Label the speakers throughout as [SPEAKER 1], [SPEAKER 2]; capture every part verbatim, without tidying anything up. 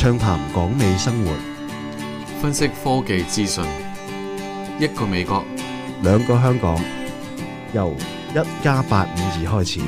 [SPEAKER 1] 暢談港美生活，
[SPEAKER 2] 分析科技資訊，一個美國，
[SPEAKER 1] 兩個香港，由一加八五二開始。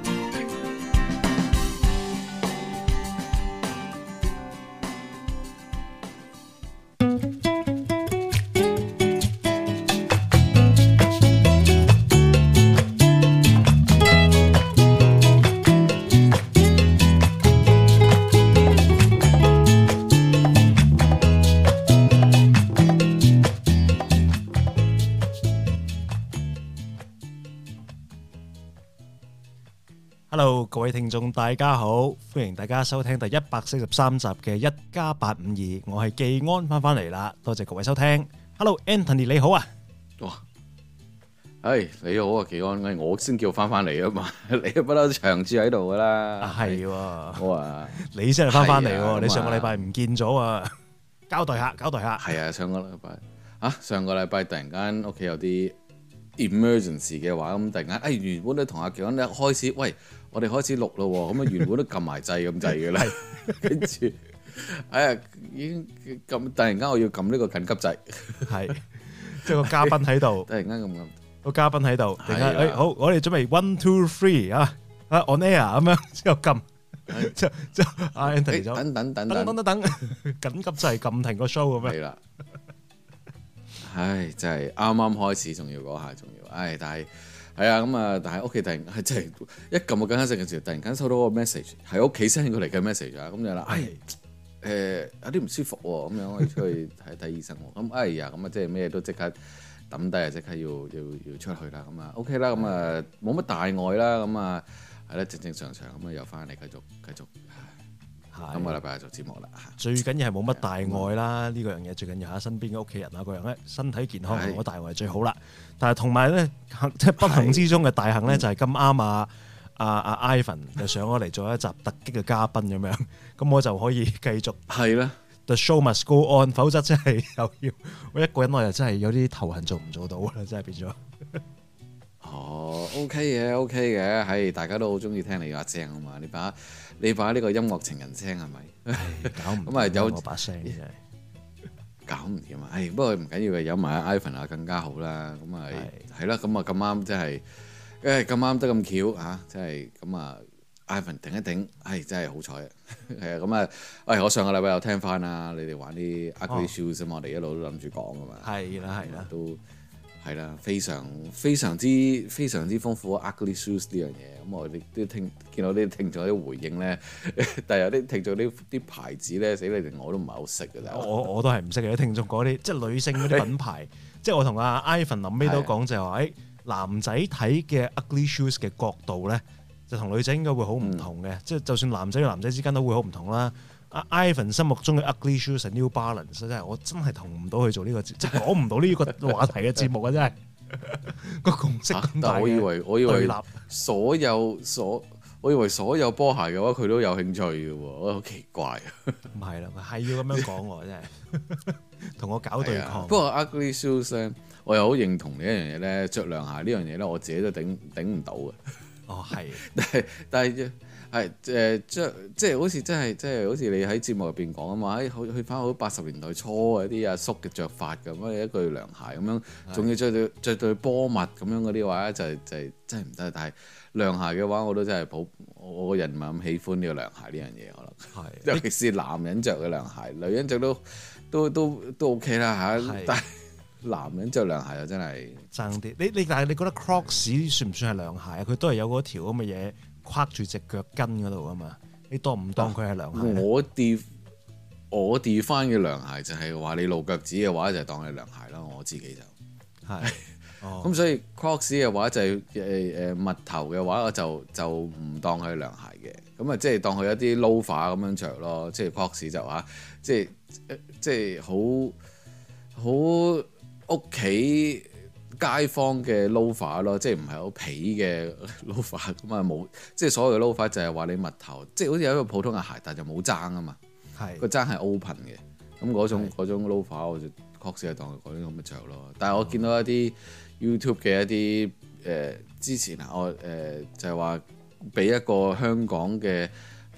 [SPEAKER 3] Hello， 各位聽眾大家好，歡迎大家收聽第一百四十三集嘅一加八五二，我係技安翻返嚟啦，多謝各位收聽。Hello，Anthony 你好啊，
[SPEAKER 2] 哇，唉你好啊，技安，我先叫翻返嚟啊嘛，你不嬲長住喺度噶啦，
[SPEAKER 3] 係，
[SPEAKER 2] 我話
[SPEAKER 3] 你先係翻返嚟，你上個禮拜唔見咗啊，交代下，交代下，
[SPEAKER 2] 係啊，上個禮拜啊，上個禮拜突然間屋企有啲 emergency 嘅話，咁突然間，哎原本都同阿技安咧開始，喂。我哋開始錄咯，咁啊原本都撳埋掣咁滯嘅啦，跟住，哎呀已經撳，突然間我要撳呢個緊急掣，係，
[SPEAKER 3] 即係個嘉賓喺度，
[SPEAKER 2] 突然間咁撳，
[SPEAKER 3] 個嘉賓喺度，突然間，誒好，我哋準備 one two three 啊，啊 on air 咁樣之後撳，之後之後阿 Anthony 就
[SPEAKER 2] 等等等
[SPEAKER 3] 等等等等，緊急掣撳停個 show 咁樣，係啦，
[SPEAKER 2] 唉真係啱啱開始，仲要嗰下仲要，唉但係。係啊，咁啊，但係屋企突然係真係一撳個緊急掣嘅時候，突然間收到個 message，係屋企 send 過嚟嘅 message 啊，咁就啦，唉，誒有啲唔舒服喎，咁樣我要出去睇睇醫生喎，咁哎呀，咁啊即係咩都即刻抌低啊，即刻要要要出去啦，咁啊 OK 啦，咁啊冇乜大礙啦，咁啊係啦，正正常常咁啊又翻嚟繼續繼續。今個禮拜做節目啦，
[SPEAKER 3] 最緊要係冇乜大礙啦，呢、嗯、個樣嘢最緊要喺身邊嘅屋企人啊，個樣咧身體健康冇乜大礙係最好啦。但係同埋咧，即係不幸之中嘅大幸咧，就係咁啱啊啊啊 Ivan 就上咗嚟做一集突擊嘅嘉賓咁樣，咁我就可以繼續係啦。The show must go on， 否則真係又要我一個人我又真係有啲頭痕做唔做到啦，真係變咗。
[SPEAKER 2] 哦 ，OK 嘅 ，OK 嘅，係大家都好中意聽你把聲啊嘛，你把。你把呢個音樂情人聲係咪？
[SPEAKER 3] 搞唔
[SPEAKER 2] 咁啊有
[SPEAKER 3] 我把聲真係
[SPEAKER 2] 搞唔掂啊！唉，不過唔緊要嘅，有埋阿 Ivan 啊更加好啦。咁啊係啦，咁啊咁啱即係，誒咁啱得咁巧嚇，即係咁啊 Ivan 頂一頂，係真係好彩啊！係啊，咁啊，喂，我上個禮拜有聽翻啊，你哋玩啲 Ugly Shoes 啊嘛，我哋一路都諗住講噶嘛。係啦係啦，都係啦，非常非常之非常之豐富 Ugly Shoes 呢樣嘢。咁我哋都聽見到啲聽眾啲回應咧，但係有啲聽眾啲啲牌子咧，死你哋我都唔係好識嘅。
[SPEAKER 3] 我我都係唔識嘅，啲聽眾嗰啲即係女性嗰啲品牌，即係我同阿 Ivan 臨尾都講就係話，誒男仔睇嘅 Ugly Shoes 嘅角度咧，就同女仔應該會好唔同嘅。即係、嗯、就算男仔與男仔之間都會好唔同啦。阿 Ivan 心目中嘅 Ugly Shoes 係 New Balance，真係我真係同唔到佢做呢、呢個，即係講唔到呢個話題嘅節目啊！真係。個共識咁大，
[SPEAKER 2] 我以為我以為所有所我以為所有波鞋嘅話佢都有興趣嘅喎，我好奇怪啊！
[SPEAKER 3] 唔係啦，係要咁樣講喎，真係同我搞對抗。
[SPEAKER 2] 不過 Ugly Shoes 咧，我又好認同你一樣嘢咧，着涼鞋呢樣嘢咧，我自己都頂頂唔到嘅。哦，係，但係但係係誒著即係好似真係即係好似你喺節目入邊講啊嘛，誒去翻好八十年代初嗰啲阿叔嘅着法咁樣，一對涼鞋咁樣，仲要着對着對波襪咁樣嗰啲話咧，就係就係真係唔得。但係涼鞋嘅話，我都真係普我個人唔係咁喜歡呢個涼鞋呢樣嘢，可能係尤其是男人着嘅涼鞋，女人着都都都都 OK 啦嚇，但係男人着涼鞋就真係
[SPEAKER 3] 爭啲。你你但係你覺得 Crocs 算唔算係涼鞋啊？佢都係有嗰條咁嘅嘢。跨住隻腳跟嗰度啊嘛，你當唔當佢係涼鞋？
[SPEAKER 2] 我 d 我 d 翻嘅涼鞋就係話你露腳趾嘅話就當係涼鞋啦，我自己就係。咁、哦、所以 Crocs 嘅話就係誒誒襪頭嘅話我就就唔當佢係涼鞋嘅，咁啊即係當佢一啲 loafer 咁樣着咯，即係 Crocs 就話即係即係好好屋企。街坊嘅 loafer 咯，即係唔係好皮嘅 loafer 咁啊冇，即係所謂嘅 loafer 就係話你襪頭，即係好似有一個普通嘅鞋，但係就冇踭啊嘛，個踭係 open 嘅，咁嗰種嗰種 loafer 我就確實係當佢嗰啲咁嘅着咯。但係我見到一啲 YouTube 嘅一啲誒、呃、之前啊，我誒、呃、就係話俾一個香港嘅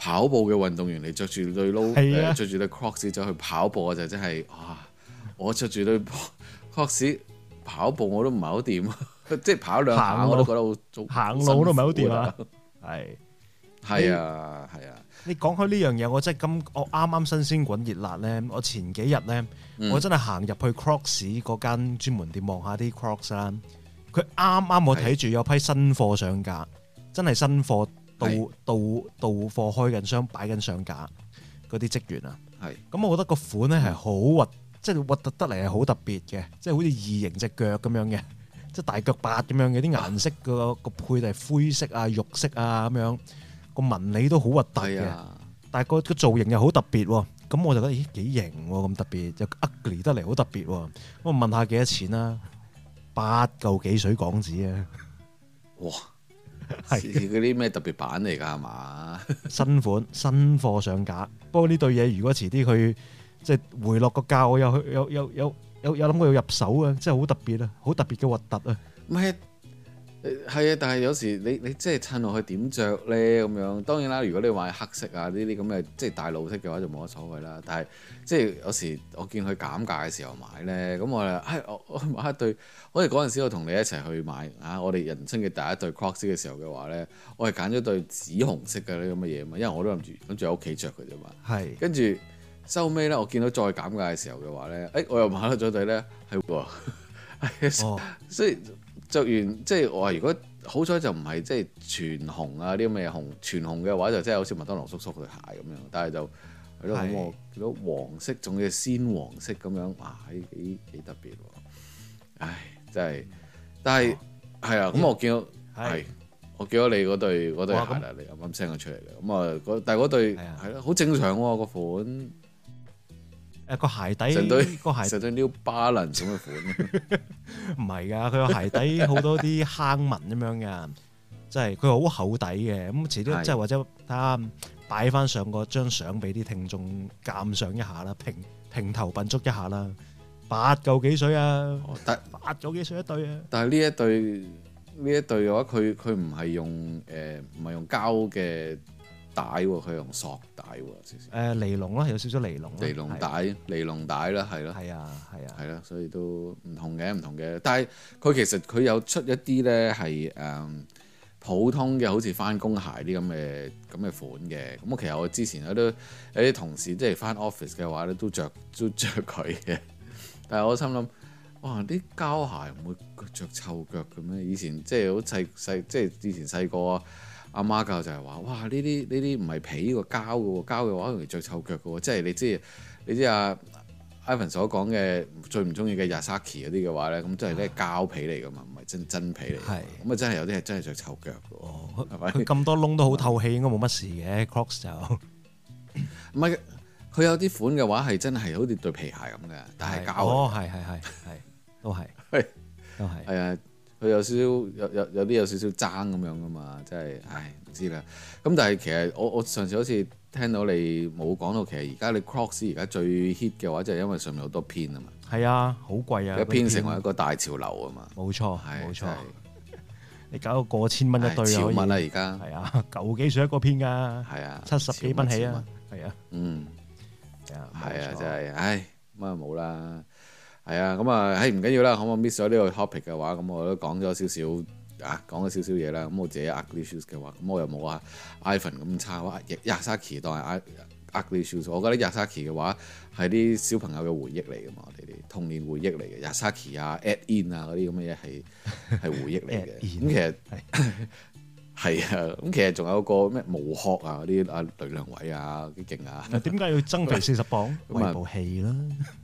[SPEAKER 2] 跑步嘅運動員嚟着住對 low 誒著住對 Crocs 走去跑步，我就真係哇！我着住對 Crocs 跑步我都唔係好掂，即係跑兩下我都覺得好
[SPEAKER 3] 行路都唔係好掂啊！係
[SPEAKER 2] 係啊係啊！
[SPEAKER 3] 你講開呢樣嘢，我真係咁，我啱啱新鮮滾熱辣咧，我前幾日咧，嗯、我真係行入去 Crocs 嗰間專門店望下啲 Crocs 啦。佢啱啱我睇住有批新貨上架，真係新貨到是到到貨開緊箱擺緊上架嗰啲職員啊。係咁是，我覺得個款咧係好核，即係核突得嚟係好特別嘅，即係好似異形隻腳咁樣嘅，即係大腳八咁樣嘅，啲顏色個個配係灰色啊、肉色啊咁樣。個紋理都好核突嘅，啊、但係個個造型又好特別喎。咁我就覺得咦幾型喎，咁特別又 ugly 得嚟好特別喎。咁我問下幾多錢啦？八嚿幾水港紙啊！
[SPEAKER 2] 哇，係嗰啲咩特別版嚟㗎係嘛？
[SPEAKER 3] 新款新貨上架。不過呢對嘢如果遲啲佢即係回落個價，我又有有有有有諗過要入手啊！真係好特別啊，好特別嘅核突啊！
[SPEAKER 2] 咩？係啊，但係有時你你即係襯落去點着咧咁樣，當然啦。如果你話黑色啊呢啲咁嘅即係大路色嘅話就冇乜所謂啦。但係即係有時我見佢減價嘅時候買咧，咁我誒、哎、我我買一對，我哋嗰陣時我同你一齊去買啊，我哋人生嘅第一對 Crocs 嘅時候嘅話咧，我係揀咗對紫紅色嘅呢咁嘅嘢嘛，因為我都諗住諗住喺屋企着嘅啫嘛。係是跟住收尾咧，我見到再減價嘅時候嘅話咧，誒、哎、我又買咗咗對咧係喎，哦、所以。着完即係我話，如果好彩就唔係即係全紅啊啲咁嘅紅，全紅嘅話就真係好似麥當勞叔叔對鞋咁樣，但係就係咯，咁我見到黃色仲要鮮黃色咁樣，哇，幾幾特別喎！唉，真係，但係係啊，咁我見到係我見到你嗰對嗰對鞋啦，你啱啱 send 咗出嚟嘅，咁啊，但係嗰對係咯，好正常喎個款。誒個鞋底成對個鞋成對 New Balance 咁嘅款，
[SPEAKER 3] 唔係㗎，佢個鞋底好多啲坑紋咁樣㗎，即係佢好厚底嘅。咁遲啲即係或者睇下擺翻上個張相俾啲聽眾鑑賞一下啦，平平頭品足一下啦，八嚿幾水啊，得八嚿幾水一對啊。
[SPEAKER 2] 但係呢一對呢一對嘅話，佢佢唔係用誒唔係用膠嘅帶喎，佢用索帶喎，少少。
[SPEAKER 3] 誒尼龍啦，有少少尼龍。
[SPEAKER 2] 尼龍帶，尼龍帶啦，係咯。
[SPEAKER 3] 係啊，係啊。
[SPEAKER 2] 係咯，所以都唔同嘅，唔同嘅。但係佢其實佢有出一啲咧係誒普通嘅，好似翻工鞋啲咁嘅咁嘅款嘅。咁我其實我之前有啲有啲同事即係翻 office 嘅話咧，都着都著佢嘅。但係我心諗，哇！啲膠鞋唔會着臭腳嘅咩？以前即係好細細，即係以前細個。阿媽教就係話：哇！呢啲呢啲唔係皮個膠嘅喎，膠嘅話容易着臭腳嘅喎。即係你知你知阿 Ivan 所講嘅最唔中意嘅 Yasaki 嗰啲嘅話咧，咁即係咧膠皮嚟㗎嘛，唔係真真皮嚟。係咁啊，真係有啲係真係着臭腳嘅喎。係咪？
[SPEAKER 3] 佢咁多窿都好透氣，應該冇乜事嘅 Crocs 就
[SPEAKER 2] 唔係佢有啲款嘅話係真係好似對皮鞋咁嘅，但係膠。
[SPEAKER 3] 哦，係係係係，都係
[SPEAKER 2] 係
[SPEAKER 3] 都係
[SPEAKER 2] 係啊。佢有少少有有有啲有少少爭咁樣噶嘛，真係唉唔知啦。咁但係其實我我上次好似聽到你冇講到，其實而家你 Crocs 而家最 hit 嘅話，就係因為上面好多片啊嘛。係
[SPEAKER 3] 啊，好貴啊！
[SPEAKER 2] 一片成為一個大潮流啊嘛。
[SPEAKER 3] 冇錯，
[SPEAKER 2] 係
[SPEAKER 3] 冇錯。你搞到過千蚊一對
[SPEAKER 2] 潮蚊啦而家。
[SPEAKER 3] 係啊，舊幾水一個片㗎。係
[SPEAKER 2] 啊，
[SPEAKER 3] 七十幾蚊起啊。係啊。
[SPEAKER 2] 嗯。係啊。係啊，真係唉咁啊冇啦。係啊，咁啊，唉唔緊要啦，可唔可 miss 咗呢個 topic 嘅話，咁我都講咗少少啊，講咗少少嘢啦。咁我自己 ugly shoes 嘅話，咁我又冇啊 Ivan 咁差哇，Yasaki 當係 ugly shoes。我覺得 Yasaki 嘅話係啲小朋友嘅回憶嚟㗎嘛，我哋啲童年回憶嚟嘅。Yasaki 啊 ，At In 啊嗰啲咁嘅嘢係係回憶嚟嘅。咁其實係啊，咁其實仲有個咩無殼啊嗰啲啊雷良偉啊幾勁啊。
[SPEAKER 3] 點解要增肥四十磅？為部戲啦。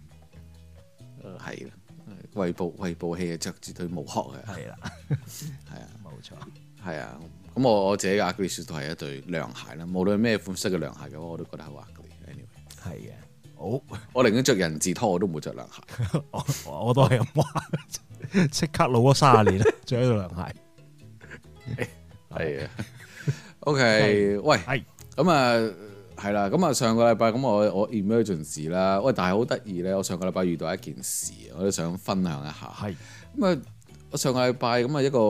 [SPEAKER 2] 係啦，胃部胃部氣啊，着住對無殼嘅。係啦，係啊，
[SPEAKER 3] 冇錯，
[SPEAKER 2] 係啊。咁我我自己嘅 ugly shoes 都係一對涼鞋啦。無論咩款式嘅涼鞋嘅話，我都覺得好 ugly。Anyway，
[SPEAKER 3] 係嘅。好，
[SPEAKER 2] 我寧願着人字拖，我都唔會着涼鞋。
[SPEAKER 3] 我我都係咁話，即刻老咗卅年啦，着呢對涼鞋。
[SPEAKER 2] 係啊。OK，喂，係咁啊。係啦，咁啊上個禮拜咁我我 emergency 啦，喂，但係好得意咧，我上個禮拜遇到一件事，我都想分享一下。係咁啊，我上個禮拜咁啊一個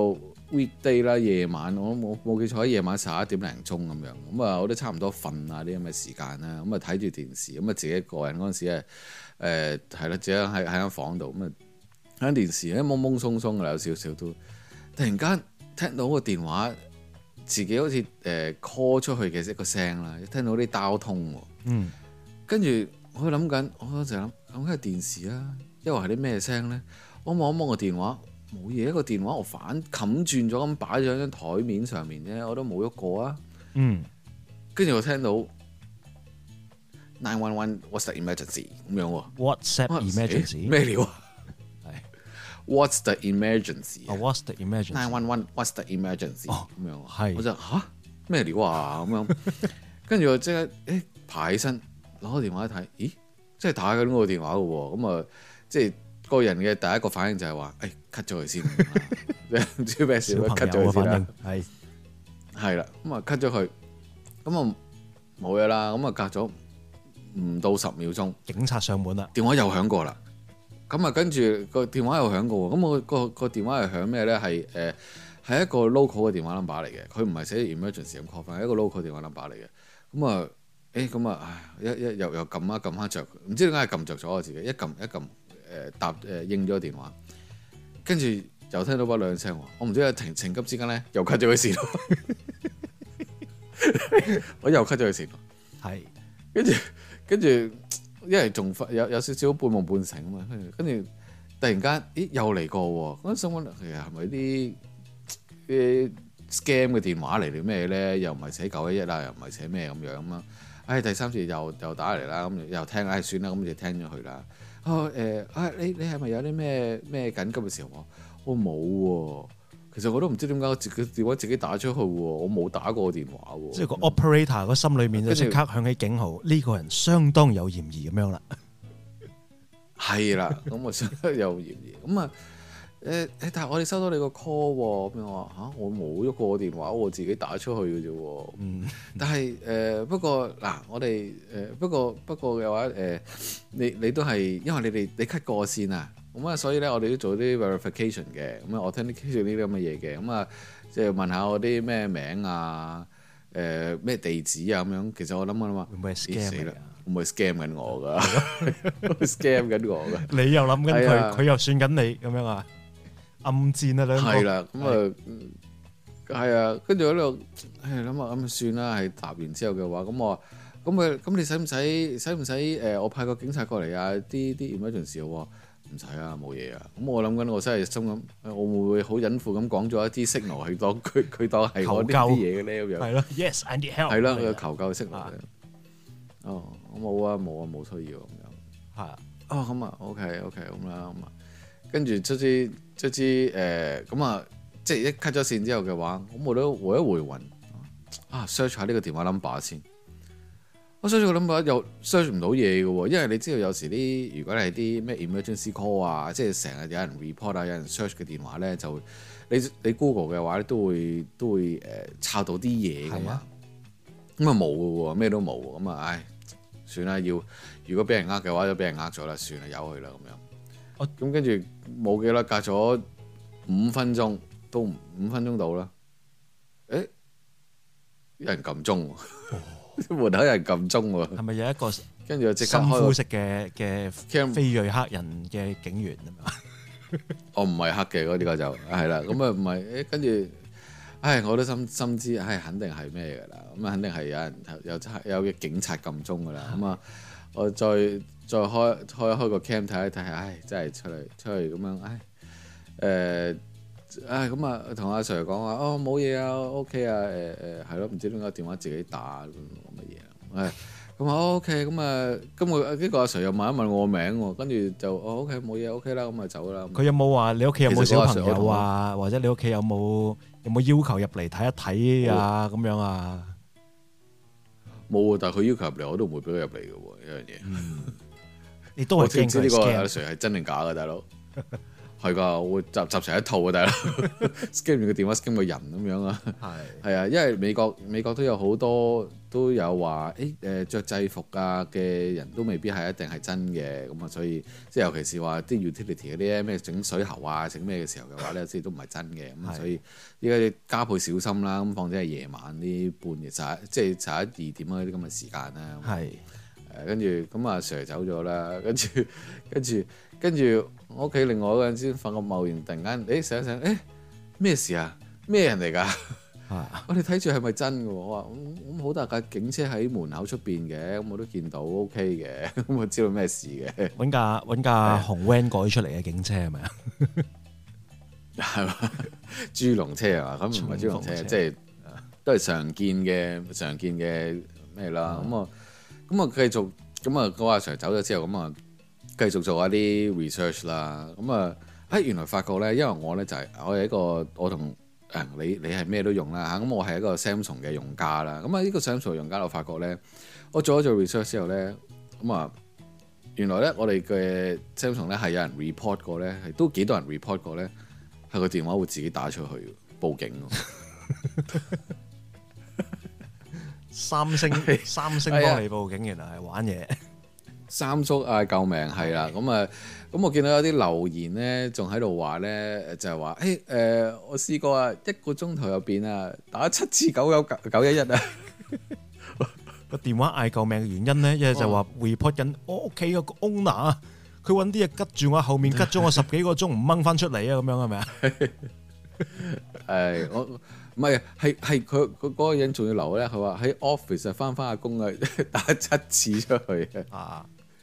[SPEAKER 2] weekday 啦，夜晚我冇冇記錯喺夜晚十一點零鐘咁樣，咁啊我都差唔多瞓啊啲咁嘅時間啦，咁啊睇住電視，咁啊自己一個人嗰陣時誒誒係啦，自己喺喺間房度咁啊睇電視咧懵懵鬆鬆嘅有少少都，突然間聽到個電話自己好似誒 call 出去嘅一個聲啦，聽到啲交通喎，嗯，跟住我諗緊，我就諗咁係電視啊，因為係啲咩聲咧？我望一望個電話。冇嘢，一個電話我反冚轉咗咁擺咗喺張台面上面啫，我都冇喐過啊。嗯，跟住我聽到 nine one one what's the emergency 咁樣喎。
[SPEAKER 3] WhatsApp emergency
[SPEAKER 2] 咩料啊？係 What's the emergency？
[SPEAKER 3] 哦 What's the emergency？
[SPEAKER 2] nine one one what's the emergency？ 咁、哦、樣
[SPEAKER 3] 係，
[SPEAKER 2] 我就吓？咩料啊？咁樣，跟住我即刻誒爬起身攞個電話一睇，咦，即係打緊嗰個電話嘅喎，咁啊即係。個人嘅第一個反應就係話，誒 cut 咗佢先，唔知咩事，cut 咗佢先啦。係係啦，咁啊 cut 咗佢，咁啊冇嘢啦。咁啊隔咗唔到十秒鐘，
[SPEAKER 3] 警察上門啦，
[SPEAKER 2] 電話又響過啦。咁啊跟住個電話又響過，咁我個個電話係響咩咧？係誒係一個 local 嘅電話 number 嚟嘅，佢唔係寫 emergency 咁 call 翻，係一個 local 電話 number 嚟嘅。咁啊誒咁啊，唉一一又又撳一撳下着，唔知點解係撳着咗我自己，一撳一撳。誒答誒應咗個電話，跟住又聽到把兩聲，我唔知係情情急之間咧，又 cut 咗佢線，我又 cut 咗佢線，係跟住跟住，因為仲有有少少半夢半醒啊嘛，跟住突然間，咦又嚟過喎，嗰陣心諗其實係咪啲啲 scam 嘅電話嚟定咩咧？又唔係寫九一一啊，又唔係寫咩咁樣啊？唉，第三次又又打嚟啦，咁又聽，唉算啦，咁就聽咗佢啦。哦誒啊！你你係咪有啲咩咩緊急嘅時候？我冇喎，其實我都唔知點解我自己電話自己打出去喎，我冇打過電話喎。即係個
[SPEAKER 3] operator 個心裏面就即刻響起警號，呢個人相當有嫌疑咁樣啦。
[SPEAKER 2] 係啦，咁我相當有嫌疑。咁啊誒誒，但係我哋收到你個 call 喎，咁樣話嚇，我冇喐過電話，我自己打出去嘅啫喎。嗯，但係誒、呃、不過嗱，我哋誒、呃、不過不過嘅話誒、呃，你你都係因為你哋你 cut 過線啊，咁啊，所以咧我哋都做啲 verification 嘅，咁啊，我聽啲 case 呢啲咁嘅嘢嘅，咁啊，即係問下我啲咩名啊，誒、呃、咩地址啊咁樣。其實我諗啊諗啊，
[SPEAKER 3] 會唔會 scam
[SPEAKER 2] 啦？會唔會 scam 緊我㗎？scam 緊我㗎？
[SPEAKER 3] 你又諗緊佢，佢又算緊你咁樣啊？暗戰啊兩個，
[SPEAKER 2] 係啦，咁啊，係啊，跟住喺度，唉諗下咁算啦，係答完之後嘅話，咁我，咁佢，咁你使唔使，使唔使誒？我派個警察過嚟啊！啲啲 emergency 我話唔使啊，冇嘢啊。咁我諗緊，我真係心諗，我會唔會好隱晦咁講咗一啲 signal 去當佢佢當係我呢啲嘢嘅咧咁樣？係咯
[SPEAKER 3] ，Yes，I need help。
[SPEAKER 2] 係咯，佢求救嘅 signal。哦，我冇啊，冇啊，冇需要咁樣。係。哦，咁啊，OK，OK，咁啦，咁啊。跟住卒之卒之誒咁啊，即係一 cut 咗線之後嘅話，咁我都回一回魂啊 search 下呢個電話 number 先。我 search 個 number 又 search 唔到嘢嘅喎，因為你知道有時啲如果係啲咩 emergency call 啊，即係成日有人 report 啊，有人 search 嘅電話咧，就你你 Google 嘅話咧都會都會誒抄到啲嘢㗎嘛。咁啊冇嘅喎，咩都冇咁啊，唉，算啦，要如果俾人呃嘅話就俾人呃咗啦，算啦，由佢啦咁樣。咁跟住冇幾啦，隔咗五分鐘，都五分鐘到啦。誒，有人撳鐘，門口有人撳鐘喎。係
[SPEAKER 3] 咪有一個
[SPEAKER 2] 跟住就即刻開
[SPEAKER 3] 深膚色嘅嘅非裔黑人嘅警員啊嘛？
[SPEAKER 2] 我唔係黑嘅嗰啲個就係啦。咁啊唔係誒，跟住，唉，我都心心知，唉，肯定係咩㗎啦。咁啊，肯定係有人有有嘅警察撳鐘㗎啦。咁啊，我再。再開開開個 cam 睇一睇，唉，真係出嚟出嚟咁樣，唉，誒、呃，唉，咁啊，同阿 Sir 講話，哦，冇嘢啊 ，OK 啊，誒、呃、誒，係咯，唔知點解電話自己打咁乜嘢啊，唉，咁啊 OK，咁啊，今個呢個阿 Sir 又問一問我個名喎，跟住就哦 OK 冇嘢 OK 啦，咁啊走啦。佢
[SPEAKER 3] 有冇話你屋企有冇小朋友啊？或者你屋企有冇有冇要求入嚟睇一睇啊？咁樣啊？
[SPEAKER 2] 冇啊，但係佢要求入嚟，我都唔會俾佢入嚟嘅喎，呢樣嘢。
[SPEAKER 3] 你都係驚佢 scam？
[SPEAKER 2] 我知呢個阿 Sir 係真定假嘅，大佬。 係㗎，我會集集成一套啊，大佬 scan 完個電話 scan 個人咁樣啊。係係啊，因為美國美國都有好多都有話誒誒著制服啊嘅人都未必係一定係真嘅，咁啊所以即係尤其是話啲 utility 嗰啲咩整水喉啊整咩嘅時候嘅話咧，即係都唔係真嘅，咁所以依家加倍小心啦。咁況且係夜晚啲半夜十一即係十一二點嗰啲咁嘅時間啦。係誒跟住咁阿 Sir 走咗啦，跟住跟住。跟住我屋企另外一個人先發覺貿然突然間，誒醒一醒，誒咩事啊？咩人嚟㗎？啊、我哋睇住係咪真嘅？我話咁好大架警車喺門口出邊嘅，咁我都見到 OK 嘅，咁我知道咩事嘅。揾架揾架紅 van 改出嚟嘅警車係咪啊？係嘛？豬籠車啊？咁唔係豬籠車，即係都係常見嘅常見嘅咩啦？咁啊咁啊繼續咁啊，嗰阿 Sir 走咗之後咁啊。繼續做一啲 research 啦，咁啊，誒原來發覺咧，因為我咧就係、是、我係一個我同誒你你係咩都用啦嚇，咁我係一個 Samsung 嘅用家啦，咁啊呢個 Samsung 用家我發覺咧，我做咗做 research 之後咧，咁啊原來咧我哋嘅 Samsung 咧係有人 report 過咧，係都幾多人 report 過咧，係個電話會自己打出去報警三星三星幫你報警，原來係玩嘢。三叔啊，救命係啦！咁啊，咁我見到有啲留言咧，仲喺度話咧，就係話誒誒，我試過啊，一個鐘頭入邊啊，打七次九九九一一啊，個電話嗌救命嘅原因咧，一係就話 report 緊我屋企個 owner，佢揾啲嘢吉住我後面，吉咗我十幾個鐘唔掹翻出嚟啊，咁樣係咪啊？誒，我唔係係係佢佢嗰個人仲要留咧，佢話喺 office 翻翻下工啊，打七次出去啊！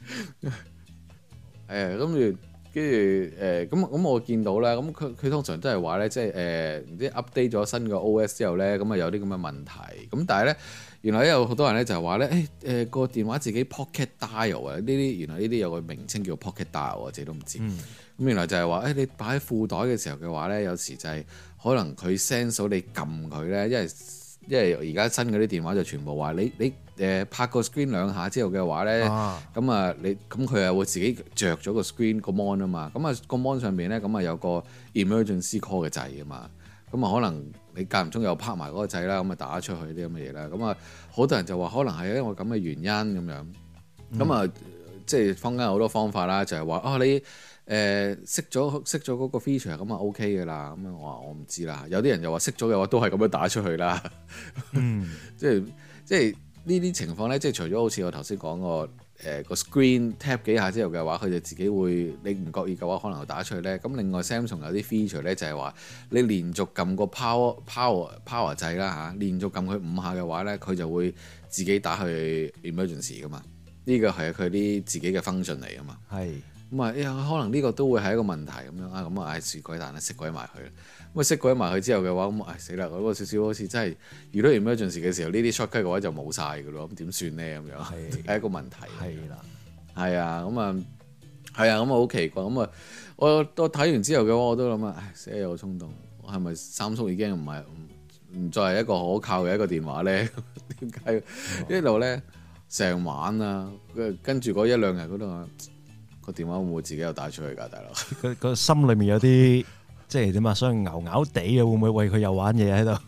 [SPEAKER 2] 誒，跟住跟住誒，咁咁我見到啦，咁佢佢通常都係話咧，即係誒唔知 update 咗新嘅 O S 之後咧，咁啊有啲咁嘅問題，咁但係咧原來咧有好多人咧就係話咧，誒誒個電話自己 Pocket Dial 啊，呢啲原來呢啲有個名稱叫 Pocket Dial，我自己都唔知。咁、嗯、原來就係話誒你擺喺褲袋嘅時候嘅話咧，有時就係可能佢 sense 到你撳佢咧，因為因為而家新嗰啲電話就全部話你你。誒拍個 screen 兩下之後嘅話咧，咁啊你咁佢又會自己着咗個 screen 個 mon 啊嘛，咁啊個 mon 上邊咧咁啊有個 emergency call 嘅掣啊嘛，咁啊可能你間唔中又拍埋嗰個掣啦，咁啊打出去啲咁嘅嘢啦，咁啊好多人就話可能係因為咁嘅原因咁樣，咁啊、嗯、即係坊間好多方法啦，就係、是、話啊你誒熄咗熄咗嗰個 feature 咁啊 OK 嘅啦，咁啊我話我唔知啦，有啲人又話熄咗嘅話都係咁樣打出去啦，嗯，即係即係。呢啲情況咧，即係除咗好似我頭先講個誒個 screen tap 幾下之後嘅話，佢就自己會你唔覺意嘅話，可能會打出去咧。咁另外 Samsung 有啲 feature 咧，就係話你連續撳個 power power power 掣啦嚇，連續撳佢五下嘅話咧，佢就會自己打去 emergency 噶嘛。呢個係佢啲自己嘅 function 嚟啊嘛。係咁啊，呀可能呢個都會係一個問題咁樣啊，咁啊唉蝕鬼蛋啦，熄鬼埋佢。咁啊熄鬼埋佢之後嘅話，咁唉死啦！嗰個少少好似真係遇到 emergency 嘅時候，呢啲 shortcut 嘅話就冇晒㗎咯。咁點算咧？咁樣係係一個問題。係啦，係啊，咁啊係啊，咁啊好奇怪。咁啊我我睇完之後嘅話，我都諗啊，唉死有衝動，我係咪三叔已經唔係唔唔再係一個可靠嘅一個電話咧？點解一路咧成晚啊？跟住嗰一兩日嗰度啊，個電話會唔會自己又打出去㗎，大佬？佢個心裏面有啲。即係點啊？所以牛牛地嘅會唔會為佢又玩嘢喺度？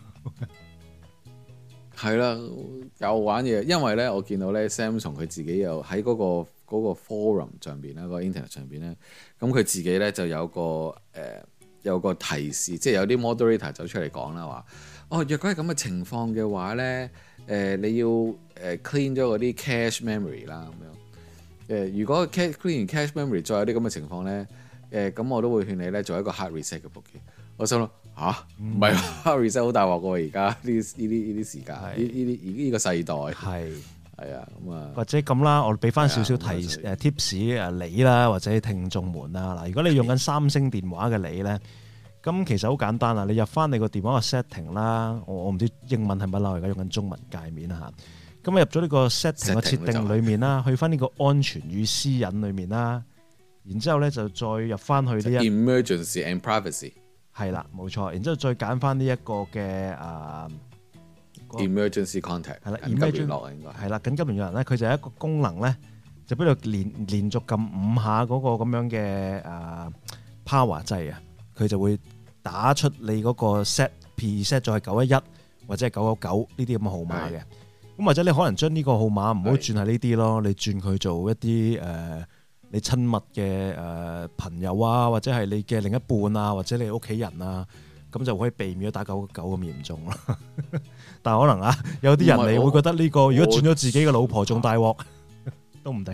[SPEAKER 2] 係啦，又玩嘢。因為咧，我見到咧 Samsung 佢自己又喺嗰個嗰個 forum 上邊啦，個 internet 上邊咧，咁佢自己咧就有個誒、呃、有個提示，即係有啲 moderator 走出嚟講啦，話哦，若果係咁嘅情況嘅話咧，誒、呃、你要誒 clean 咗嗰啲 cache memory 啦，咁樣誒，如果 clean 完 cache memory 再有啲咁嘅情況咧。誒咁、呃、我都會勸你咧做一個 hard reset 嘅部機。我心諗吓，唔係 hard reset 好大鑊喎，而家呢呢啲呢啲時間，呢呢啲呢個世代係係啊咁啊，或者咁啦，我俾翻少少提誒 tips 誒你啦，或者聽眾們啦嗱，如果你用緊三星電話嘅你咧，咁其實好簡單啊，你入翻你個電話嘅 setting 啦，我我唔知英文係乜啦，我而家用緊中文界面嚇。咁入咗呢個 setting 嘅設定裡面啦，去翻呢個安全與私隱裡面啦。然之後咧就再入翻去呢一 emergency and privacy 係啦，冇錯。然之後再揀翻呢一個嘅啊 emergency contact 係啦，緊急聯絡應該係啦，緊急聯絡人咧，佢就係一個功能咧，就俾你連連續撳五下嗰個咁樣嘅啊
[SPEAKER 3] power 掣啊，佢就會打出你嗰個 set preset 咗係九一一或者係九九九呢啲咁嘅號碼嘅。咁或者你可能將呢個號碼唔好轉係呢啲咯，你轉佢做一啲誒、呃、你親密嘅誒、呃、朋友啊，或者係你嘅另一半啊，或者你屋企人啊，咁就可以避免咗打九九九咁嚴重咯。但係可能啊，有啲人你會覺得呢、呢個如果轉咗自己嘅老婆仲大鑊都唔定。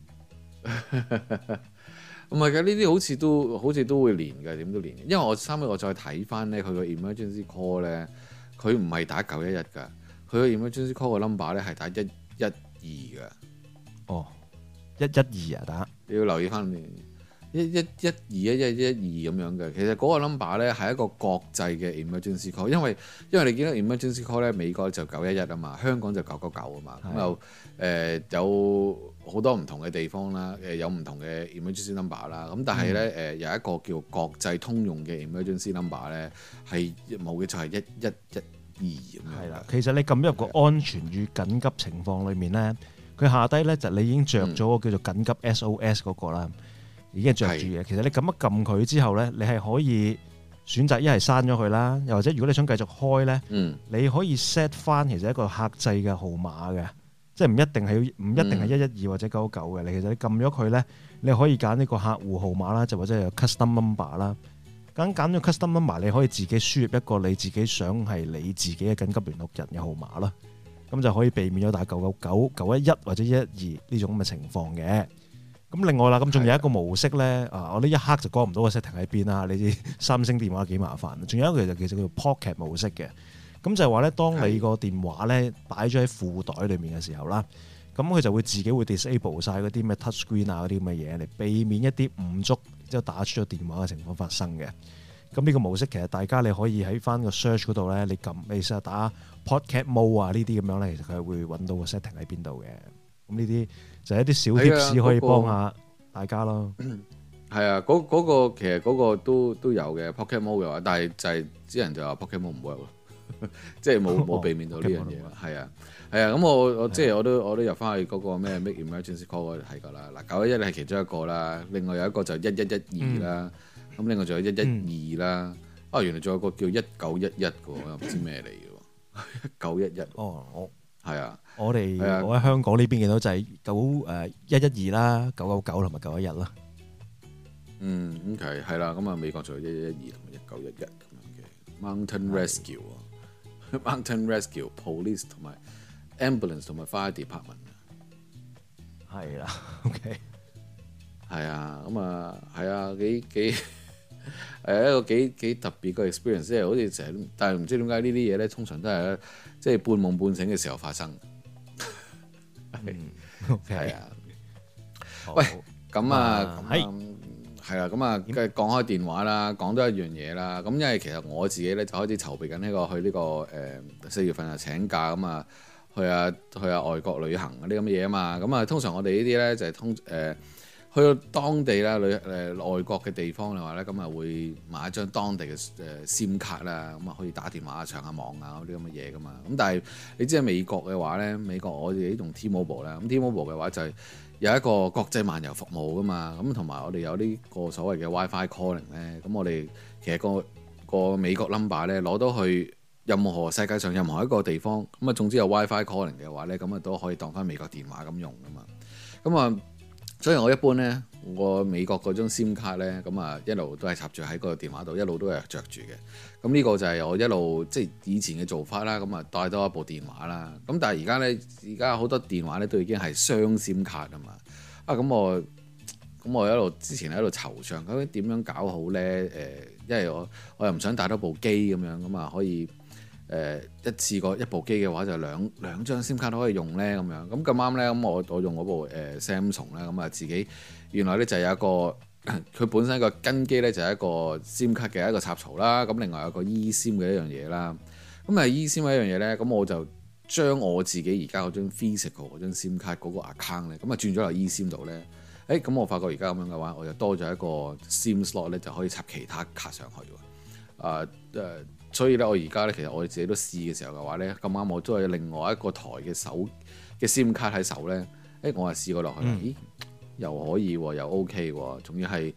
[SPEAKER 2] 唔係嘅，呢啲好似都好似都會連嘅，點都連嘅。因為我後尾我再睇翻咧，佢個 emergency call 咧，佢唔係打九一一㗎，佢個 emergency call 個 number 咧係打一一二㗎。
[SPEAKER 3] 哦，一一二啊打，
[SPEAKER 2] 你要留意翻一一一二一一一二咁樣嘅。其實嗰個 number 咧係一個國際嘅 emergency call，因為因為你見到 emergency call 咧，美國就九一一啊嘛，香港就九九九啊嘛，咁又誒有好多唔同嘅地方啦，誒有唔同嘅 emergency number 啦，咁但係咧誒有一個叫國際通用嘅 emergency number 咧係冇嘅，就係一一一二咁樣。係啦，
[SPEAKER 3] 其實你撳入個安全與緊急情況裏面咧，佢下低咧就你已經着咗個叫做緊急 S O S 嗰個啦。已經着住嘅，其實你撳一撳佢之後咧，你係可以選擇一係刪咗佢啦，又或者如果你想繼續開咧，嗯、你可以 set 翻其實一個客製嘅號碼嘅，即係唔一定係唔一定係一一二或者九九九嘅。你、嗯、其實你撳咗佢咧，你可以揀呢個客戶號碼啦，就或者有 custom number 啦。咁揀咗 custom number，你可以自己輸入一個你自己想係你自己嘅緊急聯絡人嘅號碼啦。咁就可以避免咗打九九九、九一一或者一一二呢種咁嘅情況嘅。咁另外啦，咁仲有一個模式咧，啊，我呢一刻就講唔到個 setting 喺邊啦。你知三星電話幾麻煩。仲有一個就其實叫做 Pocket 模式嘅，咁就係話咧，當你個電話咧擺咗喺褲袋裏面嘅時候啦，咁佢就會自己會 disable 晒嗰啲咩 touch screen 啊嗰啲咁嘅嘢嚟避免一啲誤觸之後打出咗電話嘅情況發生嘅。咁呢個模式其實大家你可以喺翻個 search 嗰度咧，你撳你試下打 Pocket Mode 啊呢啲咁樣咧，其實佢係會揾到個 setting 喺邊度嘅。咁呢啲就係一啲小貼士可以幫下大家咯。
[SPEAKER 2] 係啊，嗰嗰、嗰個其實嗰個都都有嘅 Pocket Mode 嘅話，但係就係啲人就話 Pocket Mode 唔 work 咯，即係冇冇避免到呢樣嘢。係啊係啊，咁我我即係我都我都入翻去嗰個咩 Make Emergency Call 嗰度睇過啦。嗱，九一一係其中一個啦，另外有一個就一一一二啦，咁、嗯、另外仲有一一二啦。啊，原來仲有個叫一九一一嘅，我又唔知咩嚟嘅。一九一一
[SPEAKER 3] 哦，我
[SPEAKER 2] 係啊。
[SPEAKER 3] 我哋我喺香港呢邊見到就係九誒一一二啦、九九九同埋九一一啦。
[SPEAKER 2] 嗯，咁係係啦，咁啊美國仲有一一一二同埋一九一一咁樣嘅 Mountain Rescue 啊的，Mountain Rescue Police 同埋 Ambulance 同埋 Fire Department。
[SPEAKER 3] 係啦 ，OK。
[SPEAKER 2] 係啊，咁啊係啊，幾幾係一個幾幾特別嘅 experience，即係好似成日，但係唔知點解呢啲嘢咧，通常都係即係半夢半醒嘅時候發生。
[SPEAKER 3] 嗯，OK，
[SPEAKER 2] 係啊。喂，咁啊，係係啦，咁啊，繼續講開電話啦，講多一樣嘢啦。咁因為其實我自己咧就開始籌備緊呢個去呢個誒四月份啊請假咁啊，去啊去啊外國旅行嗰啲咁嘅嘢啊嘛。咁啊，通常我哋呢啲咧就係通誒去到當地啦，旅誒外國嘅地方嘅話咧，咁啊會買一張當地嘅誒 SIM 卡啦，咁啊可以打電話、上下網啊嗰啲咁嘅嘢噶嘛。咁但係你知喺美國嘅話咧，美國我哋用 T-Mobile 啦，咁 T-Mobile 嘅話就係有一個國際漫遊服務噶嘛。咁同埋我哋有呢個所謂嘅 WiFi calling 咧，咁我哋其實個個美國 number 咧攞到去任何世界上任何一個地方，咁啊總之有 WiFi calling 嘅話咧，咁啊都可以當翻美國電話咁用噶嘛。咁啊〜所以我一般咧，我美國嗰張 SIM 卡咧，咁啊一路都係插住喺個電話度，一路都係着住嘅。咁呢個就係我一路即係以前嘅做法啦。咁啊帶多一部電話啦。咁但係而家咧，而家好多電話咧都已經係雙 SIM 卡啊嘛。啊咁我咁我一路之前喺度籌上，究竟點樣搞好咧？誒、呃，因為我我又唔想帶多部機咁樣，咁啊可以。誒、呃、一次過一部機嘅話就兩兩張 SIM 卡都可以用咧咁樣，咁咁啱咧，咁我我用嗰部誒、呃、Samsung 咧，咁啊自己原來咧就有一個佢本身個根基咧就係一個 SIM 卡嘅一個插槽啦，咁另外有個 eSIM 嘅一樣嘢啦，咁啊 eSIM 嘅一樣嘢咧，咁我就將我自己而家嗰張 physical 嗰張 SIM 卡嗰個 account 咧，咁啊轉咗落 eSIM 度咧，誒咁我發覺而家咁樣嘅話，我就多咗一個 SIM slot 咧，就可以插其他卡上去喎，啊誒。呃所以咧，我而家咧，其實我自己都試嘅時候嘅話咧，咁啱我都有另外一個台嘅手嘅 SIM 卡喺手咧，誒，我係試過落去，嗯、咦，又可以喎，又 OK 喎，仲要係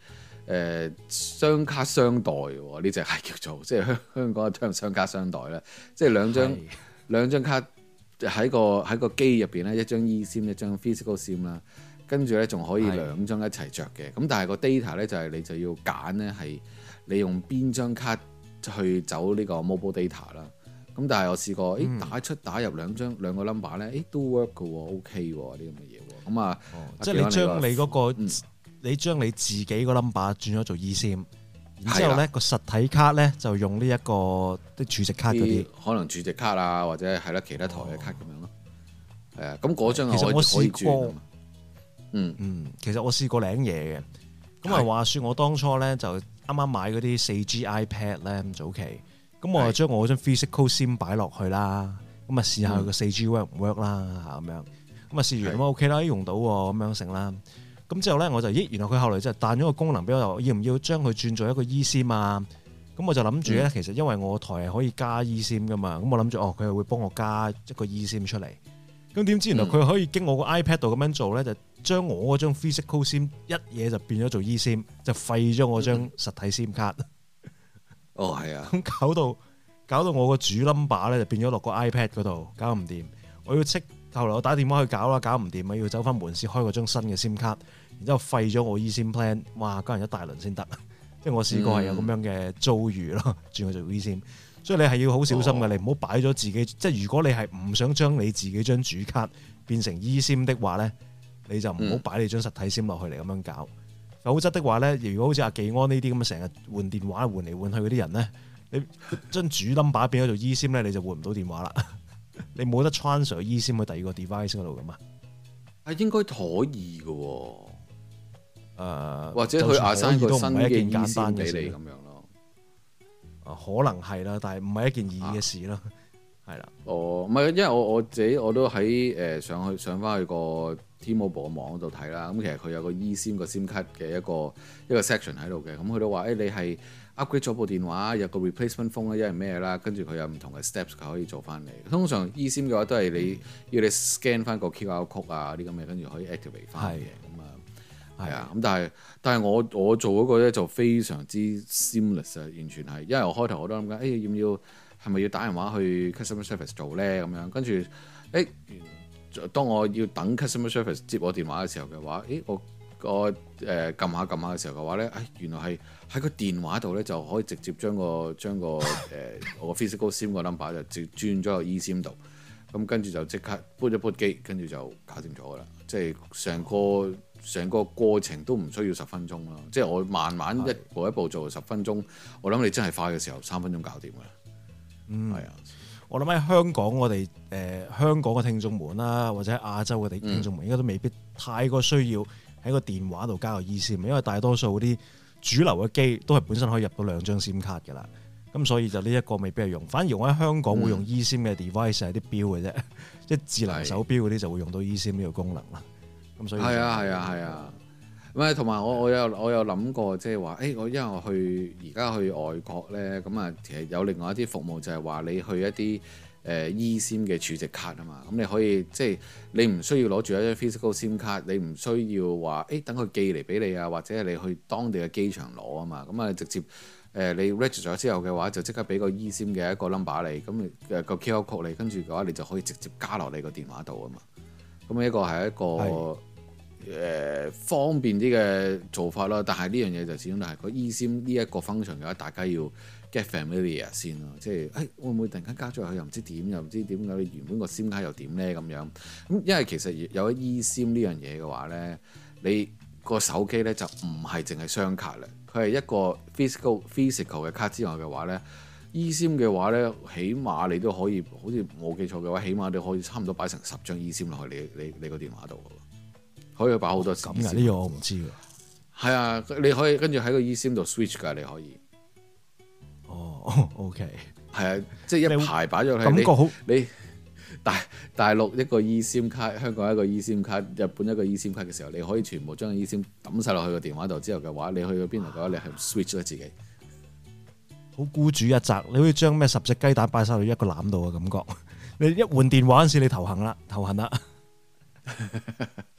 [SPEAKER 2] 誒雙卡雙待喎，呢隻係叫做即係香香港嘅 term 雙卡雙待咧，即係兩張是兩張卡喺個喺個機入邊咧，一張 eSIM 一張 physical SIM 啦，跟住咧仲可以兩張一齊着嘅。咁是但係個 data 咧就係你就要揀咧係你用邊張卡去走呢個 mobile data 啦。咁但係我試過，誒、嗯、打出打入兩張兩個 number 咧，誒都 work 嘅喎 ，OK 喎啲咁嘅嘢喎。咁啊，
[SPEAKER 3] 哦、即係你將你嗰、那個。嗯你將你自己個 number 轉咗做 eSIM，然之後咧個實體卡咧就用呢一個啲儲值卡嗰啲，可
[SPEAKER 2] 能儲值卡啊，或者係啦其他台嘅卡咁樣咯。係啊，咁嗰張
[SPEAKER 3] 其實我試過，
[SPEAKER 2] 嗯
[SPEAKER 3] 嗯，其實我試過領嘢嘅。咁啊話説我當初咧就啱啱買嗰啲四 G iPad 咧咁早期，咁我就將我嗰張 physical SIM 擺落去啦，咁啊試下佢個四 G work 唔 work 啦嚇咁樣，咁啊試完咁 OK 啦，用到喎咁樣成啦。咁之後咧，我就咦，原來佢後來就彈咗個功能俾我，要唔要將佢轉做一個 eSIM 啊？咁我就諗住咧，嗯、其實因為我台係可以加 eSIM 噶嘛，咁我諗住哦，佢係會幫我加一個 eSIM 出嚟。咁點知原來佢可以經我個 iPad 度咁樣做咧，就將我嗰張 physical SIM 一嘢就變咗做 eSIM，就廢咗我張實體 SIM 卡。
[SPEAKER 2] 哦，係啊。
[SPEAKER 3] 咁搞到搞到我個主 number 咧就變咗落個 iPad 嗰度，搞唔掂。我要即後來我打電話去搞啦，搞唔掂啊，要走翻門市開嗰張新嘅 SIM 卡。然之後廢咗我 eSIM plan，哇！加人一大輪先得，即係我試過係有咁樣嘅遭遇咯，轉去做 eSIM。所以你係要好小心嘅，哦、你唔好擺咗自己。即係如果你係唔想將你自己張主卡變成 eSIM 的話咧，你就唔好擺你張實體 SIM 落去嚟咁樣搞。嗯、否則的話咧，如果好似阿技安呢啲咁成日換電話換嚟換去嗰啲人咧，你將主 number 變咗做 eSIM 咧，你就換唔到電話啦。你冇得 transfer eSIM 去第二個 device 嗰度噶嘛？
[SPEAKER 2] 係應該可以嘅喎。誒、
[SPEAKER 3] 呃、
[SPEAKER 2] 或者佢亞生個新嘅 eSIM 俾你咁樣咯，
[SPEAKER 3] 可能係啦，但係唔係一件易嘅事咯，係啦、啊。的
[SPEAKER 2] 哦，唔係，因為我我自己我都喺誒、呃、上去上翻去個 T-Mobile 嘅網度睇啦。咁其實佢有個 eSIM 個 SIM 卡嘅一個一個 section 喺度嘅。咁佢都話誒、欸、你係 upgrade 咗部電話，有個 replacement phone 咧，因為咩啦？跟住佢有唔同嘅 steps 佢可以做翻嚟。通常 eSIM 嘅話都係你、嗯、要你 scan 翻個 Q R code 啊啲咁嘅，跟住可以 activate 翻嘅。係啊，咁但係但係我我做嗰個咧就非常之 seamless 啊，完全係，因為我開頭我都諗緊，誒、欸、要唔要係咪要打電話去 customer service 做咧咁樣，跟住誒當我要等 customer service 接我電話嘅時候嘅話，誒我我誒撳下撳下嘅時候嘅話咧，誒原來係喺個電話度咧就可以直接將個將個誒、呃、我個 physical SIM 個 number 就直轉咗個 eSIM 度，咁跟住就即刻 boot 一 boot 機，跟住就搞掂咗噶啦，即係成個。成個過程都唔需要十分鐘咯，即係我慢慢一步一步做十分鐘，我諗你真係快嘅時候三分鐘搞掂㗎啦。
[SPEAKER 3] 嗯，
[SPEAKER 2] 係啊，
[SPEAKER 3] 我諗喺香港我哋誒、呃、香港嘅聽眾們啦，或者亞洲嘅聽眾們應該都未必太過需要喺個電話度加個 eSIM，因為大多數嗰啲主流嘅機都係本身可以入到兩張 SIM 卡㗎啦。咁所以就呢一個未必係用，反而我喺香港會用 eSIM 嘅 device 係啲錶嘅啫，即係智能手錶嗰啲就會用到 eSIM 呢個功能啦。咁所以
[SPEAKER 2] 係啊係啊係啊，唔係同埋我我有我有諗過，即係話誒我因為我去而家去外國咧，咁啊其實有另外一啲服務就係話你去一啲誒 eSIM 嘅儲值卡啊嘛，咁你可以即係你唔需要攞住一張 physical SIM 卡，你唔需要話誒等佢寄嚟俾你啊，或者係你去當地嘅機場攞啊嘛，咁啊直接誒你 register 咗之後嘅話，就即刻俾個 eSIM 嘅一個 number 你，咁你誒個 Q R code 你，跟住嘅話你就可以直接加落你個電話度啊嘛，咁呢個係一個。誒、呃、方便啲嘅做法啦，但係呢樣嘢就始終都係個 eSIM 呢一個 function 嘅話，大家要 get familiar 先咯。即係誒、哎、會唔會突然間加咗入去又唔知點，又唔知點解你原本個 SIM 卡又點咧咁樣？咁因為其實有咗 eSIM 呢樣嘢嘅話咧，你個手機咧就唔係淨係雙卡啦，佢係一個 physical physical 嘅卡之外嘅話咧 eSIM 嘅話咧，起碼你都可以，好似冇記錯嘅話，起碼你可以差唔多擺成十張 eSIM 落去你你你個電話度。可以擺好多咁
[SPEAKER 3] 嘅，呢個我唔知喎。
[SPEAKER 2] 係啊，你可以跟住喺個 eSIM 度 switch 㗎，你可以。
[SPEAKER 3] 哦，OK。
[SPEAKER 2] 係啊，即係一排擺咗喺
[SPEAKER 3] 感覺好。
[SPEAKER 2] 你大大陸一個 eSIM 卡，香港一個 eSIM 卡，日本一個 eSIM 卡嘅時候，你可以全部將 eSIM 抌晒落去個電話度之後嘅話，你去到邊度嘅話，你係 switch 咗自己。
[SPEAKER 3] 好孤注一擲，你可以將咩十隻雞蛋擺晒落一個籃度嘅感覺。你一換電話嗰陣時，你頭痕啦，頭痕啦。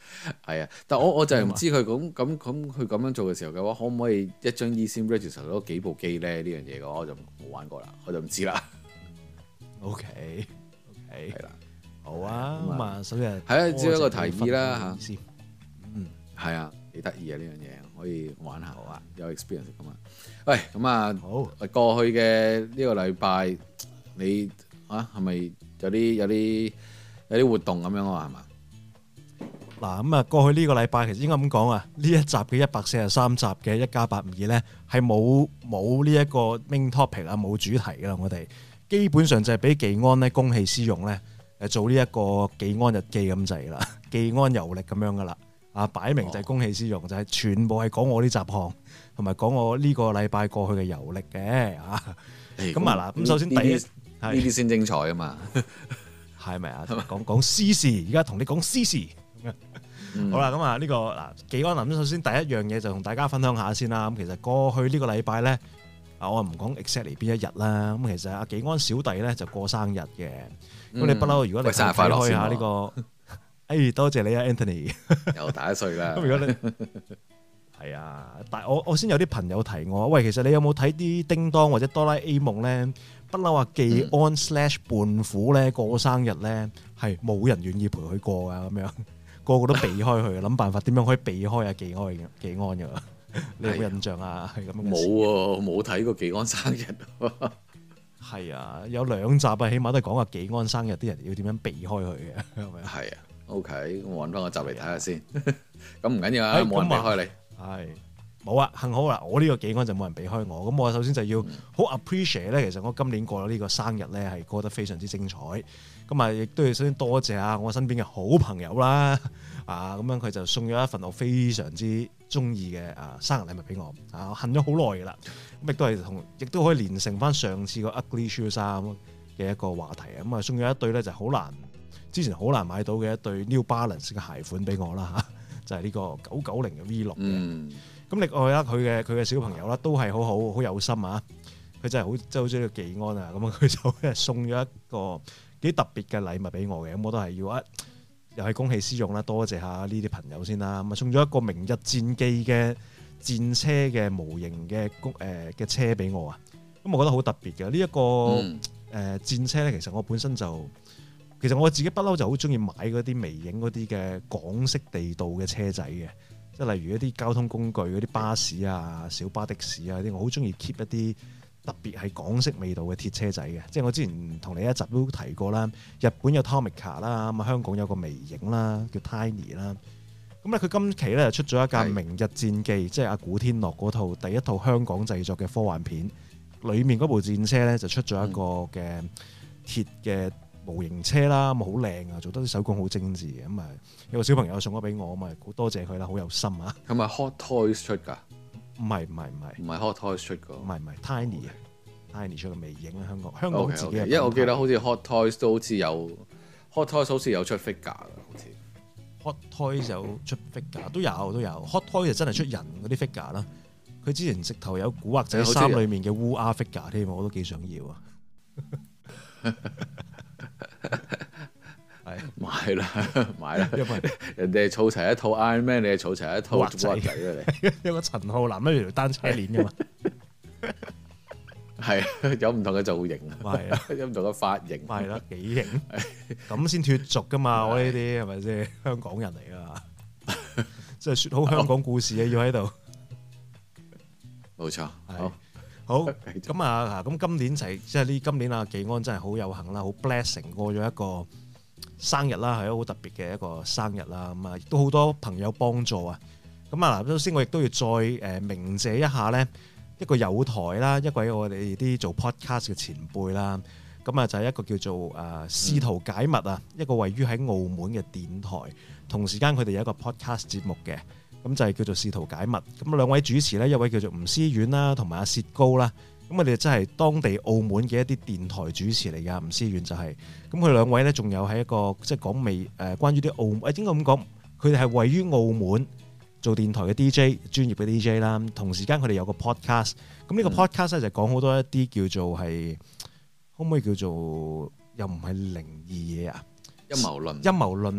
[SPEAKER 2] 係啊，但我我就係唔知佢咁咁咁佢咁樣做嘅時候嘅話，可唔可以一張 eSIM register 到幾部機咧？呢樣嘢嘅話，我就冇玩過啦，我就唔知啦。
[SPEAKER 3] OK OK
[SPEAKER 2] 係啦，
[SPEAKER 3] 好啊，咁啊，首先
[SPEAKER 2] 係啊，只係一個提議啦嚇。
[SPEAKER 3] 嗯，
[SPEAKER 2] 係啊，幾得意啊呢樣嘢，可以玩下好啊，有 experience 咁啊。喂，咁啊，好，過去嘅呢個禮拜你啊係咪有啲有啲有啲活動咁樣啊？係嘛？
[SPEAKER 3] 嗱，咁啊，過去呢個禮拜其實應該咁講啊，呢一集嘅一百四十三集嘅一加八五二咧，係冇冇呢一個 main topic 啊，冇主題噶啦，我哋基本上就係俾技安咧公器私用咧，誒做呢一個技安日記咁滯啦，技安遊歷咁樣噶啦，啊擺明就係公器私用，哦、就係全部係講我啲雜項，同埋講我呢個禮拜過去嘅遊歷嘅啊。咁啊嗱，咁首先第一呢
[SPEAKER 2] 啲先精彩啊嘛，
[SPEAKER 3] 係咪啊？講講私事，而家同你講私事。嗯、好啦，咁啊呢個嗱，技安林首先第一樣嘢就同大家分享下先啦。咁其實過去呢個禮拜咧，啊我唔講 exactly 邊一日啦。咁其實阿技安小弟咧就過生日嘅。咁、嗯、你不嬲，如果你睇開下呢、這個，哎多謝你啊 Anthony，
[SPEAKER 2] 又大一歲啦。
[SPEAKER 3] 咁如果你係啊，但我我先有啲朋友提我，喂，其實你有冇睇啲叮當或者哆啦 A 夢咧？不嬲話技安 slash 胖虎咧過生日咧，係冇人願意陪佢過噶咁樣。個個都避開佢，諗辦法點樣可以避開啊技安技安嘅，你有冇印象啊？係咁樣。冇
[SPEAKER 2] 喎，冇睇過技安生日。
[SPEAKER 3] 係啊，有兩集啊，起碼都係講下技安生日啲人要點樣避開佢嘅，係咪？
[SPEAKER 2] 係啊 ，OK，我揾翻個集嚟睇下先。咁唔緊要啊，冇人避開你。係
[SPEAKER 3] 冇啊，幸好啦，我呢個技安就冇人避開我。咁我首先就要好 appreciate 咧，其實我今年過咗呢個生日咧，係過得非常之精彩。咁啊，亦都要首先多謝下我身邊嘅好朋友啦，啊，咁樣佢就送咗一份我非常之中意嘅啊生日禮物俾我，啊，我恨咗好耐㗎啦，咁亦都係同，亦都可以連成翻上次個 Ugly Shoe 衫嘅一個話題啊，咁啊送咗一對咧就好難，之前好難買到嘅一對 New Balance 嘅鞋款俾我啦嚇，就係呢個九九零嘅 V 六嘅，咁、嗯、另外啦佢嘅佢嘅小朋友啦都係好好好有心啊，佢真係好即係好中意技安啊，咁啊佢就送咗一個幾特別嘅禮物俾我嘅，咁我都係要一又係公器私用啦，多謝下呢啲朋友先啦。咁啊送咗一個明日戰記嘅戰車嘅模型嘅公誒嘅車俾我啊，咁我覺得好特別嘅呢一個誒、嗯呃、戰車咧，其實我本身就其實我自己不嬲就好中意買嗰啲微型嗰啲嘅港式地道嘅車仔嘅，即係例如一啲交通工具嗰啲巴士啊、小巴的士啊啲，我好中意 keep 一啲特別係港式味道嘅鐵車仔嘅，即係我之前同你一集都提過啦。日本有 Tomica 啦，咁啊香港有個微型啦，叫 Tiny 啦。咁咧佢今期咧就出咗一架《明日戰記》，即係阿古天樂嗰套第一套香港製作嘅科幻片，裡面嗰部戰車咧就出咗一個嘅鐵嘅模型車啦，咁好靚啊，做得啲手工好精緻嘅。咁啊有個小朋友送咗俾我，咁啊好多謝佢啦，好有心啊。
[SPEAKER 2] 係咪 Hot Toys 出㗎？唔
[SPEAKER 3] 係唔係唔係，
[SPEAKER 2] 唔係 Hot Toys 出㗎，
[SPEAKER 3] 唔係唔係 Tiny 啊 ，Tiny 出嘅微型啊，香港香港自己嘅。
[SPEAKER 2] 因為我記得好似 Hot Toys 都好似有 Hot Toys 好似有出 figure 㗎，好似
[SPEAKER 3] Hot Toys 有出 figure 都有都有 Hot Toys 就真係出人嗰啲 figure 啦。佢之前直頭有古惑仔三裡面嘅烏鴉 figure 添，我都幾想要啊。係
[SPEAKER 2] 買啦買啦，因為人哋係儲齊一套 Iron Man，你係儲齊一套古惑仔啊！你
[SPEAKER 3] 有個陳浩南一條單車鏈噶嘛？
[SPEAKER 2] 係有唔同嘅造型，
[SPEAKER 3] 係啊，
[SPEAKER 2] 有唔同嘅髮型，
[SPEAKER 3] 係啦，幾型咁先脫俗噶嘛？我呢啲係咪先香港人嚟噶嘛？即係説好香港故事啊！要喺度，
[SPEAKER 2] 冇錯，好。
[SPEAKER 3] 好咁啊！咁今年就係即係呢今年啊，技安真係好有幸啦，好 blessing 過咗一個生日啦，係一個好特別嘅一個生日啦。咁啊，亦都好多朋友幫助啊。咁啊嗱，首先我亦都要再誒鳴謝一下呢一個友台啦，一位我哋啲做 podcast 嘅前輩啦。咁啊就係一個叫做誒試圖解密啊，一個位於喺澳門嘅電台，同時間佢哋有一個 podcast 節目嘅。咁就係叫做試圖解密，咁兩位主持呢，一位叫做吳思遠啦，同埋阿薛高啦，咁佢哋真係當地澳門嘅一啲電台主持嚟㗎。吳思遠就係、是，咁佢兩位呢，仲有喺一個即係講未誒關於啲澳門，應該咁講，佢哋係位於澳門做電台嘅 D J， 專業嘅 D J 啦。同時間佢哋有個 podcast，咁呢個 podcast 呢就講好多一啲叫做係，可唔可以叫做又唔係靈異嘢啊？
[SPEAKER 2] 陰謀論，
[SPEAKER 3] 陰謀論啊！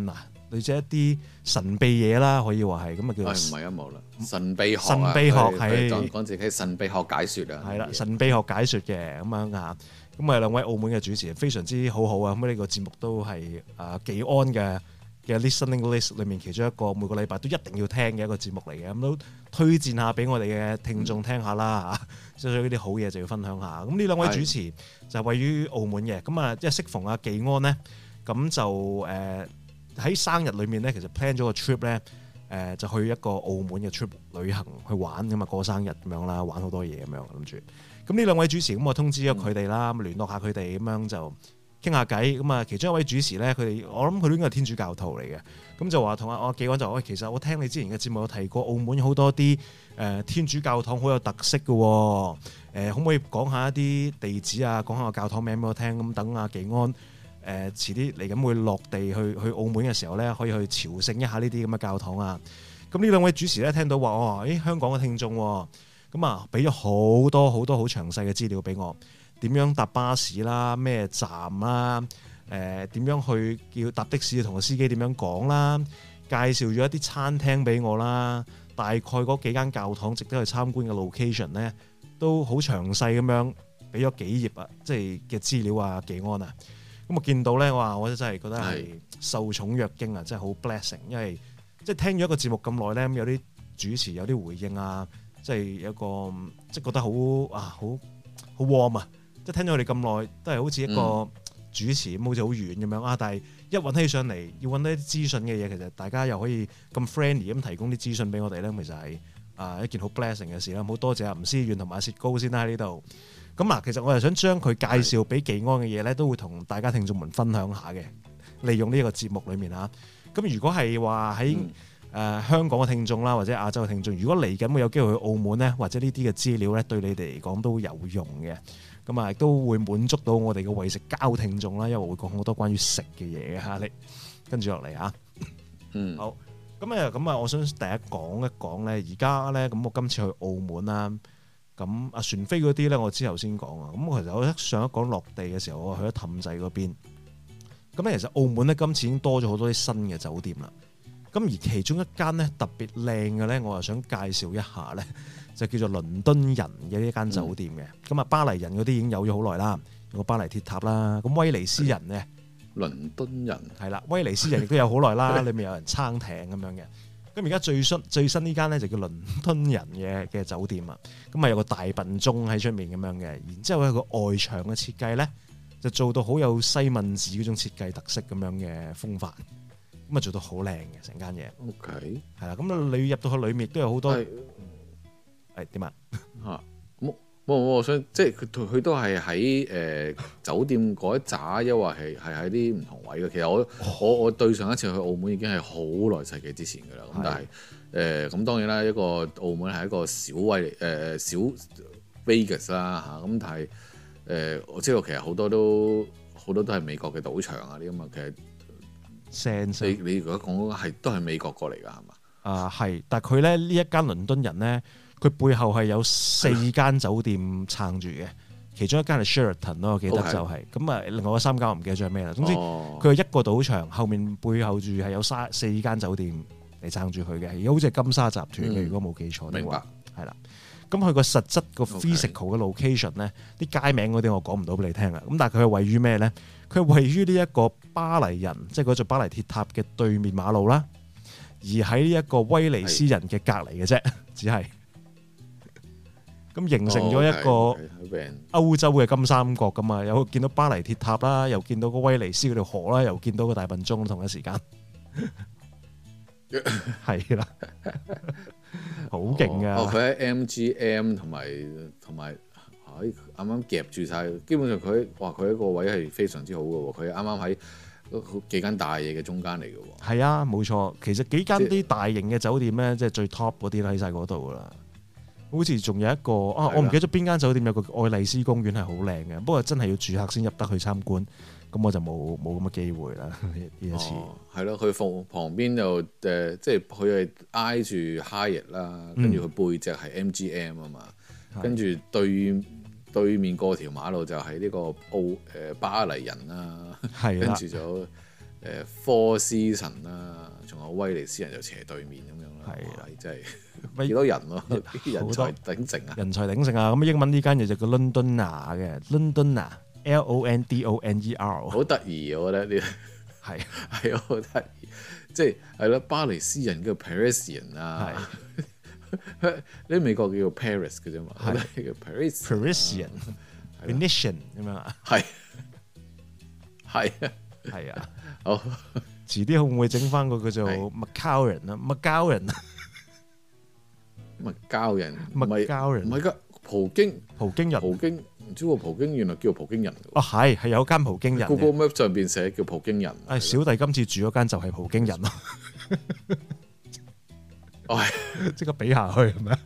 [SPEAKER 3] 類似一啲神秘嘢啦，可以話係咁啊叫。唔
[SPEAKER 2] 係啊冇啦，神秘學
[SPEAKER 3] 神秘學係
[SPEAKER 2] 講講自己神秘學解説啊。
[SPEAKER 3] 係啦，神秘學解説嘅咁樣啊。咁啊兩位澳門嘅主持人非常之好好啊。咁呢個節目都係啊技安嘅嘅 listening list 裏面其中一個每個禮拜都一定要聽嘅一個節目嚟嘅。咁都推薦下俾我哋嘅聽眾聽下啦嚇。所以呢啲好嘢就要分享下。咁呢兩位主持就位於澳門嘅。咁啊即係適逢阿技安呢，咁就誒。呃喺生日裏面咧，其實 plan 咗個 trip 咧，誒就去一個澳門嘅 trip 旅行去玩咁啊，過生日咁樣啦，玩好多嘢咁樣諗住。咁呢兩位主持咁我通知咗佢哋啦，咁聯絡下佢哋咁樣就傾下偈。咁啊，其中一位主持咧，佢哋我諗佢都應該係天主教徒嚟嘅。咁就話同阿阿技安就話：喂，其實我聽你之前嘅節目有提過，澳門好多啲誒天主教堂好有特色嘅喎。誒，可唔可以講下一啲地址啊？講下個教堂名俾我聽。咁等阿技安。誒、呃、遲啲嚟緊會落地去去澳門嘅時候咧，可以去朝聖一下呢啲咁嘅教堂啊！咁呢兩位主持咧聽到話哦，誒香港嘅聽眾咁啊，俾咗好多好多好詳細嘅資料俾我，點樣搭巴士啦，咩站啦，誒、呃、點樣去叫搭的士同個司機點樣講啦，介紹咗一啲餐廳俾我啦，大概嗰幾間教堂值得去參觀嘅 location 咧，都好詳細咁樣俾咗幾頁啊，即係嘅資料啊，技安啊！咁我見到咧，哇！我真係覺得係受寵若驚啊，真係好 blessing。因為即係聽咗一個節目咁耐咧，有啲主持有啲回應啊，即係有一個即係覺得好啊，好好 warm 啊！即係聽咗佢哋咁耐，都係好似一個主持咁，嗯、好似好遠咁樣啊。但係一揾起上嚟，要揾啲資訊嘅嘢，其實大家又可以咁 friendly 咁提供啲資訊俾我哋咧，其實係啊一件好 blessing 嘅事啦。好多謝阿吳思遠同埋阿薛高先啦喺呢度。咁啊，其實我又想將佢介紹俾技安嘅嘢咧，都會同大家聽眾們分享下嘅。利用呢個節目裏面嚇，咁如果係話喺誒香港嘅聽眾啦，或者亞洲嘅聽眾，如果嚟緊會有機會去澳門咧，或者呢啲嘅資料咧，對你哋嚟講都有用嘅。咁啊，亦都會滿足到我哋嘅為食交聽眾啦，因為會講好多關於食嘅嘢嘅嚇。你跟住落嚟嚇，嗯，好。咁啊，咁啊，我想第一講一講咧，而家咧，咁我今次去澳門啦。咁啊船飛嗰啲咧，我之後先講啊。咁其實我上一講落地嘅時候，我去咗氹仔嗰邊。咁咧其實澳門咧今次已經多咗好多啲新嘅酒店啦。咁而其中一間咧特別靚嘅咧，我又想介紹一下咧，就叫做倫敦人嘅呢間酒店嘅。咁啊、嗯、巴黎人嗰啲已經有咗好耐啦，有個巴黎鐵塔啦。咁威尼斯人咧，
[SPEAKER 2] 倫敦人
[SPEAKER 3] 係啦，威尼斯人亦都有好耐啦，裏面有人撐艇咁樣嘅。咁而家最新最新呢間咧就叫倫敦人嘅嘅酒店啊，咁啊有個大笨鐘喺出面咁樣嘅，然之後佢個外牆嘅設計咧就做到好有西敏寺嗰種設計特色咁樣嘅風範，咁啊做到好靚嘅成間嘢。OK，係啦，咁你入到去裏面都有好多係點啊？嚇，
[SPEAKER 2] 冇冇我想即係佢佢都係喺誒酒店嗰一紮，抑或係係喺啲唔同位嘅。其實我、哦、我我對上一次去澳門已經係好耐世紀之前㗎啦。咁但係誒咁當然啦，一個澳門係一個小威誒、呃、小 Vegas 啦嚇。咁但係誒、呃、我知道其實好多都好多都係美國嘅賭場啊啲咁啊。其實
[SPEAKER 3] Sense
[SPEAKER 2] 你你如果講係都係美國過嚟㗎係嘛？
[SPEAKER 3] 啊係，但係佢咧呢一間倫敦人咧。佢背後係有四間酒店撐住嘅，其中一間係 Sheraton 咯，我記得就係咁啊。另外嗰三間我唔記得咗係咩啦。總之佢係一個賭場，後面背後住係有三四間酒店嚟撐住佢嘅。而家好似係金沙集團嘅，嗯、如果冇記錯的話，係啦。咁佢個實質個 physical 嘅 location 咧，啲 Okay. 街名嗰啲我講唔到俾你聽啊。咁但係佢係位於咩咧？佢係位於呢一個巴黎人，即係嗰座巴黎鐵塔嘅對面馬路啦。而喺呢一個威尼斯人嘅隔離嘅啫，只係。咁形成咗一個歐洲嘅金三角咁啊，有見到巴黎鐵塔啦，又見到個威尼斯嗰條河啦，又見到個大笨鐘，同一時間係啦，好勁啊！
[SPEAKER 2] 哦，佢喺 M G M 同埋同埋喺啱啱夾住晒，基本上佢哇佢一個位係非常之好嘅喎，佢啱啱喺幾間大嘢嘅中間嚟嘅喎。係
[SPEAKER 3] 啊，冇錯，其實幾間啲大型嘅酒店咧，即係最 top 嗰啲喺晒嗰度噶啦。好似仲有一個啊，我唔記得咗邊間酒店有個愛麗絲公園係好靚嘅，不過真係要住客先入得去參觀，咁我就冇冇咁嘅機會啦呢一次。
[SPEAKER 2] 係咯、哦，佢旁旁邊就誒、呃，即係佢係挨住 Hyatt 啦，跟住佢背脊係 M G M 啊嘛，跟住對對面過條馬路就係呢個澳誒巴黎人啦，跟住就誒科斯神啦，仲有威尼斯人就斜對面咁樣啦。係啊，真係幾多人咯，人才鼎盛啊！
[SPEAKER 3] 人才鼎盛啊！咁英文呢間嘢就叫 Londoner 嘅 Londoner，L O N D O N E R。好
[SPEAKER 2] 得意我覺得呢係係好得意，即係係咯，巴黎斯人叫 Parisian 啊。呢美國叫做 Paris 嘅啫嘛，係叫 Parisian、Parisian、Venetian 咁樣啊，係係啊，係啊，好，遲啲會唔會整翻個叫做 Macau 人啊 ？Macau 人， 麥膠人，
[SPEAKER 3] 麥膠人，
[SPEAKER 2] 唔係噶，葡京，
[SPEAKER 3] 葡京人，
[SPEAKER 2] 葡京，唔知喎，葡京原來叫葡京人。
[SPEAKER 3] 哦，係係有間葡京人
[SPEAKER 2] Google Map 上邊寫叫葡京人。
[SPEAKER 3] 誒，小弟今次住嗰間就係葡京人咯。即刻比下去係咪啊？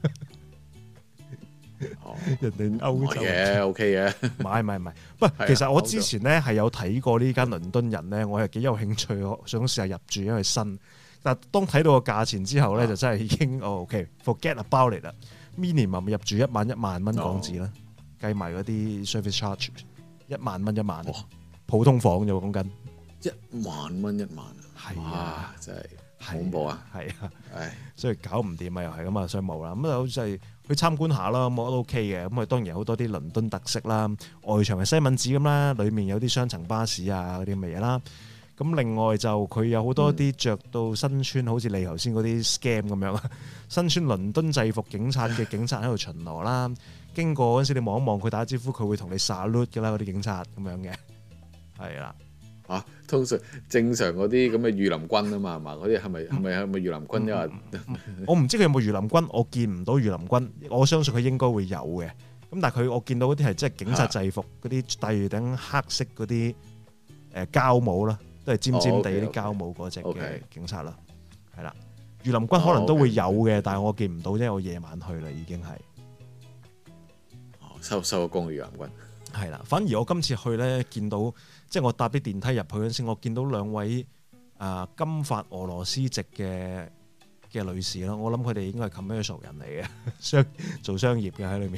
[SPEAKER 3] 人哋歐洲
[SPEAKER 2] 嘅 OK 嘅，
[SPEAKER 3] 唔係唔係唔係。不過其實我之前咧係有睇過呢間倫敦人咧，我係幾有興趣，我想試下入住，因為新。但係當睇到個價錢之後咧，就真係已經哦 OK，forget about it 啦。minimum 入住一晚一萬蚊港紙啦，計埋嗰啲 service charge， 一萬蚊一晚，普通房就講緊
[SPEAKER 2] 一萬蚊一晚啊！係啊，真係。恐怖啊，係啊，唉，
[SPEAKER 3] 所以搞唔掂啊，又係咁啊，所以冇啦。咁就好似係去參觀下啦，咁我都 OK 嘅。咁啊，當然有好多啲倫敦特色啦，外牆係西敏寺咁啦，裡面有啲雙層巴士啊嗰啲咁嘅嘢啦。咁另外就佢有好多啲着到身穿、嗯、好似你頭先嗰啲 scam 咁樣啊，身穿倫敦制服警察嘅警察喺度巡邏啦。經過嗰陣時，你望一望佢打招呼，佢會同你 salute 㗎啦，嗰啲警察咁樣嘅，係啦。
[SPEAKER 2] 啊，通常正常嗰啲咁嘅御林軍啊嘛，係嘛？嗰啲係咪係咪係咪御林軍？因為
[SPEAKER 3] 我唔知佢有冇御林軍，我見唔到御林軍，我相信佢應該會有嘅。咁但係佢我見到嗰啲係即係警察制服，嗰啲戴住頂黑色嗰啲誒膠帽啦，都係尖尖地啲膠帽嗰隻嘅警察啦，係啦。御林軍可能都會有嘅，但係我見唔到啫，我夜晚去啦已經係。
[SPEAKER 2] 哦，收收咗工嘅御林軍。
[SPEAKER 3] 係啦，反而我今次去咧，見到即係我搭啲電梯入去嗰陣時，我見到兩位啊、呃、金髮俄羅斯籍嘅嘅女士啦，我諗佢哋應該係 commercial 人嚟嘅，商做商業嘅喺裏面。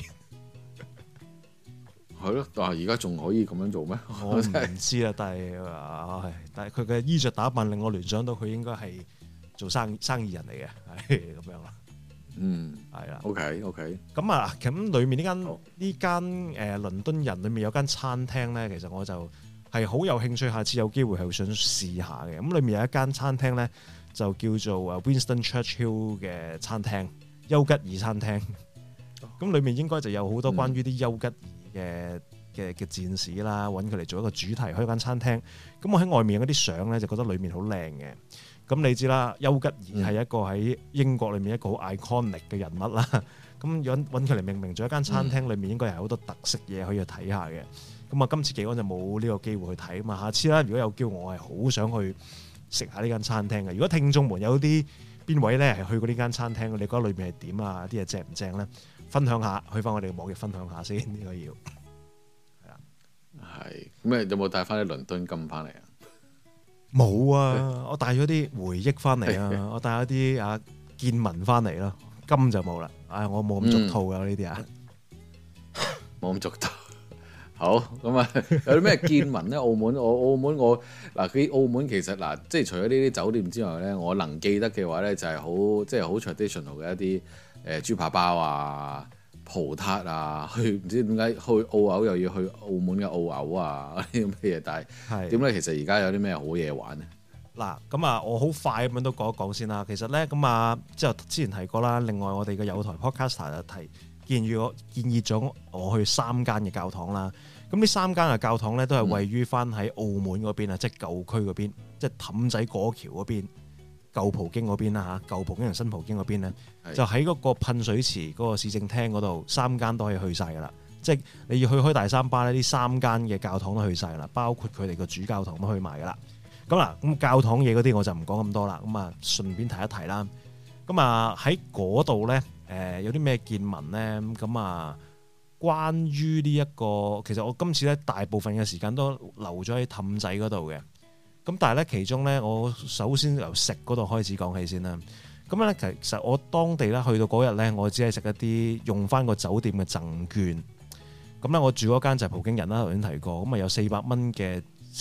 [SPEAKER 3] 係咯，但係而家仲可以咁樣做咩？我唔知啦，但係啊，但係佢嘅衣着打扮令我聯想到佢應該係做生意生意人嚟嘅，係咁樣啦。嗯，係啦。
[SPEAKER 2] OK OK。
[SPEAKER 3] 咁啊，咁裏面呢間呢間誒倫敦人裏面有間餐廳咧，其實我就係好有興趣，下次有機會係想試下嘅。咁裏面有一間餐廳咧，就叫做啊 Winston Churchill 嘅餐廳，丘吉爾餐廳。咁裏面應該就有好多關於啲丘吉爾嘅嘅嘅戰士啦，揾佢嚟做一個主題開間餐廳。咁我喺外面嗰啲相咧，就覺得裏面好靚嘅。咁你知啦，丘吉爾係一個喺英國裏面一個好 iconic 嘅人物啦。咁揾揾佢嚟命名咗一間餐廳，裏面應該係好多特色嘢可以去睇下嘅。咁啊，今次幾安就冇呢個機會去睇啊嘛。下次啦，如果有機會，我係好想去食下呢間餐廳嘅。如果聽眾們有啲邊位咧係去過呢間餐廳，你覺得裏面係點啊？啲嘢正唔正咧？分享下，去翻我哋嘅網頁分享下先。呢個要係啊，
[SPEAKER 2] 係咁誒，有冇帶翻啲倫敦金翻嚟啊？
[SPEAKER 3] 冇啊！我帶咗啲回憶翻嚟啊！我帶咗啲啊見聞翻嚟咯，金就冇啦。唉，我冇咁俗套噶呢啲啊，
[SPEAKER 2] 冇咁俗套。好咁啊，有啲咩見聞咧？澳門我澳門我嗱，佢澳門其實嗱，即係除咗呢啲酒店之外咧，我能記得嘅話咧，就係好即係好 traditional 嘅一啲誒豬扒包啊、葡撻啊，去唔知點解去澳牛又要去澳門嘅澳牛啊嗰啲咁嘅嘢，但係點咧？其實而家有啲咩好嘢玩咧？
[SPEAKER 3] 嗱，咁啊，我好快咁樣都講一講先啦。其實咧，咁啊，即係之前提過啦。另外，我哋嘅友台 podcaster 就提建議我建議咗我去三間嘅教堂啦。咁呢三間嘅教堂咧，都係位於翻喺澳門嗰邊啊，即係舊區嗰邊，即係氹仔過橋嗰邊。舊葡京嗰邊啦嚇，舊葡京同新葡京嗰邊咧，就喺嗰個噴水池嗰個市政廳嗰度，三間都可以去晒噶啦。即係你要去開大三巴咧，呢三間嘅教堂都去晒啦，包括佢哋個主教堂都去埋噶啦。咁嗱，咁教堂嘢嗰啲我就唔講咁多啦。咁啊，順便提一提啦。咁啊喺嗰度咧，誒有啲咩見聞咧？咁啊，關於呢一個，其實我今次咧大部分嘅時間都留咗喺氹仔嗰度嘅。咁但係咧，其中咧，我首先由食嗰度開始講起先啦。咁咧，其實我當地咧去到嗰日咧，我只係食一啲用翻個酒店嘅贈券。咁咧，我住嗰間就係葡京人啦，頭先提過。咁啊，有四百蚊嘅食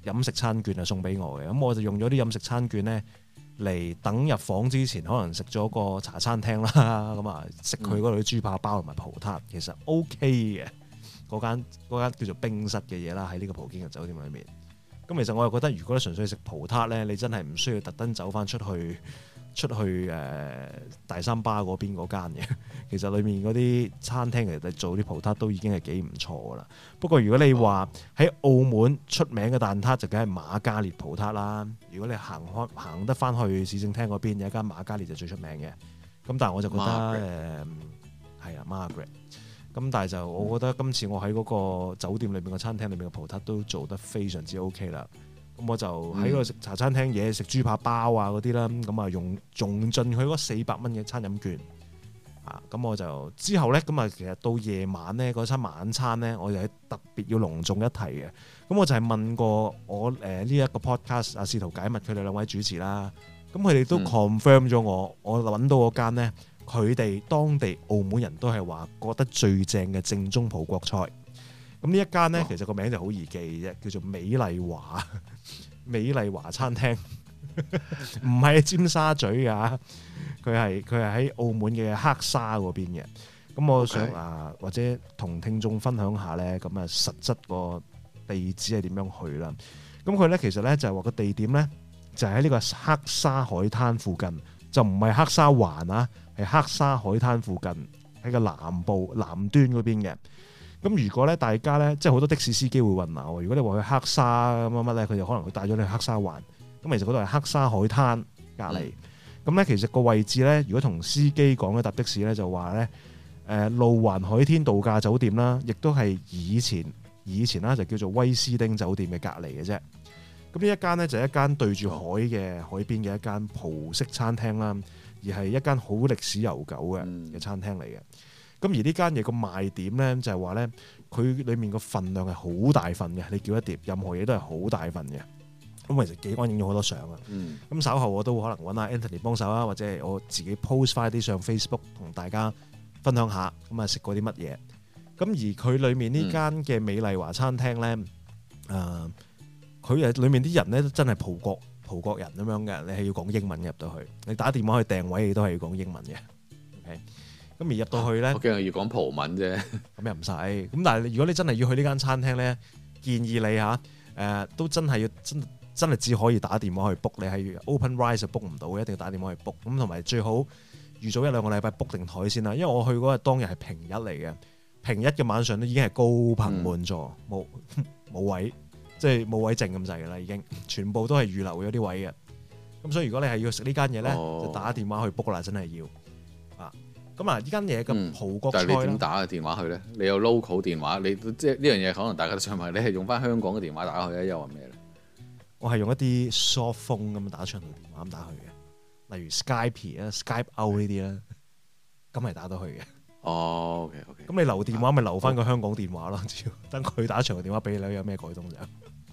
[SPEAKER 3] 飲食餐券啊送俾我嘅，咁我就用咗啲飲食餐券咧嚟等入房之前，可能食咗個茶餐廳啦，咁啊食佢嗰度啲豬扒包同埋葡撻，其實 OK 嘅。嗰間嗰間叫做冰室嘅嘢啦，喺呢個葡京嘅酒店裏面。咁其實我又覺得，如果純粹食葡撻咧，你真係唔需要特登走翻出去出去誒、呃、大三巴嗰邊嗰間嘅。其實裏面嗰啲餐廳其實做啲葡撻都已經係幾唔錯噶啦。不過如果你話喺澳門出名嘅蛋撻，就梗係瑪嘉烈葡撻啦。如果你行開行得翻去市政廳嗰邊，有一間瑪嘉烈就最出名嘅。咁但係我就覺得誒係啊 Margaret。咁但係就我覺得今次我喺嗰個酒店裏面嘅餐廳裏面嘅葡撻都做得非常之 OK 啦。咁我就喺個食茶餐廳嘢食豬扒包啊嗰啲啦，咁啊用用盡佢嗰四百蚊嘅餐飲券啊。咁我就之後咧，咁啊其實到夜晚咧嗰餐晚餐咧，我就係特別要隆重一提嘅。咁我就係問過我誒呢一個 podcast 啊，試圖解密佢哋兩位主持啦。咁佢哋都 confirm 咗我，我揾到嗰間咧。佢哋當地澳門人都係話覺得最正嘅正宗葡國菜。咁呢一間呢，其實個名就好易記啫，叫做美麗華美麗華餐廳，唔係尖沙咀㗎，佢係佢係喺澳門嘅黑沙嗰邊嘅。咁我想 Okay. 啊，或者同聽眾分享下呢，咁啊實質個地址係點樣去啦？咁佢呢，其實呢，就係話個地點呢，就喺呢個黑沙海灘附近，就唔係黑沙環啊。係黑沙海灘附近，喺個南部南端嗰邊嘅。咁如果咧大家咧，即係好多的士司機會混淆。如果你話去黑沙乜乜咧，佢就可能會帶咗你去黑沙環。咁其實嗰度係黑沙海灘隔離。咁咧、嗯、其實個位置咧，如果同司機講咧搭的士咧，就話咧誒路環海天度假酒店啦，亦都係以前以前啦就叫做威斯汀酒店嘅隔離嘅啫。咁呢一間咧就係一間對住海嘅海邊嘅一間葡式餐廳啦。而係一間好歷史悠久嘅嘅餐廳嚟嘅，咁、嗯、而呢間嘢個賣點咧就係話咧，佢裡面個份量係好大份嘅，你叫一碟任何嘢都係好大份嘅。咁其實幾安影咗好多相啊。咁、嗯、稍後我都可能揾阿 Anthony 幫手啊，或者係我自己 post 翻啲上 Facebook 同大家分享下，咁啊食過啲乜嘢。咁而佢裡面呢間嘅美麗華餐廳咧，誒、嗯，佢誒裡面啲人咧真係葡國。葡國人咁樣嘅，你係要講英文入到去。你打電話去訂位，你都係要講英文嘅。OK，咁而入到去咧，
[SPEAKER 2] 我驚係要講葡文啫。
[SPEAKER 3] 咁又唔使。咁但係如果你真係要去呢間餐廳咧，建議你嚇誒、呃、都真係要真真係只可以打電話去 book。你係 OpenRice 就 book 唔到嘅，一定要打電話去 book。咁同埋最好預早一兩個禮拜 book 定台先啦。因為我去嗰日當日係平日嚟嘅，平日嘅晚上都已經係高朋滿座，冇冇、嗯、位。即係冇位剩咁滯㗎啦，已經全部都係預留咗啲位嘅。咁所以如果你係要食呢間嘢咧，哦、就打電話去 book 啦，真係要啊。咁啊，呢間嘢嘅葡國菜、嗯、但係你點打嘅電話去咧？你有 local 電話，你即係呢樣嘢可能大家都想問，你係用翻香港嘅電話打去咧，又話咩咧？我係用一啲 soft phone 咁打長途電話咁打去嘅，例如 Skype 啊、Skype Out 呢啲啦，咁係打到去嘅。哦 ，OK OK。咁你留電話咪留翻個香港電話咯，只要等佢打長途電話俾你，有咩改動就。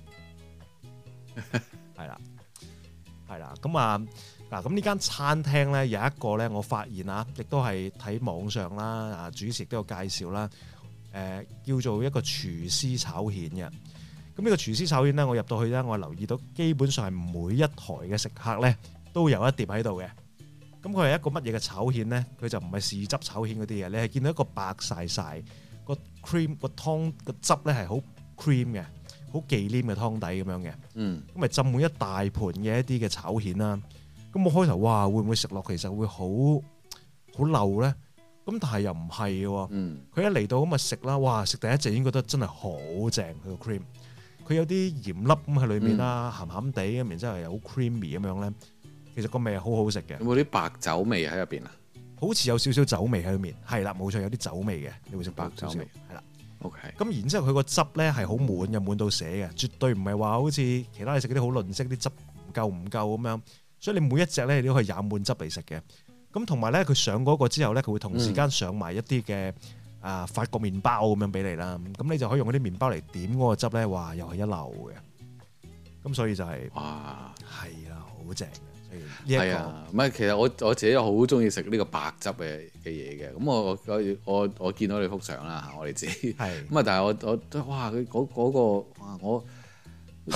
[SPEAKER 3] 係啦，係啦，咁啊嗱，咁呢間餐廳咧有一個咧，我發現啊，亦都係睇網上啦，啊主持亦都有介紹啦，誒、呃、叫做一個廚師炒蜆嘅。咁呢個廚師炒蜆咧，我入到去咧，我留意到基本上係每一台嘅食客咧都有一碟喺度嘅。咁佢係一個乜嘢嘅炒蜆咧？佢就唔係豉汁炒蜆嗰啲嘢，你係見到一個白曬曬個 cream 個湯個汁咧係好 cream 嘅。好忌廉嘅湯底咁樣嘅，嗯，咁咪浸滿一大盤嘅一啲嘅炒蜆啦。咁我開頭哇，會唔會食落其實會好好漏咧？咁但係又唔係嘅，嗯，佢一嚟到咁啊食啦，哇！食第一隻已經覺得真係好正，佢個 cream，佢有啲鹽粒咁喺裏面啦，鹹鹹地咁，然之後又好 creamy 咁樣咧。其實個味係好好食嘅。有冇啲白酒味喺入邊啊？好似有少少酒味喺裏面，係啦，冇錯，有啲酒味嘅，你會食白酒味，係啦。OK，咁然之後佢個汁咧係好滿嘅，滿到瀉嘅，絕對唔係話好似其他你食嗰啲好吝嗇，啲汁唔夠唔夠咁樣，所以你每一隻咧你都可以飲滿汁嚟食嘅。咁同埋咧佢上嗰個之後咧，佢會同時間上埋一啲嘅啊法國麵包咁樣俾你啦。咁你就可以用嗰啲麵包嚟點嗰個汁咧，哇又係一流嘅。咁所以就係、是、哇係啊，好正。係啊，唔係其實我我自己好中意食呢個白汁嘅嘅嘢嘅，咁我我我我見到你幅相啦，我哋自己係咁啊，但係我我哇佢嗰嗰個哇我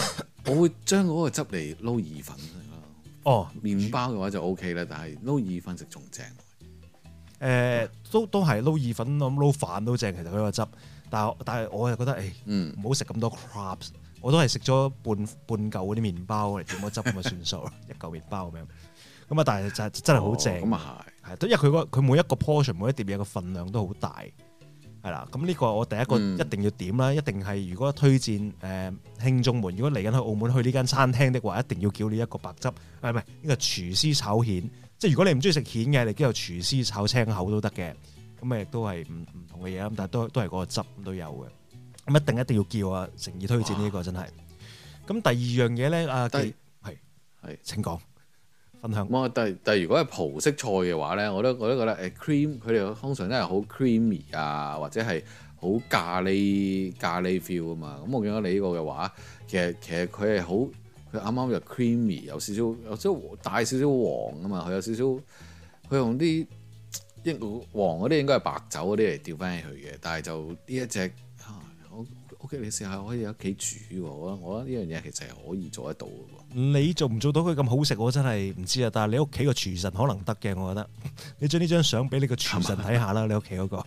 [SPEAKER 2] 我會將嗰個汁嚟撈意粉食咯。
[SPEAKER 3] 哦，
[SPEAKER 2] 麵包嘅話就 O K 啦，但係撈意粉食仲正。誒、
[SPEAKER 3] 呃，都都係撈意粉，咁撈飯都正。其實佢個汁，但係但係我又覺得誒，唔好食咁多 crabs。我都係食咗半半嚿嗰啲麵包嚟點個汁咁就算數啦，一嚿麵包咁樣。咁啊，但係就真係好正。咁啊係，係，因為佢佢每一個 portion 每一碟嘢嘅份量都好大。係啦，咁呢個我第一個一定要點啦，嗯、一定係如果推薦誒、呃、聽眾們，如果嚟緊去澳門去呢間餐廳的話，一定要叫呢一個白汁，係唔係呢個廚師炒蜆？即係如果你唔中意食蜆嘅，你都有廚師炒青口都得嘅，咁啊亦都係唔唔同嘅嘢，咁但係都都係嗰個汁都有嘅，咁一定一定要叫啊！誠意推薦呢、這個真係。咁第二樣嘢咧，啊係係請講。分享。
[SPEAKER 2] 但係但係如果係葡式菜嘅話咧，我都我都覺得誒 cream 佢哋通常都係好 creamy 啊，或者係好咖喱咖喱 feel 啊嘛。咁我見到你呢個嘅話，其實其實佢係好佢啱啱又 creamy，有少少有少少帶少少黃啊嘛。佢有少少佢用啲應黃嗰啲應該係白酒嗰啲嚟調翻起去嘅，但係就呢一隻啊，我 OK 你試下可以喺屋企煮喎。我我覺得呢樣嘢其實係可以做得到嘅喎。
[SPEAKER 3] 你做唔做到佢咁好食，我真係唔知啊！但係你屋企個廚神可能得嘅，我覺得。你將呢張相俾你個廚神睇下啦，你屋企嗰個。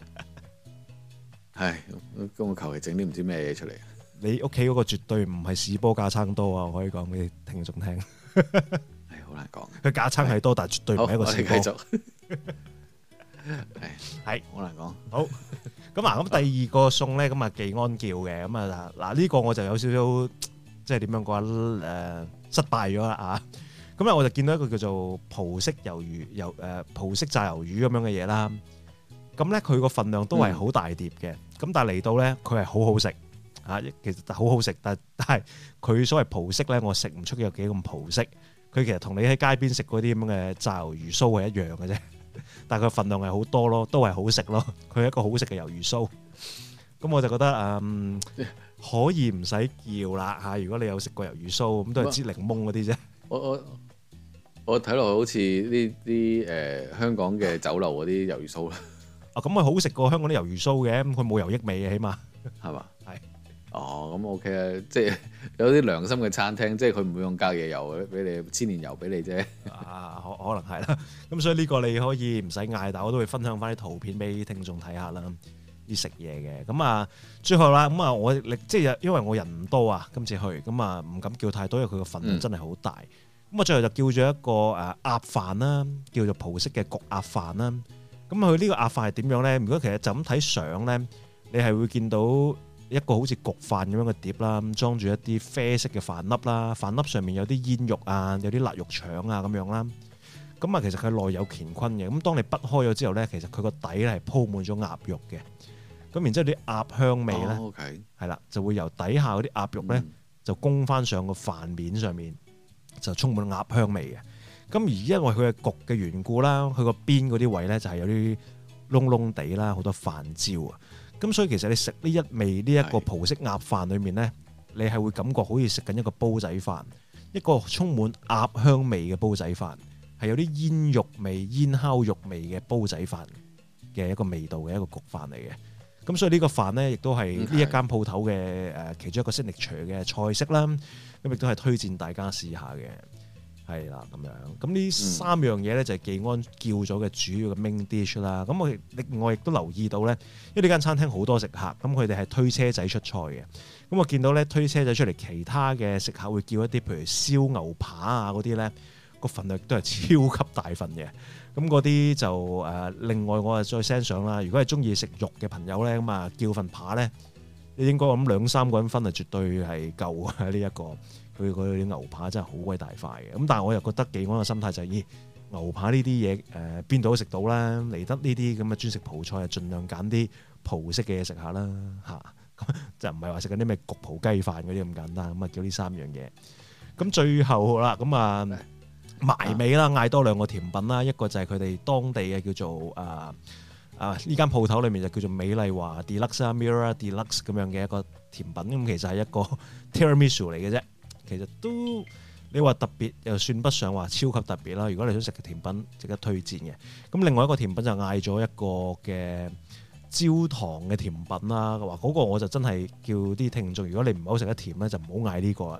[SPEAKER 2] 係，咁我求其整啲唔知咩嘢出嚟。
[SPEAKER 3] 你屋企嗰個絕對唔係士波架撐多啊！我可以講俾你聽眾聽。
[SPEAKER 2] 係好難講。佢
[SPEAKER 3] 架撐係多，但係絕對唔係一個士波。
[SPEAKER 2] 我哋繼續。係係好難講。
[SPEAKER 3] 好。咁啊，咁第二個餸咧，咁啊技安叫嘅，咁啊嗱呢個我就有少少。即係點樣講誒、呃、失敗咗啦啊！咁咧我就見到一個叫做葡式魷魚、魷誒葡式炸魷魚咁樣嘅嘢啦。咁咧佢個份量都係好大碟嘅。咁、嗯、但係嚟到咧佢係好好食啊！其實好好食，但係但係佢所謂葡式咧，我食唔出有幾咁葡式。佢其實同你喺街邊食嗰啲咁嘅炸魷魚鬚係一樣嘅啫。但係佢份量係好多咯，都係好食咯。佢係一個好食嘅魷魚鬚。咁我就覺得嗯。可以唔使叫啦嚇！如果你有食過魷魚鬚，咁都係支檸檬嗰啲啫。
[SPEAKER 2] 我我我睇落去好似呢啲誒香港嘅酒樓嗰啲魷魚鬚啦。
[SPEAKER 3] 啊，咁咪好食過香港啲魷魚鬚嘅，咁佢冇油益味嘅，起碼
[SPEAKER 2] 係嘛？係
[SPEAKER 3] 是。
[SPEAKER 2] 哦，咁 OK 啊，即係有啲良心嘅餐廳，即係佢唔會用隔夜油俾你，千年油俾你啫。
[SPEAKER 3] 啊，可可能係啦。咁所以呢個你可以唔使嗌，但我都會分享翻啲圖片俾聽眾睇下啦。啲食嘢嘅咁啊，最後啦咁啊，我即係因為我人唔多啊，今次去咁啊，唔敢叫太多，因為佢個份量真係好大。咁我、嗯、最後就叫咗一個誒鴨飯啦，叫做葡式嘅焗鴨飯啦。咁佢呢個鴨飯係點樣咧？如果其實就咁睇相咧，你係會見到一個好似焗飯咁樣嘅碟啦，裝住一啲啡色嘅飯粒啦，飯粒上面有啲煙肉啊，有啲臘肉腸啊咁樣啦。咁啊，其實佢內有乾坤嘅。咁當你剝開咗之後咧，其實佢個底咧係鋪滿咗鴨肉嘅。咁然之後啲鴨香味咧，係啦、oh, okay. 就會由底下嗰啲鴨肉咧、嗯、就供翻上個飯面上面，就充滿鴨香味嘅。咁而因為佢係焗嘅緣故啦，佢個邊嗰啲位咧就係有啲燶燶地啦，好多飯焦啊。咁所以其實你食呢一味呢一個葡式鴨飯裏面咧，你係會感覺好似食緊一個煲仔飯，一個充滿鴨香味嘅煲仔飯，係有啲煙肉味、煙烤肉味嘅煲仔飯嘅一個味道嘅一個焗飯嚟嘅。咁所以呢個飯咧，亦都係呢一間鋪頭嘅誒其中一個 signature 嘅菜式啦。咁亦都係推薦大家試下嘅，係啦咁樣。咁呢三樣嘢咧就係技安叫咗嘅主要嘅 main dish 啦。咁我另外亦都留意到咧，因為呢間餐廳好多食客，咁佢哋係推車仔出菜嘅。咁我見到咧推車仔出嚟，其他嘅食客會叫一啲譬如燒牛扒啊嗰啲咧，個份量都係超級大份嘅。咁嗰啲就誒、呃，另外我啊再 send 上啦。如果係中意食肉嘅朋友咧，咁啊叫份扒咧，你應該咁兩三個人分啊，絕對係夠啊！呢、這、一個佢嗰啲牛扒真係好鬼大塊嘅。咁但係我又覺得技安嘅心態就係、是，咦牛扒呢啲嘢誒邊度都食到啦，嚟得呢啲咁嘅專食葡菜啊，盡量揀啲葡式嘅嘢食下啦嚇。咁就唔係話食緊啲咩焗葡雞飯嗰啲咁簡單。咁啊叫呢三樣嘢。咁最後啦，咁啊〜埋尾啦，嗌多兩個甜品啦，一個就係佢哋當地嘅叫做啊啊呢間鋪頭裏面就叫做美麗華 Deluxe 啊 Mirror Deluxe 咁樣嘅一個甜品，咁其實係一個 Tiramisu 嚟嘅啫，其實都你話特別又算不上話超級特別啦。如果你想食嘅甜品，值得推薦嘅。咁另外一個甜品就嗌咗一個嘅焦糖嘅甜品啦，話嗰個我就真係叫啲聽眾，如果你唔好食得甜咧，就唔好嗌呢個。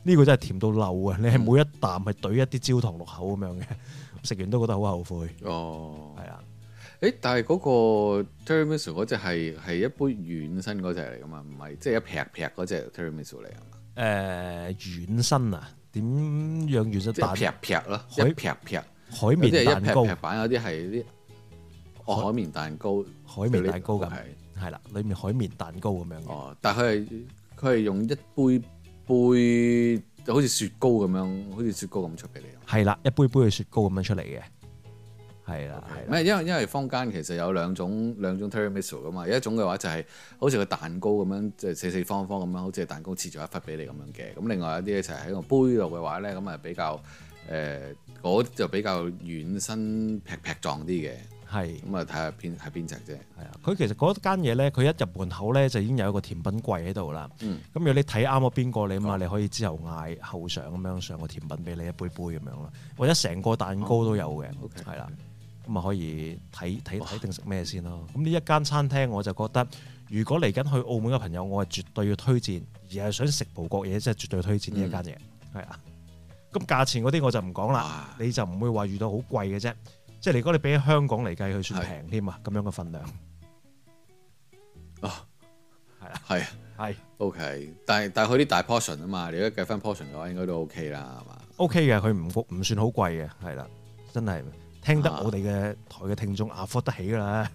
[SPEAKER 3] 呢個真係甜到漏啊！你係每一啖係懟一啲焦糖落口咁樣嘅，食完都覺得好後悔。
[SPEAKER 2] 哦，
[SPEAKER 3] 係啊。
[SPEAKER 2] 誒，但係嗰個 tiramisu 嗰隻係係一杯軟身嗰隻嚟噶嘛？唔係即係一劈劈嗰隻 tiramisu 嚟啊嘛？
[SPEAKER 3] 誒軟身啊？點樣軟身？
[SPEAKER 2] 即係劈劈咯，一劈劈
[SPEAKER 3] 海綿蛋糕。
[SPEAKER 2] 一劈劈版有啲係啲哦海綿蛋糕，
[SPEAKER 3] 海綿蛋糕咁係啦，裡面海綿蛋糕咁樣嘅。
[SPEAKER 2] 哦，但係佢係佢係用一杯杯就好似雪糕咁樣，好似雪糕咁出俾你。
[SPEAKER 3] 係啦，一杯杯嘅雪糕咁樣出嚟嘅。係啦，係。
[SPEAKER 2] 咩？因為因為坊間其實有兩種兩種 tiramisu 噶嘛，有一種嘅話就係好似個蛋糕咁樣，即係四四方方咁樣，好似蛋糕切咗一忽俾你咁樣嘅。咁另外一啲咧就係喺個杯度嘅話咧，咁啊比較誒嗰啲就比較軟身劈劈狀啲嘅。係。咁啊睇下邊係邊隻啫。係啊，佢其實嗰間嘢咧，佢一入門口咧就已經有一個甜品櫃喺度啦。嗯。咁如果你睇啱咗邊個你嘛，你可以之後嗌後上咁樣上個甜品俾你一杯杯咁樣咯，或者成個蛋糕都有嘅。OK。係啦。咁啊可以睇睇睇定食咩先咯。咁呢一間餐廳我就覺得，如果嚟緊去澳門嘅朋友，我係絕對要推薦，而係想食葡國嘢，即係絕對推薦呢一間嘢。係啊、嗯。咁價錢嗰啲我就唔講啦，哇你就唔會話遇到好貴嘅啫。即係如果你比起香港嚟計，佢算平添啊，咁樣嘅份量。哦，係啊，係係 OK，但係但係佢啲大 portion 啊嘛，你如果計翻 portion 嘅話，應該都 OK 啦，係嘛
[SPEAKER 3] ？OK 嘅，佢唔唔算好貴嘅，係啦，真係。聽得我哋嘅台嘅聽眾 afford 得起㗎啦，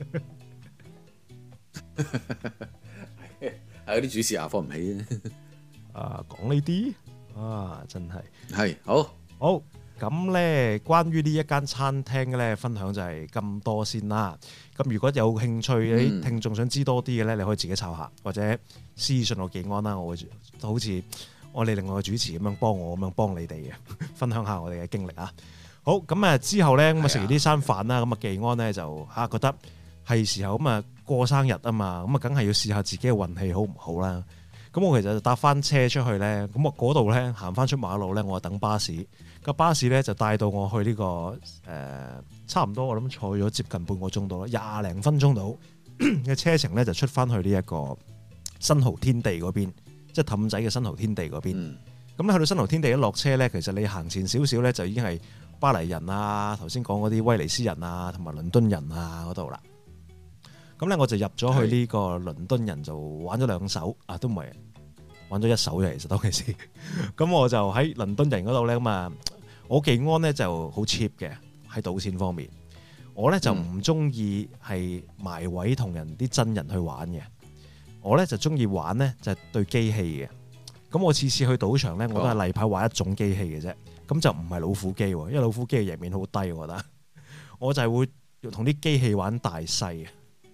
[SPEAKER 2] 係有啲主持 afford 唔起
[SPEAKER 3] 啊！講呢啲啊，真係
[SPEAKER 2] 係好
[SPEAKER 3] 好咁咧。關於呢一間餐廳咧，分享就係咁多先啦。咁如果有興趣啲、嗯、聽眾想知多啲嘅咧，你可以自己抄下，或者私信我技安啦。我會好似我哋另外嘅主持咁樣幫我咁樣幫你哋嘅，分享下我哋嘅經歷啊。好咁啊！之後咧咁啊食完呢餐飯啦，咁啊技安咧就嚇覺得係時候咁啊過生日啊嘛，咁啊梗係要試下自己嘅運氣好唔好啦。咁我其實就搭翻車出去咧，咁我嗰度咧行翻出馬路咧，我等巴士。個巴士咧就帶到我去呢、呢個誒、呃、差唔多，我諗坐咗接近半個鐘到啦，廿零分鐘到嘅車程咧就出翻去呢一個新濠天地嗰邊，即係氹仔嘅新濠天地嗰邊。咁咧、嗯、去到新濠天地一落車咧，其實你行前少少咧就已經係巴黎人啊，頭先講嗰啲威尼斯人啊，同埋倫敦人啊嗰度啦。咁咧我就入咗去呢個倫敦人，就玩咗兩手啊，都唔係玩咗一手嘅，其實當其時。咁我就喺倫敦人嗰度咧，咁啊，我技安咧就好 cheap 嘅喺賭錢方面。我咧就唔中意係埋位同人啲真人去玩嘅，我咧就中意玩咧就係對機器嘅。咁我次次去賭場咧，我都係例牌玩一種機器嘅啫。咁就唔係老虎機喎，因為老虎機嘅贏面好低，我覺得。我就係會同啲機器玩大細嘅，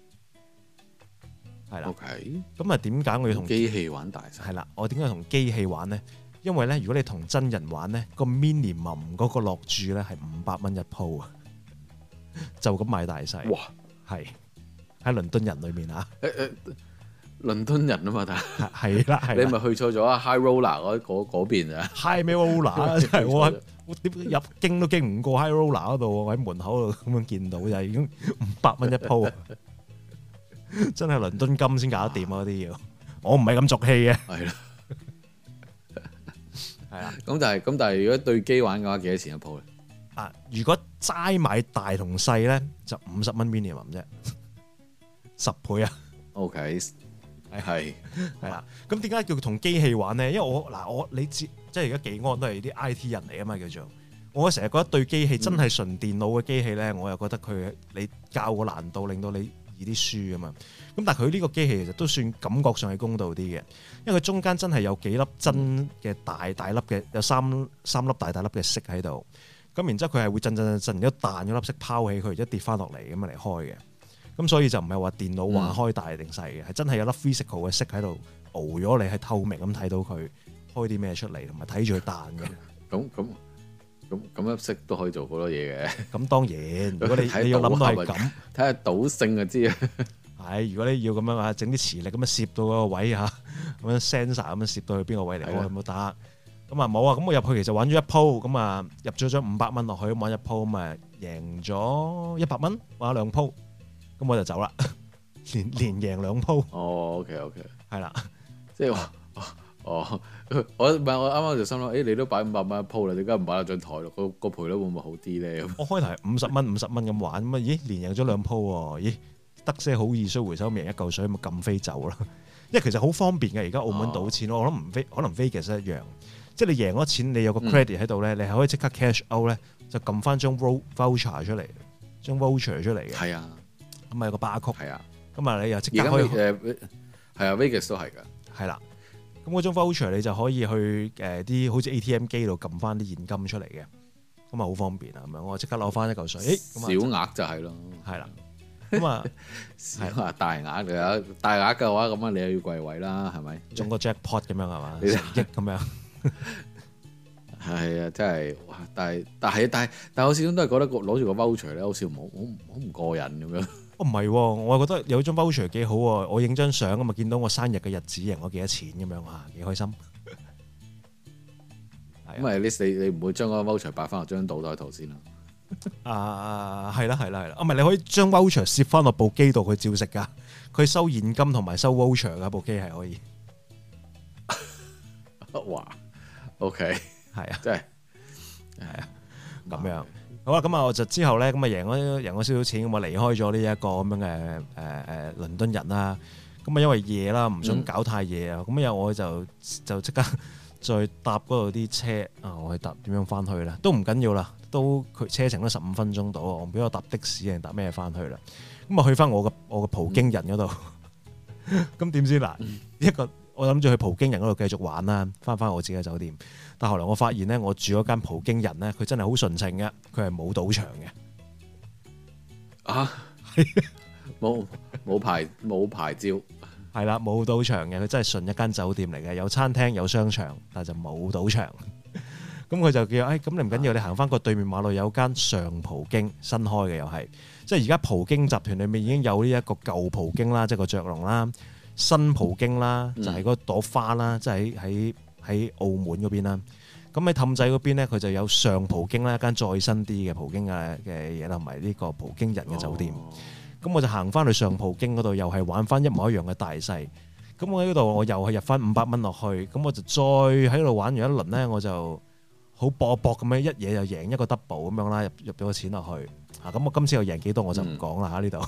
[SPEAKER 3] 係啦。OK。咁啊，點解我要同
[SPEAKER 2] 機器玩大細？
[SPEAKER 3] 係啦，我點解同機器玩咧？因為咧，如果你同真人玩咧，個 minimum 嗰個落注咧係五百蚊一鋪啊，就咁買大細。哇！係喺倫敦人裏面啊。誒誒。
[SPEAKER 2] 倫敦人啊嘛，但
[SPEAKER 3] 係啦，係
[SPEAKER 2] 你咪去錯咗啊 High Roller 嗰嗰嗰邊啊
[SPEAKER 3] High 咩 Roller 真係我我點入經都經唔過 High Roller 嗰度，我喺門口度咁樣見到就係已經五百蚊一鋪，真係倫敦金先搞得掂啊！嗰啲要我唔係咁俗氣嘅，係啦，係啦。
[SPEAKER 2] 咁但係咁但係如果對機玩嘅話，幾多錢一鋪咧？
[SPEAKER 3] 啊，如果齋買大同細咧，就五十蚊 minimum 啫，十倍啊
[SPEAKER 2] ！OK。係
[SPEAKER 3] 係啦，咁點解叫同機器玩咧？因為我嗱我你知，即係而家技安都係啲 I T 人嚟啊嘛，叫做我成日覺得對機器真係純電腦嘅機器咧，嗯、我又覺得佢你教個難度令到你易啲輸啊嘛。咁但係佢呢個機器其實都算感覺上係公道啲嘅，因為佢中間真係有幾粒真嘅大大粒嘅，有三三粒大大粒嘅色喺度。咁然之後佢係會震震震震，然之後彈咗粒色拋起佢，一跌翻落嚟咁樣嚟開嘅。咁所以就唔係話電腦話開大定細嘅，係、嗯、真係有粒 physical 嘅色喺度熬咗你，係透明咁睇到佢開啲咩出嚟，同埋睇住佢彈嘅。咁咁
[SPEAKER 2] 咁咁粒色都可以做好多嘢嘅。咁
[SPEAKER 3] 當然，如果你你要諗到係咁，
[SPEAKER 2] 睇下賭性就知啊。
[SPEAKER 3] 係，如果你要咁樣啊，整啲磁力咁樣攝到嗰個位嚇，咁樣 sensor 咁樣攝到去邊個位嚟，我有冇打？咁啊冇啊，咁我入去其實玩咗一鋪，咁啊入咗張五百蚊落去，咁玩一鋪，咁啊贏咗一百蚊，玩咗兩鋪。咁我就走啦，連連贏兩鋪。
[SPEAKER 2] 哦，OK OK，
[SPEAKER 3] 係啦，
[SPEAKER 2] 即係話哦，我唔係我啱啱就心諗，誒、欸、你都擺五百蚊一鋪啦，點解唔擺喺張台咯？個個賠率會唔會好啲咧？
[SPEAKER 3] 我開頭係五十蚊五十蚊咁玩，咁啊咦連贏咗兩鋪喎，咦得些好易衰回收，贏一嚿水咪撳飛走啦。因為其實好方便嘅，而家澳門賭錢，哦、我諗唔飛，可能 Vegas 一樣，即係你贏咗錢，你有個 credit 喺度咧，嗯、你係可以即刻 cash out 咧，就撳翻張 voucher 出嚟，張 voucher 出嚟嘅。係啊，咁啊有個巴曲。係啊，咁啊你又即刻可以誒
[SPEAKER 2] 係啊 Vegas 都係㗎。係啦。
[SPEAKER 3] 咁嗰張 voucher 你就可以去誒啲、呃、好似 A T M 機度撳翻啲現金出嚟嘅，咁啊好方便啊，咁樣我即刻攞翻一嚿水。
[SPEAKER 2] 小額就係咯，係啦，
[SPEAKER 3] 咁啊
[SPEAKER 2] 小額大額嘅，大額嘅話咁啊你又要櫃位啦，係咪？
[SPEAKER 3] 中個 jackpot 咁樣係嘛？十億咁樣。
[SPEAKER 2] 係啊，真係，但係但係但係但係我始終都係覺得攞住個 voucher 咧，好似好好好唔過癮咁樣。
[SPEAKER 3] 唔係、哦，我係覺得有張 voucher 幾好喎，我影張相咁啊，見到我生日嘅日子贏我幾多錢咁樣啊，幾開心。
[SPEAKER 2] 咁啊，你你唔會將嗰個 voucher 擺翻落張賭袋度先啦。
[SPEAKER 3] 啊，係啦係啦係啦，啊唔係你可以將 voucher 攝翻落部機度，佢照食噶。佢收現金同埋收 voucher 噶部機係可以。
[SPEAKER 2] 哇 ，OK，
[SPEAKER 3] 係啊，
[SPEAKER 2] 真係
[SPEAKER 3] 係啊，咁樣。好啦，咁啊，我就之後咧，咁啊贏咗贏咗少少錢，咁啊離開咗呢一個咁樣嘅誒誒倫敦人啦。咁啊因為夜啦，唔想搞太夜啊。咁又、嗯、我就就即刻再搭嗰度啲車啊，我去搭點樣翻去咧？都唔緊要啦，都佢車程都十五分鐘到，我唔俾我搭的士定搭咩翻去啦。咁啊去翻我嘅我嘅葡京人嗰度。咁點、嗯、知嗱一個我諗住去葡京人嗰度繼續玩啦，翻翻我自己嘅酒店。但後來我發現咧，我住嗰間葡京人咧，佢真係好純情嘅，佢係冇賭場嘅。
[SPEAKER 2] 啊，冇冇牌冇牌照，
[SPEAKER 3] 係啦，冇賭場嘅，佢真係純一間酒店嚟嘅，有餐廳有商場，但係就冇賭場。咁佢就叫，誒、哎，咁你唔緊要，你行翻個對面馬路有間上葡京新開嘅，又係，即係而家葡京集團裏面已經有呢一個舊葡京啦，即係個雀龍啦，新葡京啦，就係、是、嗰朵花啦，即係喺喺。喺澳門嗰邊啦，咁喺氹仔嗰邊咧，佢就有上葡京啦，一間再新啲嘅葡京嘅嘅嘢啦，同埋呢個葡京人嘅酒店。咁、哦、我就行翻去上葡京嗰度，又係玩翻一模一樣嘅大細。咁我喺嗰度，我又係入翻五百蚊落去，咁我就再喺度玩完一輪咧，我就好搏搏咁樣一嘢就贏一個 double 咁樣啦，入入咗個錢落去。啊，咁我今次又贏幾多我就唔講啦嚇呢度。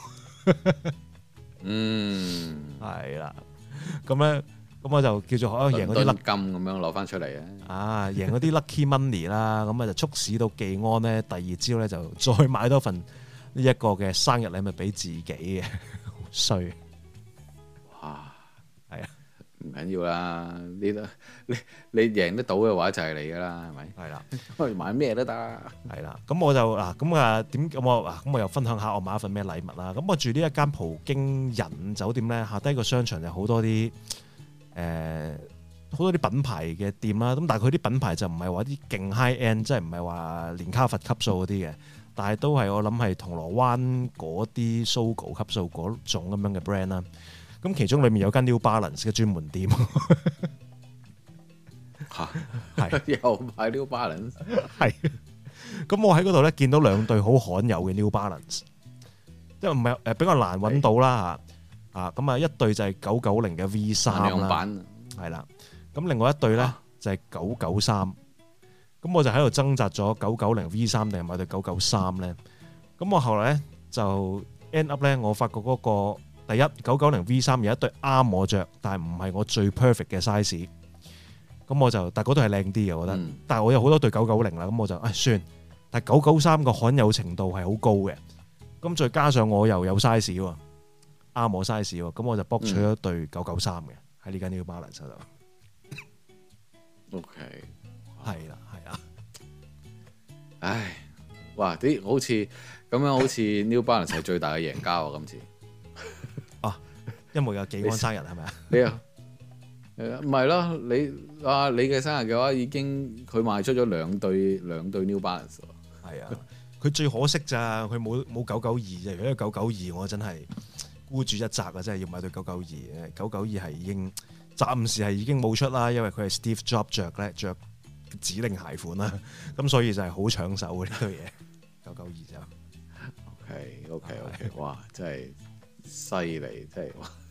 [SPEAKER 2] 嗯，
[SPEAKER 3] 係啦，咁咧。咁我就叫做可能贏嗰啲 lucky
[SPEAKER 2] 金咁樣攞翻出嚟啊！
[SPEAKER 3] 啊，贏嗰啲 lucky money 啦，咁啊就促使到技安咧，第二朝咧就再買多份呢一個嘅生日禮物俾自己嘅，好衰！
[SPEAKER 2] 哇，
[SPEAKER 3] 係啊，
[SPEAKER 2] 唔緊要啦，你你你贏得到嘅話就係你噶啦，係咪？
[SPEAKER 3] 係啦，
[SPEAKER 2] 可以買咩都得。係
[SPEAKER 3] 啦，咁我就嗱，咁啊點咁我嗱，咁我又分享下我買一份咩禮物啦。咁我住呢一間葡京人酒店咧，下低個商場就好多啲。誒好多啲品牌嘅店啦，咁但係佢啲品牌就唔係話啲勁 high end，即係唔係話連卡佛級數嗰啲嘅，但係都係我諗係銅鑼灣嗰啲 Sogo 級數嗰種咁樣嘅 brand 啦。咁其中裡面有間 New Balance 嘅專門店
[SPEAKER 2] 嚇，係又買 New Balance，
[SPEAKER 3] 係。咁我喺嗰度咧見到兩對好罕有嘅 New Balance，即係唔係誒比較難揾到啦嚇。啊，咁啊一對就係九九零嘅 V 三啦，係啦。咁另外一對咧就係九九三。咁我就喺度掙扎咗九九零 V 三定係買對九九三咧。咁我後來咧就 end up 咧，我發覺嗰個第一九九零 V 三有一對啱我着，但係唔係我最 perfect 嘅 size。咁我就，但係嗰對係靚啲嘅，我覺得。嗯、但係我有好多對九九零啦，咁我就唉算。但係九九三個罕有程度係好高嘅。咁再加上我又有 size 喎。啱我 size 喎，咁我就博取咗對九九三嘅喺呢間 New Balance 度。
[SPEAKER 2] O K，
[SPEAKER 3] 係啦，係啊。
[SPEAKER 2] 唉，哇！啲好似咁樣，好似 New Balance 係最大嘅贏家喎，今次。
[SPEAKER 3] 啊，因為有技安生日係咪啊？
[SPEAKER 2] 你啊，誒唔係咯？你啊，你嘅生日嘅話已經佢賣出咗兩對兩對 New Balance 喎。
[SPEAKER 3] 係啊，佢最可惜咋，佢冇冇九九二啫。如果九九二，我真係〜孤注一擲啊！真係要買對九九二，九九二係已經暫時係已經冇出啦，因為佢係 Steve Jobs 着咧着指令鞋款啦，咁所以就係好搶手嘅呢對嘢。九九二就
[SPEAKER 2] OK OK OK，哇！真係犀利，真係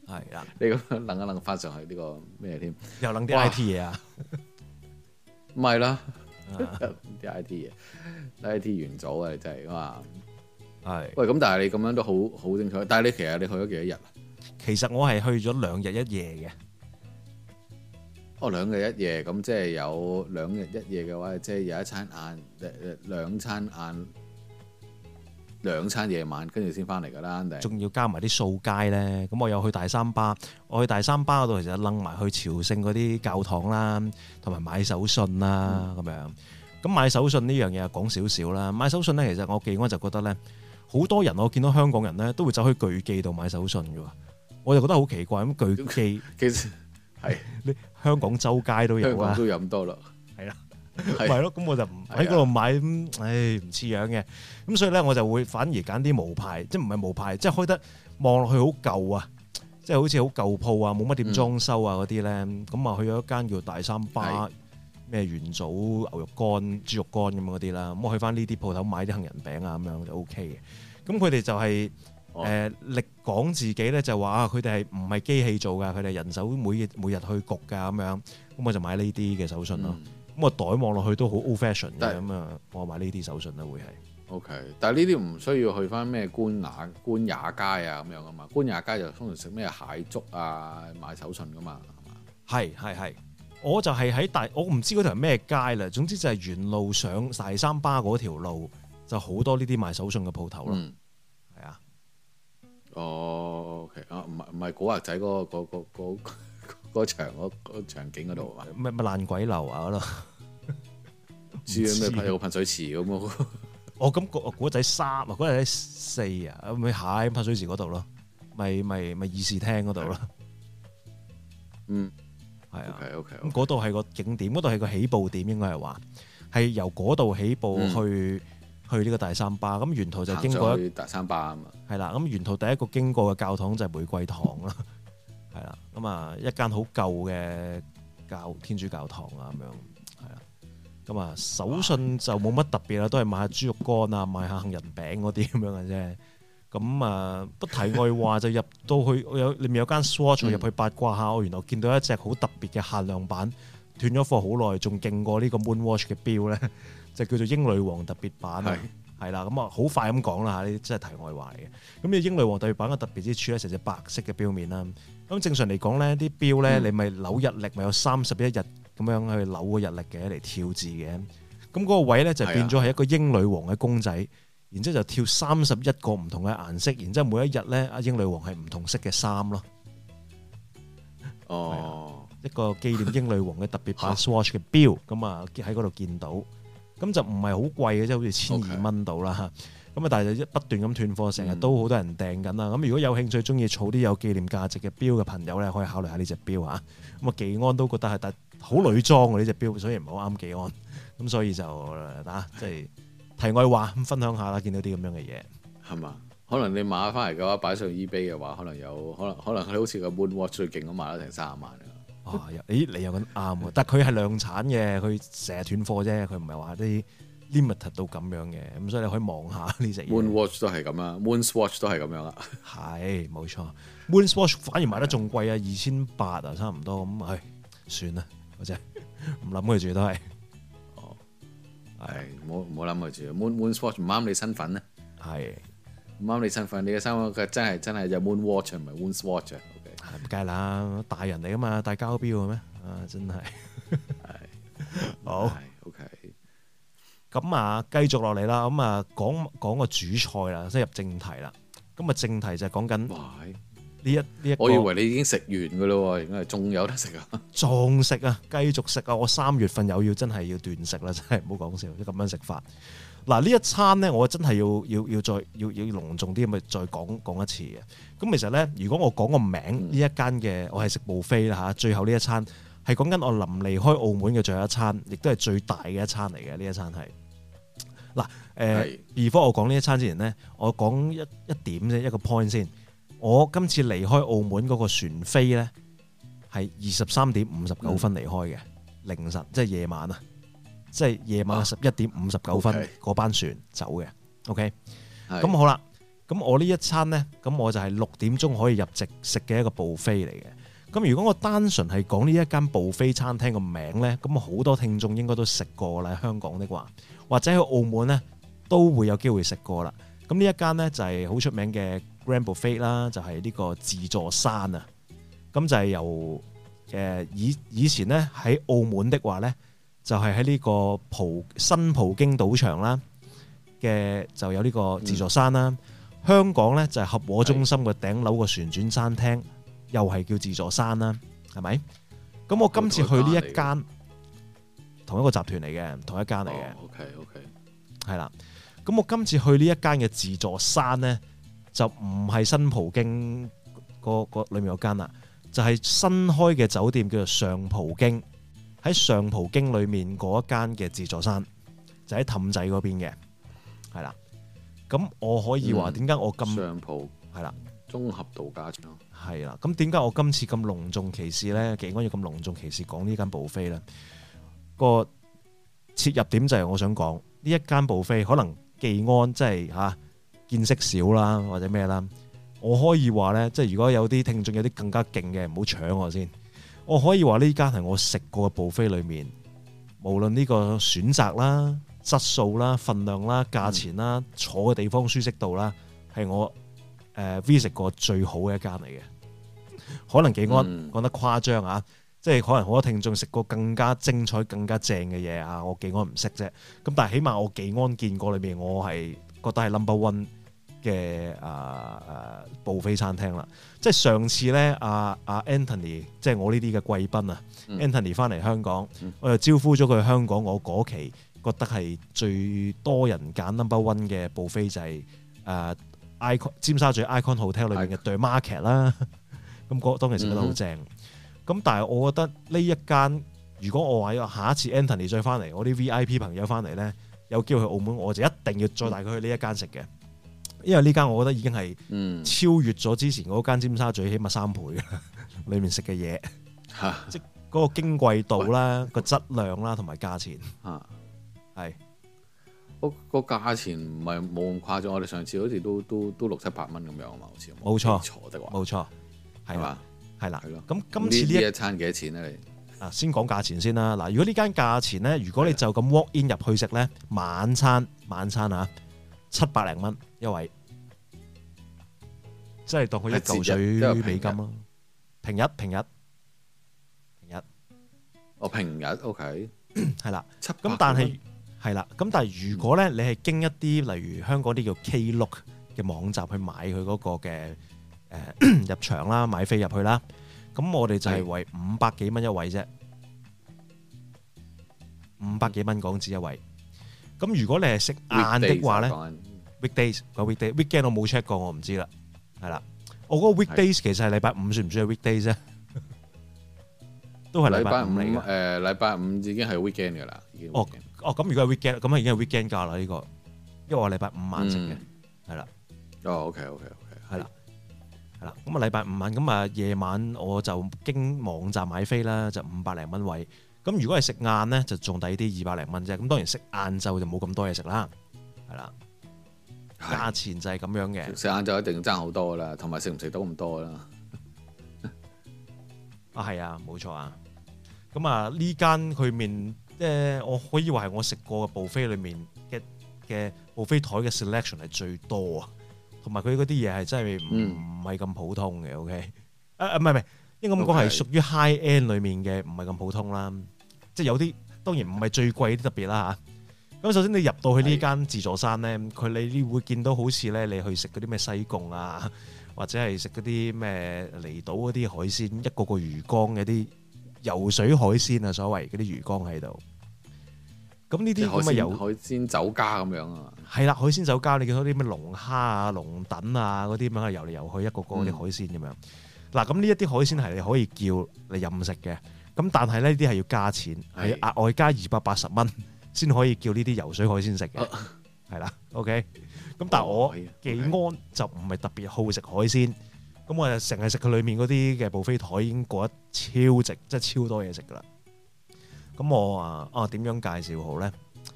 [SPEAKER 3] 係啦，
[SPEAKER 2] 你咁樣諗一諗翻上去呢個咩添？
[SPEAKER 3] 又諗啲 I T 嘢啊？
[SPEAKER 2] 唔係啦，啲 I T 嘢，I T 元祖啊，真係哇！係喂，咁但係你咁樣都好好精彩。但係你其實你去咗幾多日啊？其實我係去咗兩日一夜嘅。哦，兩日一夜咁即係有兩日一夜嘅話，即係有一餐晏，誒兩餐晏，兩餐夜晚，跟住先翻嚟㗎啦。仲要加埋啲掃街咧，咁我又去大三巴，我去大三巴嗰度其實掕埋去朝聖嗰啲教堂啦，同埋買手信啦咁、嗯、樣。咁買手信呢樣嘢講少少啦。買手信咧，其實我記安就覺得咧，好多人我見到香港人咧都會走去巨記度買手信㗎喎，我就覺得好奇怪咁巨記其實。係，你香港周街都有啊，香港都有咁多啦，係啦，係咯，咁我就唔喺嗰度買，唉，唔似樣嘅，咁所以咧我就會反而揀啲無牌，即係唔係無牌，即係開得望落去好舊啊，即係好似好舊鋪啊，冇乜點裝修啊嗰啲咧，咁啊去咗一間叫大三巴咩元祖牛肉乾、豬肉乾咁嗰啲啦，咁我去翻呢啲鋪頭買啲杏仁餅啊咁樣就 O K 嘅，咁佢哋就係。誒、呃、力講自己咧就話啊，佢哋係唔係機器做㗎？佢哋人手每每日去焗㗎咁樣，咁我就買呢啲嘅手信咯。咁個、嗯、袋望落去都好 old fashion 嘅，咁啊是我買呢啲手信啦會係。O、okay, K， 但係呢啲唔需要去翻咩官雅官雅街啊咁樣啊嘛？官雅街就通常食咩蟹粥啊，買手信㗎嘛係嘛？係係係，我就係喺大，我唔知嗰條係咩街啦。總之就係沿路上大三巴嗰條路，就好多呢啲賣手信嘅鋪頭咯。嗯哦 ，OK 啊，唔係唔係古惑仔嗰個嗰嗰嗰嗰場嗰嗰場景嗰度啊？咩咩爛鬼樓啊嗰度？知啊咩？有個噴水池咁咯。哦，咁古古惑仔三啊，古惑仔四啊，咪喺噴水池嗰度咯，咪咪咪議事廳嗰度咯。嗯，係啊。OK OK。咁嗰度係個景點，嗰度係個起步點，應該係話係由嗰度起步去。去呢個大三巴，咁沿途就經過一大三巴啊嘛，係啦，咁沿途第一個經過嘅教堂就係玫瑰堂啦，係啦，咁啊一間好舊嘅教天主教堂啊咁樣，係啦，咁啊手信就冇乜特別啦，都係買下豬肉乾啊，買下杏仁餅嗰啲咁樣嘅啫，咁啊不題外話就入到去有裏面有間 Swatch 入去八卦下，我原來見到一隻好特別嘅限量版，斷咗貨好耐，仲勁過呢個 Moonwatch 嘅錶咧。就叫做英女王特別版啊，係啦，咁啊好快咁講啦嚇，呢啲真係題外話嚟嘅。咁呢英女王特別版嘅特別之處咧，成隻白色嘅錶面啦。咁正常嚟講咧，啲錶咧你咪扭日曆，咪有三十一日咁樣去扭個日曆嘅嚟跳字嘅。咁嗰個位咧就變咗係一個英女王嘅公仔，然之後就跳三十一個唔同嘅顏色，然之後每一日咧，阿英女王係唔同色嘅衫咯。哦，一個紀念英女王嘅特別版 Swatch 嘅錶，咁啊喺嗰度見到。咁就唔係好貴嘅，即係好似千二蚊到啦嚇。咁啊，但係就不斷咁斷貨，成日都好多人訂緊啦。咁、嗯、如果有興趣、中意儲啲有紀念價值嘅錶嘅朋友咧，可以考慮下呢隻錶嚇。咁啊，技安都覺得係但好女裝喎呢隻錶，所以唔好啱技安。咁所以就啊，即係題外話咁分享下啦。見到啲咁樣嘅嘢係嘛？可能你買翻嚟嘅話，擺上 eBay 嘅話，可能有可能可能佢好似個 Moonwatch 最勁咁賣得成三十萬。哦，咦，你又咁啱喎？但係佢係量產嘅，佢成日斷貨啫，佢唔係話啲 limited 到咁樣嘅，咁所以你可以望下呢隻。Moonwatch 都係咁啦 ，Moonswatch 都係咁樣啦。係，冇錯。Moonswatch 反而賣得仲貴啊，二千八啊，差唔多咁，唉，算啦，我真係唔諗佢住都係。哦，係，唔好唔好諗佢住。Moon Moonswatch 唔啱你身份咧，係唔啱你身份，你嘅身份佢真係真係有 Moonwatch 唔係 Moonswatch。唔計啦，大人嚟噶嘛，戴膠錶嘅咩？啊，真係係好 OK。咁啊，繼續落嚟啦。咁啊，講講個主菜啦，即係入正題啦。咁啊，正題就係講緊呢一呢一個。我以為你已經食完㗎啦，原來仲有得食啊！仲食啊，繼續食啊！我三月份又要真係要斷食啦，真係唔好講笑，即咁樣食法。嗱，呢一餐咧，我真係要要要再要要隆重啲咁去再講講一次嘅。咁其實咧，如果我講個名呢、嗯、一間嘅，我係食 buffet 啦嚇。最後呢一餐係講緊我臨離開澳門嘅最後一餐，亦都係最大嘅一餐嚟嘅。呢一餐係嗱誒，before 我講呢一餐之前呢，我講一一點啫，一個 point 先。我今次離開澳門嗰個船飛咧係二十三點五十九分離開嘅、嗯、凌晨，即係夜晚啊！即係夜晚十一點五十九分嗰班船走嘅，OK，咁好啦。
[SPEAKER 3] 咁我呢一餐呢，咁我就係六點鐘可以入席食嘅一個 buffet 嚟嘅。咁如果我單純係講呢一間 buffet 餐廳個名呢，咁好多聽眾應該都食過啦，香港的話，或者喺澳門呢都會有機會食過啦。咁呢一間呢，就係好出名嘅 Grand Buffet 啦，就係呢個自助餐啊。咁就係由誒以以前呢喺澳門的話呢，就係喺呢個葡新葡京賭場啦嘅就有呢個自助餐啦。嗯、香港呢，就係合和中心嘅頂樓個旋轉餐廳，又係叫自助餐啦，係咪？咁我今次去呢一間同一個集團嚟嘅，同一間嚟嘅。
[SPEAKER 2] OK OK，
[SPEAKER 3] 係啦。咁我今次去呢一間嘅自助餐呢，就唔係新葡京個個裏面有間啦，就係、是、新開嘅酒店叫做上葡京，喺上葡京裏面嗰一間嘅自助餐，就喺氹仔嗰邊嘅，係啦。咁我可以話點解我咁
[SPEAKER 2] 上葡
[SPEAKER 3] 係啦，
[SPEAKER 2] 綜合度假村
[SPEAKER 3] 係啦。咁點解我今次咁隆重其事呢？技安要咁隆重其事講呢間 buffet 呢？個切入點就係我想講呢一間 buffet可能。技安即係嚇見識少啦，或者咩啦？我可以話咧，即係如果有啲聽眾有啲更加勁嘅，唔好搶我先。我可以話呢間係我食過嘅 buffet裏面，無論呢個選擇啦、質素啦、份量啦、價錢啦、嗯、坐嘅地方舒適度啦，係我誒 visit 過最好嘅一間嚟嘅。可能技安講得誇張啊！嗯即係可能好多聽眾食過更加精彩、更加正嘅嘢啊！我技安唔識啫，咁但係起碼我技安見過裏面，我係覺得係 number one 嘅啊啊 buffet 餐廳啦。即係上次咧，阿阿 Anthony，即係我呢啲嘅貴賓啊、嗯、，Anthony 翻嚟香港，嗯、我就招呼咗佢去香港。我嗰期覺得係最多人揀 number one 嘅 buffet 就係誒 Icon 尖沙咀 Icon Hotel 裏面嘅 The Market 啦。咁嗰當其時覺得好正。嗯咁但係我覺得呢一間，如果我話下一次 Anthony 再翻嚟，我啲 V I P 朋友翻嚟咧，有機會去澳門，我就一定要再帶佢去呢一間食嘅，因為呢間我覺得已經係超越咗之前嗰間尖沙咀起碼三倍嘅裏面食嘅嘢，即係嗰個矜貴度啦、個質量啦同埋價錢，係
[SPEAKER 2] 嗰個價錢唔係冇咁誇張，我哋上次好似都都都六七百蚊咁樣啊嘛，好似
[SPEAKER 3] 冇錯，
[SPEAKER 2] 錯的話，
[SPEAKER 3] 冇錯，係嘛？係啦，咁
[SPEAKER 2] 今
[SPEAKER 3] 次呢
[SPEAKER 2] 一,一餐幾多錢咧？你
[SPEAKER 3] 啊，先講價錢先啦。嗱，如果呢間價錢咧，如果你就咁 walk in 入去食咧，晚餐晚餐啊，七百零蚊一位，即係當佢一嚿水美金咯。平日平日平日，
[SPEAKER 2] 哦平日 OK，
[SPEAKER 3] 係啦。咁但係係啦，咁但係如果咧，你係經一啲例如香港啲叫 Klook 嘅網站去買佢嗰個嘅。誒入場啦，買飛入去啦，咁我哋就係為五百幾蚊一位啫，五百幾蚊港紙一位。咁如果你係食晏的話咧 ，weekdays 個 weekday，weekend 我冇 check 過，我唔知啦。係啦，我嗰個 weekdays 其實係禮拜五，算唔算係 weekdays 啫？都係禮拜五嚟嘅。
[SPEAKER 2] 誒，禮拜五已經係 weekend 㗎啦。
[SPEAKER 3] 哦哦，咁如果係 weekend，咁啊已經係 weekend 價啦呢個，因為我禮拜五晚食嘅，係啦。
[SPEAKER 2] 哦，OK OK OK，
[SPEAKER 3] 係啦。係啦，咁啊禮拜五晚，咁啊夜晚我就經網站買飛啦，就五百零蚊位。咁如果係食晏咧，就仲抵啲二百零蚊啫。咁當然食晏晝就冇咁多嘢食啦，係啦。價錢就係咁樣嘅。
[SPEAKER 2] 食晏晝一定爭好多啦，同埋食唔食到咁多啦。
[SPEAKER 3] 啊係啊，冇錯啊。咁啊呢間佢面，即係我可以話係我食過嘅 buffet 裏面嘅嘅 buffet 台嘅 selection 係最多啊。同埋佢嗰啲嘢係真係唔唔係咁普通嘅 ，OK？啊唔係唔係，應該咁講係屬於 high end 裏面嘅，唔係咁普通啦。即係有啲當然唔係最貴啲特別啦嚇。咁首先你入到去呢間自助餐咧，佢你會見到好似咧你去食嗰啲咩西貢啊，或者係食嗰啲咩離島嗰啲海鮮，一個個魚缸嘅啲游水海鮮啊，所謂嗰啲魚缸喺度。咁呢啲咁嘅遊
[SPEAKER 2] 海鮮酒家咁樣啊，係
[SPEAKER 3] 啦，海鮮酒家你見到啲咩龍蝦啊、龍躉啊嗰啲咁樣遊嚟遊去，一個個啲海鮮咁樣。嗱、嗯，咁呢一啲海鮮係你可以叫你任食嘅，咁但係呢啲係要加錢，係額外加二百八十蚊先可以叫呢啲游水海鮮食嘅，係啦、啊、，OK。咁但係我技安就唔係特別好食海鮮，咁我就成日食佢裏面嗰啲嘅 buffet台已經過得超值，即係超多嘢食噶啦。咁我啊啊點樣介紹好咧？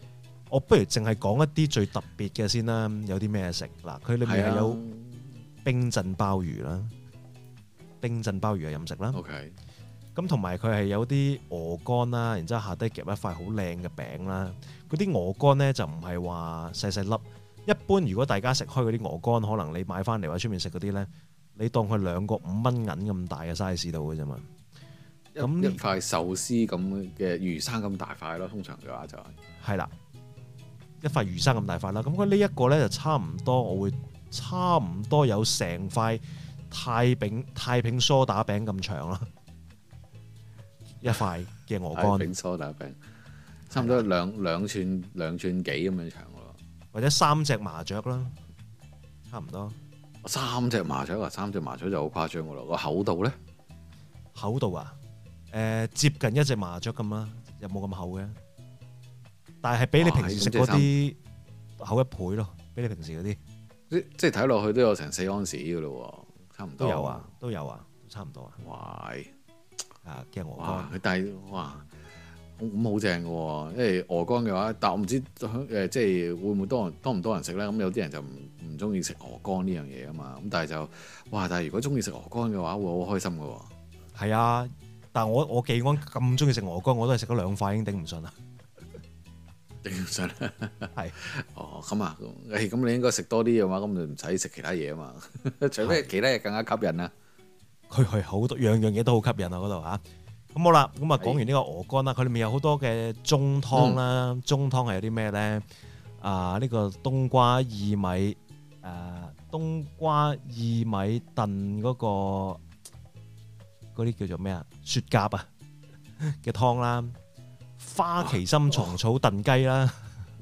[SPEAKER 3] 我不如淨係講一啲最特別嘅先啦。有啲咩食嗱？佢裏面係有冰鎮鮑魚啦，冰鎮鮑魚嘅飲食啦。
[SPEAKER 2] OK。
[SPEAKER 3] 咁同埋佢係有啲鵝肝啦，然之後下低夾一塊好靚嘅餅啦。嗰啲鵝肝咧就唔係話細細粒。一般如果大家食開嗰啲鵝肝，可能你買翻嚟或者出面食嗰啲咧，你當佢兩個五蚊銀咁大嘅 size 度嘅啫嘛。咁
[SPEAKER 2] 一塊壽司咁嘅魚生咁大塊咯，通常嘅話就係
[SPEAKER 3] 係啦，一塊魚生咁大塊啦。咁佢呢一個咧就差唔多，我會差唔多有成塊太平太平梳打餅咁長啦。一塊嘅鵝肝，
[SPEAKER 2] 餅梳打餅，差唔多兩兩寸兩寸幾咁樣長咯，
[SPEAKER 3] 或者三隻麻雀啦，差唔多。
[SPEAKER 2] 三隻麻雀啊，三隻麻雀就好誇張噶咯。個厚度咧，
[SPEAKER 3] 厚度啊，誒、呃、接近一隻麻雀咁啦，又冇咁厚嘅，但係比你平時食嗰啲厚一倍咯，比你平時嗰啲，
[SPEAKER 2] 即即係睇落去都有成四安士噶咯，差唔多。
[SPEAKER 3] 都有啊，都有啊，差唔多啊。
[SPEAKER 2] 哇！
[SPEAKER 3] 啊，嘅鵝
[SPEAKER 2] 肝，佢但係哇，咁好正嘅喎，因為鵝肝嘅話，但我唔知誒，即係會唔會多人多唔多人食咧？咁有啲人就唔唔中意食鵝肝呢樣嘢啊嘛，咁但係就哇，但係如果中意食鵝肝嘅話，會好開心嘅喎。係
[SPEAKER 3] 啊，但係我我記安咁中意食鵝肝，我都係食咗兩塊已經頂唔順啦，
[SPEAKER 2] 頂唔順啦。係，哦咁啊，誒咁你應該食多啲嘅話，咁就唔使食其他嘢啊嘛，除非其他嘢更加吸引啊。
[SPEAKER 3] 佢係好多樣樣嘢都好吸引啊！嗰度嚇，咁好啦，咁啊講完呢個鵝肝啦，佢裏面有好多嘅中湯啦，嗯、中湯係有啲咩咧？啊，呢、呢個冬瓜薏米，誒、啊、冬瓜薏米燉嗰、嗰個嗰啲叫做咩啊？雪蛤啊嘅湯啦，花旗參蟲草燉雞啦，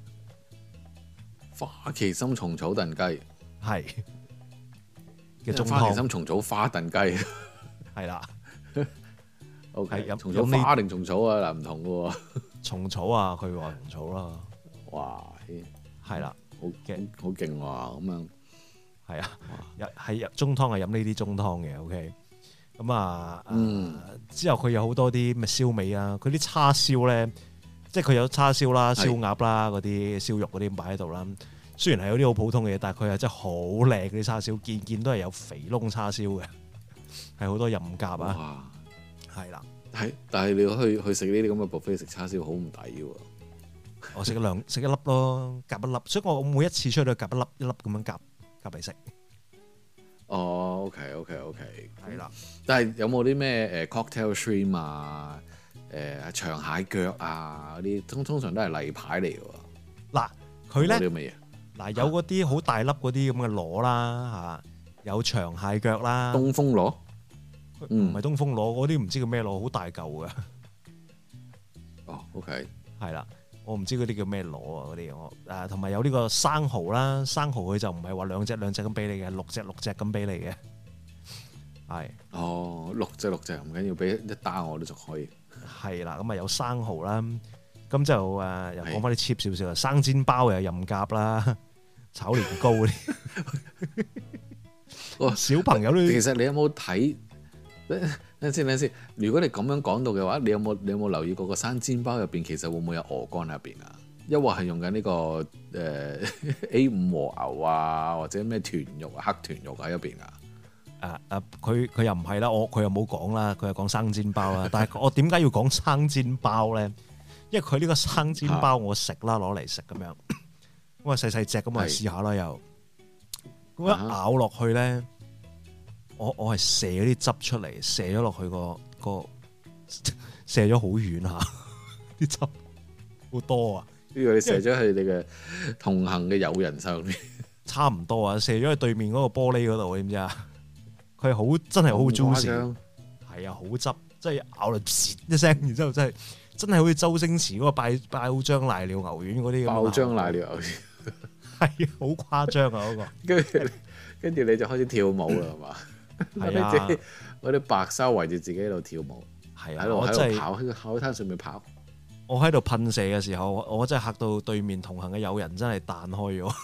[SPEAKER 2] 花旗參蟲草燉雞
[SPEAKER 3] 係。
[SPEAKER 2] 花旗參蟲草花燉雞
[SPEAKER 3] 係啦
[SPEAKER 2] ，O K，蟲草花定蟲草啊？嗱，唔同嘅喎，
[SPEAKER 3] 蟲草啊，佢話蟲草啦，
[SPEAKER 2] 哇，
[SPEAKER 3] 係啦，
[SPEAKER 2] 好勁，好勁喎，咁樣
[SPEAKER 3] 係啊，係中湯係飲呢啲中湯嘅 ，O K，咁啊，嗯，之後佢有好多啲咩燒味啊，佢啲叉燒咧，即係佢有叉燒啦、燒鴨啦、嗰啲燒肉嗰啲擺喺度啦。雖然係有啲好普通嘅嘢，但係佢係真係好靚嗰啲叉燒，件件都係有肥窿叉燒嘅，係好多任夾啊！係啦，
[SPEAKER 2] 係，但係你去去食呢啲咁嘅 buffet 食叉燒好唔抵喎！
[SPEAKER 3] 我食咗兩食一粒咯，夾一粒，所以我每一次出去都夾一粒一粒咁樣夾夾嚟食。
[SPEAKER 2] 哦，OK OK OK，
[SPEAKER 3] 係啦。
[SPEAKER 2] 但係有冇啲咩誒 cocktail shrimp 啊、誒、呃、長蟹腳啊嗰啲，通通常都係例牌嚟嘅喎。嗱，
[SPEAKER 3] 佢咧
[SPEAKER 2] 啲乜嘢？
[SPEAKER 3] 嗱，有嗰啲好大粒嗰啲咁嘅螺啦嚇，有長蟹腳啦。
[SPEAKER 2] 東風螺？
[SPEAKER 3] 唔係東風螺，嗰啲唔知叫咩螺，好大嚿嘅。
[SPEAKER 2] 哦 ，OK，
[SPEAKER 3] 係啦，我唔知嗰啲叫咩螺啊，嗰啲我誒同埋有呢個生蠔啦，生蠔佢就唔係話兩隻兩隻咁俾你嘅，六隻六隻咁俾你嘅。係。
[SPEAKER 2] 哦，六隻六隻唔緊要，俾一打我都仲可以。
[SPEAKER 3] 係啦，咁啊有生蠔啦，咁就誒又講翻啲 cheap 少少啊，生煎包又有任夾啦。炒年糕嗰啲，小朋友都
[SPEAKER 2] 其實你有冇睇？等先，等先。如果你咁樣講到嘅話，你有冇你有冇留意過個生煎包入邊其實會唔會有鵝肝入邊啊？抑或係用緊、這、呢個誒、呃、A 五和牛啊，或者咩豚肉啊、黑豚肉喺入邊啊？
[SPEAKER 3] 誒誒，佢佢又唔係啦，我佢又冇講啦，佢又講生煎包啦。但係我點解要講生煎包咧？因為佢呢個生煎包我食啦，攞嚟食咁樣。咁啊細細隻咁啊試下啦又，咁一咬落去咧，我我係射咗啲汁出嚟，射咗落去個個射咗好遠下，啲汁好多啊！
[SPEAKER 2] 呢個你射咗去你嘅同行嘅友人上面，
[SPEAKER 3] 差唔多啊！射咗去對面嗰個玻璃嗰度，知唔知啊？佢係好真係好 juicy，係啊，好汁，即係咬落啜一聲，然之後真係真係好似周星馳嗰個爆爆漿瀨尿牛丸嗰啲咁。爆
[SPEAKER 2] 漿瀨尿牛丸。
[SPEAKER 3] 係好誇張啊！嗰個，跟住
[SPEAKER 2] 跟住你就開始跳舞啦，係嘛？係啊，嗰啲白紗圍住自己喺度跳舞，係啊，喺度喺度跑喺個海灘上面跑。
[SPEAKER 3] 我喺度噴射嘅時候，我真係嚇到對面同行嘅友人真係彈開咗。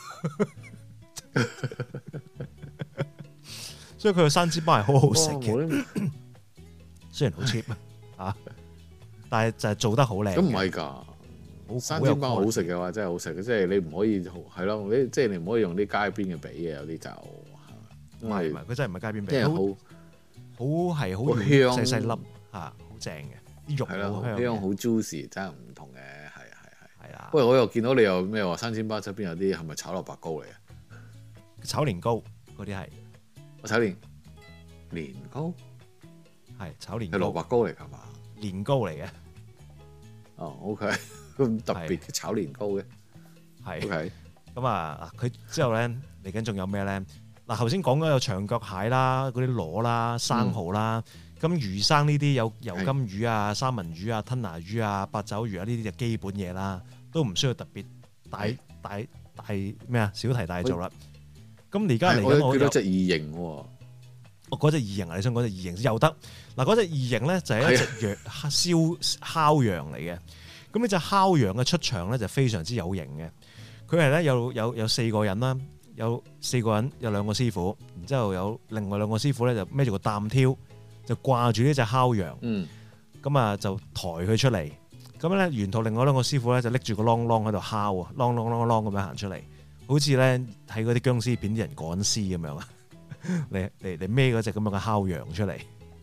[SPEAKER 3] 所以佢個生煎包係好好食嘅，雖然好 cheap 啊，但係就係做得好靚。
[SPEAKER 2] 咁唔係㗎， 生煎包好食嘅話真係好食嘅，即係你唔可以係咯，你即係你唔可以用啲街邊嘅比嘅，有啲就
[SPEAKER 3] 唔係唔係，佢真係唔係街邊比，
[SPEAKER 2] 即係好
[SPEAKER 3] 好係好
[SPEAKER 2] 香
[SPEAKER 3] 細細粒嚇，好正嘅啲肉好香，
[SPEAKER 2] 香好 juicy， 真係唔同嘅，係啊係係
[SPEAKER 3] 係啊。
[SPEAKER 2] 不過我又見到你又咩話生煎包側邊有啲係咪炒蘿蔔糕嚟啊？
[SPEAKER 3] 炒年糕嗰啲係，
[SPEAKER 2] 我炒年年糕
[SPEAKER 3] 係炒年糕，
[SPEAKER 2] 係蘿蔔糕嚟㗎嘛？
[SPEAKER 3] 年糕嚟嘅。
[SPEAKER 2] 哦 ，OK，咁特別嘅炒年糕嘅，係 OK。
[SPEAKER 3] 咁啊，佢之後咧嚟緊仲有咩咧？嗱，頭先講咗有長腳蟹啦，嗰啲螺啦、生蠔啦，咁、嗯、魚生呢啲有油金魚啊、三文魚啊、吞拿魚啊、八爪魚啊，呢啲就基本嘢啦，都唔需要特別大大大咩啊，小題大做啦。咁而家嚟緊我有
[SPEAKER 2] 隻異形喎，
[SPEAKER 3] 我嗰隻異形啊，你想講隻異形先有得嗱？嗰隻異形咧就係一隻羊燒烤羊嚟嘅。咁呢隻烤羊嘅出場咧就非常之有型嘅。佢係咧有有有四個人啦，有四個人有兩個師傅，然之後有另外兩個師傅咧就孭住個擔挑，就掛住呢隻烤羊。嗯，咁啊就抬佢出嚟。咁咧沿途另外兩個師傅咧就拎住個啷啷喺度敲啊，啷啷啷啷咁樣行出嚟。好似咧睇嗰啲僵屍片啲人趕屍咁樣啊，嚟嚟嚟孭嗰隻咁樣嘅烤羊出嚟，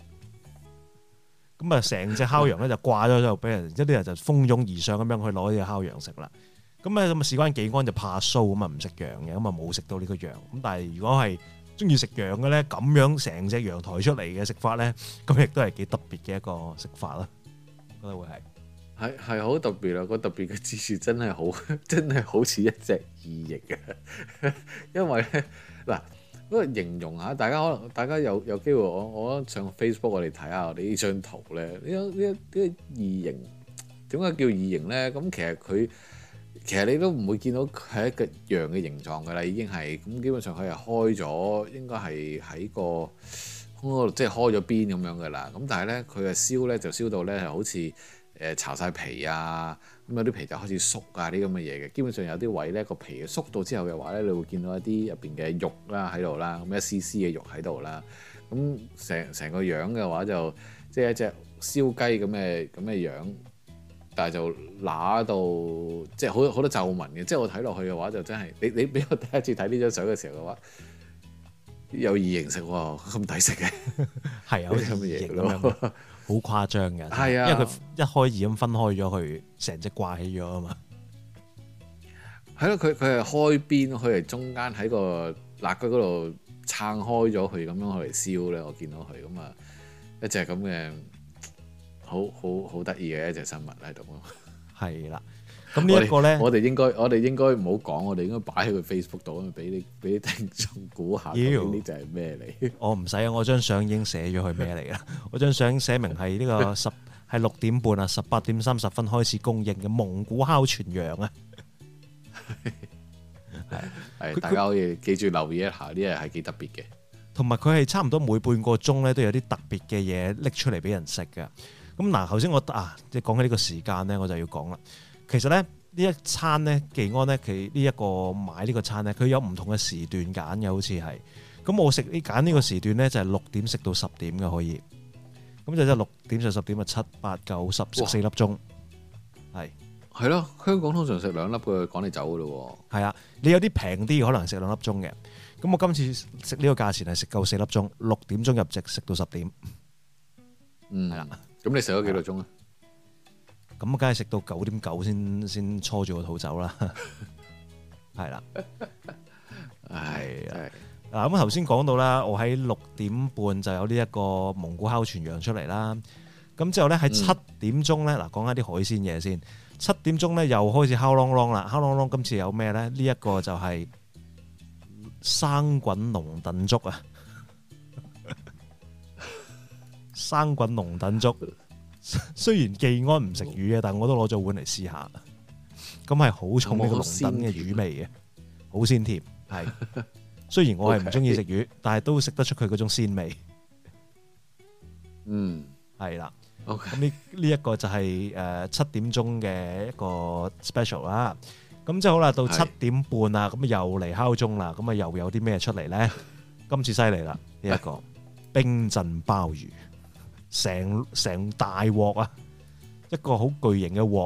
[SPEAKER 3] 咁啊成隻烤羊咧就掛咗喺度，俾人一啲人就蜂擁而上咁樣去攞呢隻烤羊食啦。咁啊咁啊事關技安就怕臊咁啊唔食羊嘅，咁啊冇食到呢個羊。咁但係如果係中意食羊嘅咧，咁樣成隻羊抬出嚟嘅食法咧，咁亦都係幾特別嘅一個食法啦。覺得會係。
[SPEAKER 2] 係係好特別啊！個特別嘅之處真係好，真係好似一隻異形嘅。因為咧嗱，嗰個形容下，大家可能大家有有機會，我我上 Facebook 我哋睇下我哋呢張圖咧，呢呢呢個異形點解叫異形咧？咁其實佢其實你都唔會見到佢係一個羊嘅形狀㗎啦，已經係咁基本上佢係開咗，應該係喺個嗰度即係開咗邊咁樣㗎啦。咁但係咧佢嘅燒咧就燒到咧係好似誒巢晒皮啊，咁有啲皮就開始縮啊啲咁嘅嘢嘅，基本上有啲位咧個皮縮到之後嘅話咧，你會見到一啲入邊嘅肉啦喺度啦，咁一絲絲嘅肉喺度啦，咁成成個樣嘅話就即係一隻燒雞咁嘅咁嘅樣，但係就乸到即係好好多皺紋嘅，即係我睇落去嘅話就真係你你俾我第一次睇呢張相嘅時候嘅話，有異形食喎，咁抵食嘅，係有啲咁嘅嘢咯。好誇張嘅，係啊，因為佢一開二咁分開咗，佢成隻掛起咗啊嘛。係咯，佢佢係開邊，佢係中間喺個肋骨嗰度撐開咗佢咁樣嚟燒咧。我見到佢咁啊，一隻咁嘅好好好得意嘅一隻生物喺度咯。係啦，咁呢一個咧，我哋應該我哋應該唔好講，我哋應該擺喺佢 Facebook 度，俾你俾啲聽眾估下，呢隻係咩嚟？我唔使啊，我張相已經寫咗佢咩嚟啦。我張相寫明係呢個十係六點半啊，十八點三十分開始供應嘅蒙古烤全羊啊。係係，大家可以記住留意一下，呢樣係幾特別嘅。同埋佢係差唔多每半個鐘咧都有啲特別嘅嘢拎出嚟俾人食嘅。咁嗱，頭先我啊即係講起呢個時間咧，我就要講啦。其實咧呢一餐咧，技安咧佢呢一個買呢個餐咧，佢有唔同嘅時段揀嘅，好似係。咁我食呢揀呢個時段咧就係六點食到十點嘅可以。咁就即係六點就十點啊，七八九十食四粒鐘。係係咯，香港通常食兩粒嘅趕你走嘅咯喎。係啊，你有啲平啲可能食兩粒鐘嘅。咁我今次食呢個價錢係食夠四粒鐘，六點鐘入席食到十點。嗯，係啦。咁你食咗幾多鐘啊？咁梗係食到九點九先先搓住個肚走啦，係啦，係啊。嗱咁頭先講到啦，我喺六點半就有呢一個蒙古烤全羊出嚟啦。咁之後咧喺七點鐘咧，嗱講下啲海鮮嘢先。七點鐘咧又開始烤啷啷啦，烤啷啷今次有咩咧？呢一個就係生滾龍躉粥啊，生滾龍躉粥。雖然技安唔食魚嘅，但我都攞咗碗嚟試下。咁係好重呢個龍躉嘅魚味嘅，好鮮甜。係，雖然我係唔中意食魚， okay. 但係都食得出佢嗰種鮮味。嗯，係啦。咁呢呢一個就係誒七點鐘嘅一個 special 啦。咁之後好啦，到七點半啦，咁又嚟敲鐘啦。咁啊又有啲咩出嚟咧？今次犀利啦！呢一個冰鎮鮑魚。成成大鑊啊！一個好巨型嘅鑊，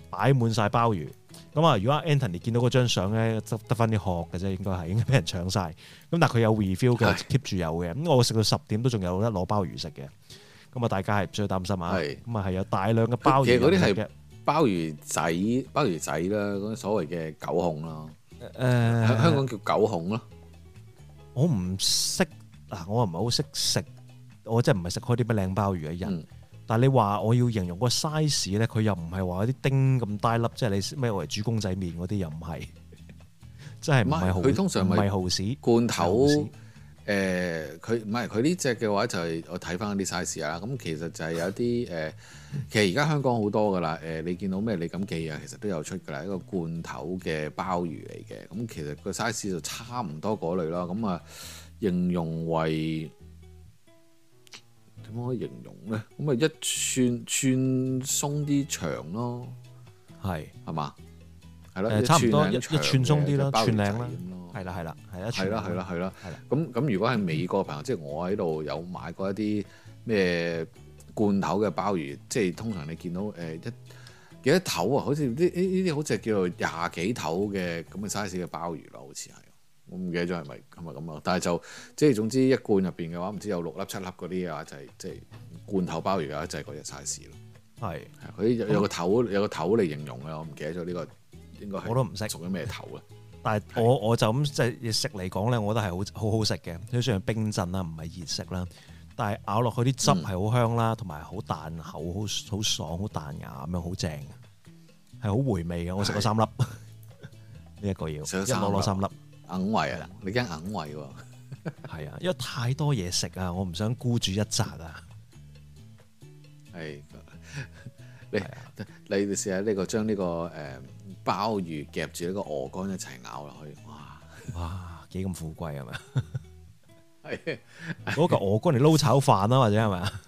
[SPEAKER 3] 擺滿晒鮑魚。咁啊，如果 Anthony 見到嗰張相咧，得得翻啲殼嘅啫，應該係應該俾人搶晒。咁但係佢有 refill 嘅，keep 住有嘅。咁我食到十點都仲有得攞鮑魚食嘅。咁啊，大家係唔需要擔心啊。咁啊係有大量嘅鮑魚。其實嗰啲係
[SPEAKER 2] 鮑魚仔，鮑魚仔啦，嗰啲所謂嘅九孔啦。誒、
[SPEAKER 3] 呃，
[SPEAKER 2] 香港叫九孔咯。
[SPEAKER 3] 我唔識嗱，我唔係好識食，我真係唔係食開啲咩靚鮑魚嘅人。嗯、但係你話我要形容個 size 咧，佢又唔係話啲丁咁大粒，即係你咩為煮公仔麵嗰啲又唔係，真係唔係好。佢通常唔係蠔豉
[SPEAKER 2] 罐頭。誒佢唔係佢呢隻嘅話就係我睇翻啲 size 啦，咁其實就係有啲誒、呃，其實而家香港好多噶啦，誒、呃、你見到咩李錦記啊，其實都有出噶啦，一個罐頭嘅鮑魚嚟嘅，咁其實個 size 就差唔多嗰類啦，咁啊形容為點樣可以形容咧？咁啊一寸寸鬆啲長咯，係係嘛？係咯，
[SPEAKER 3] 差唔多一一寸鬆啲咯，寸零啦。係啦，係啦，係啦，
[SPEAKER 2] 係啦，係啦，係啦。咁咁，如果係美國朋友，嗯、即係我喺度有買過一啲咩罐頭嘅鮑魚，即係通常你見到誒、呃、一幾多頭啊？好似呢呢呢啲好似係叫做廿幾頭嘅咁嘅 size 嘅鮑魚啦，好似係。我唔記得咗係咪係咪咁啊？但係就即係總之一罐入邊嘅話，唔知有六粒七粒嗰啲啊，就係即係罐頭鮑魚啊，就係嗰隻 size 咯。係係，佢有有個頭有個頭嚟形容嘅，我唔記得咗呢個應該係我都唔識屬於咩頭啊？但係我我就咁即係食嚟講咧，我覺得係好好好食嘅。佢雖然冰鎮啦，唔係熱食啦，但係咬落去啲汁係好香啦，同埋好彈口，好好爽，好彈牙咁樣，好正，係好回味嘅。我食咗三粒，呢一個要一攞攞三粒， 硬胃啊！你驚硬胃喎？
[SPEAKER 3] 係啊，因為太多嘢食啊，我唔想孤注一擲啊。
[SPEAKER 2] 係你你試下呢個將呢個誒。鮑魚夾住一個鵝肝一齊咬落去，哇
[SPEAKER 3] 哇幾咁富貴係咪？
[SPEAKER 2] 係
[SPEAKER 3] 攞嚿鵝肝嚟撈炒飯啊，或者係咪啊？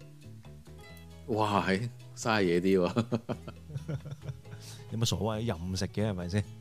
[SPEAKER 2] 哇係嘥嘢啲喎，
[SPEAKER 3] 有乜所謂？任食嘅係咪先？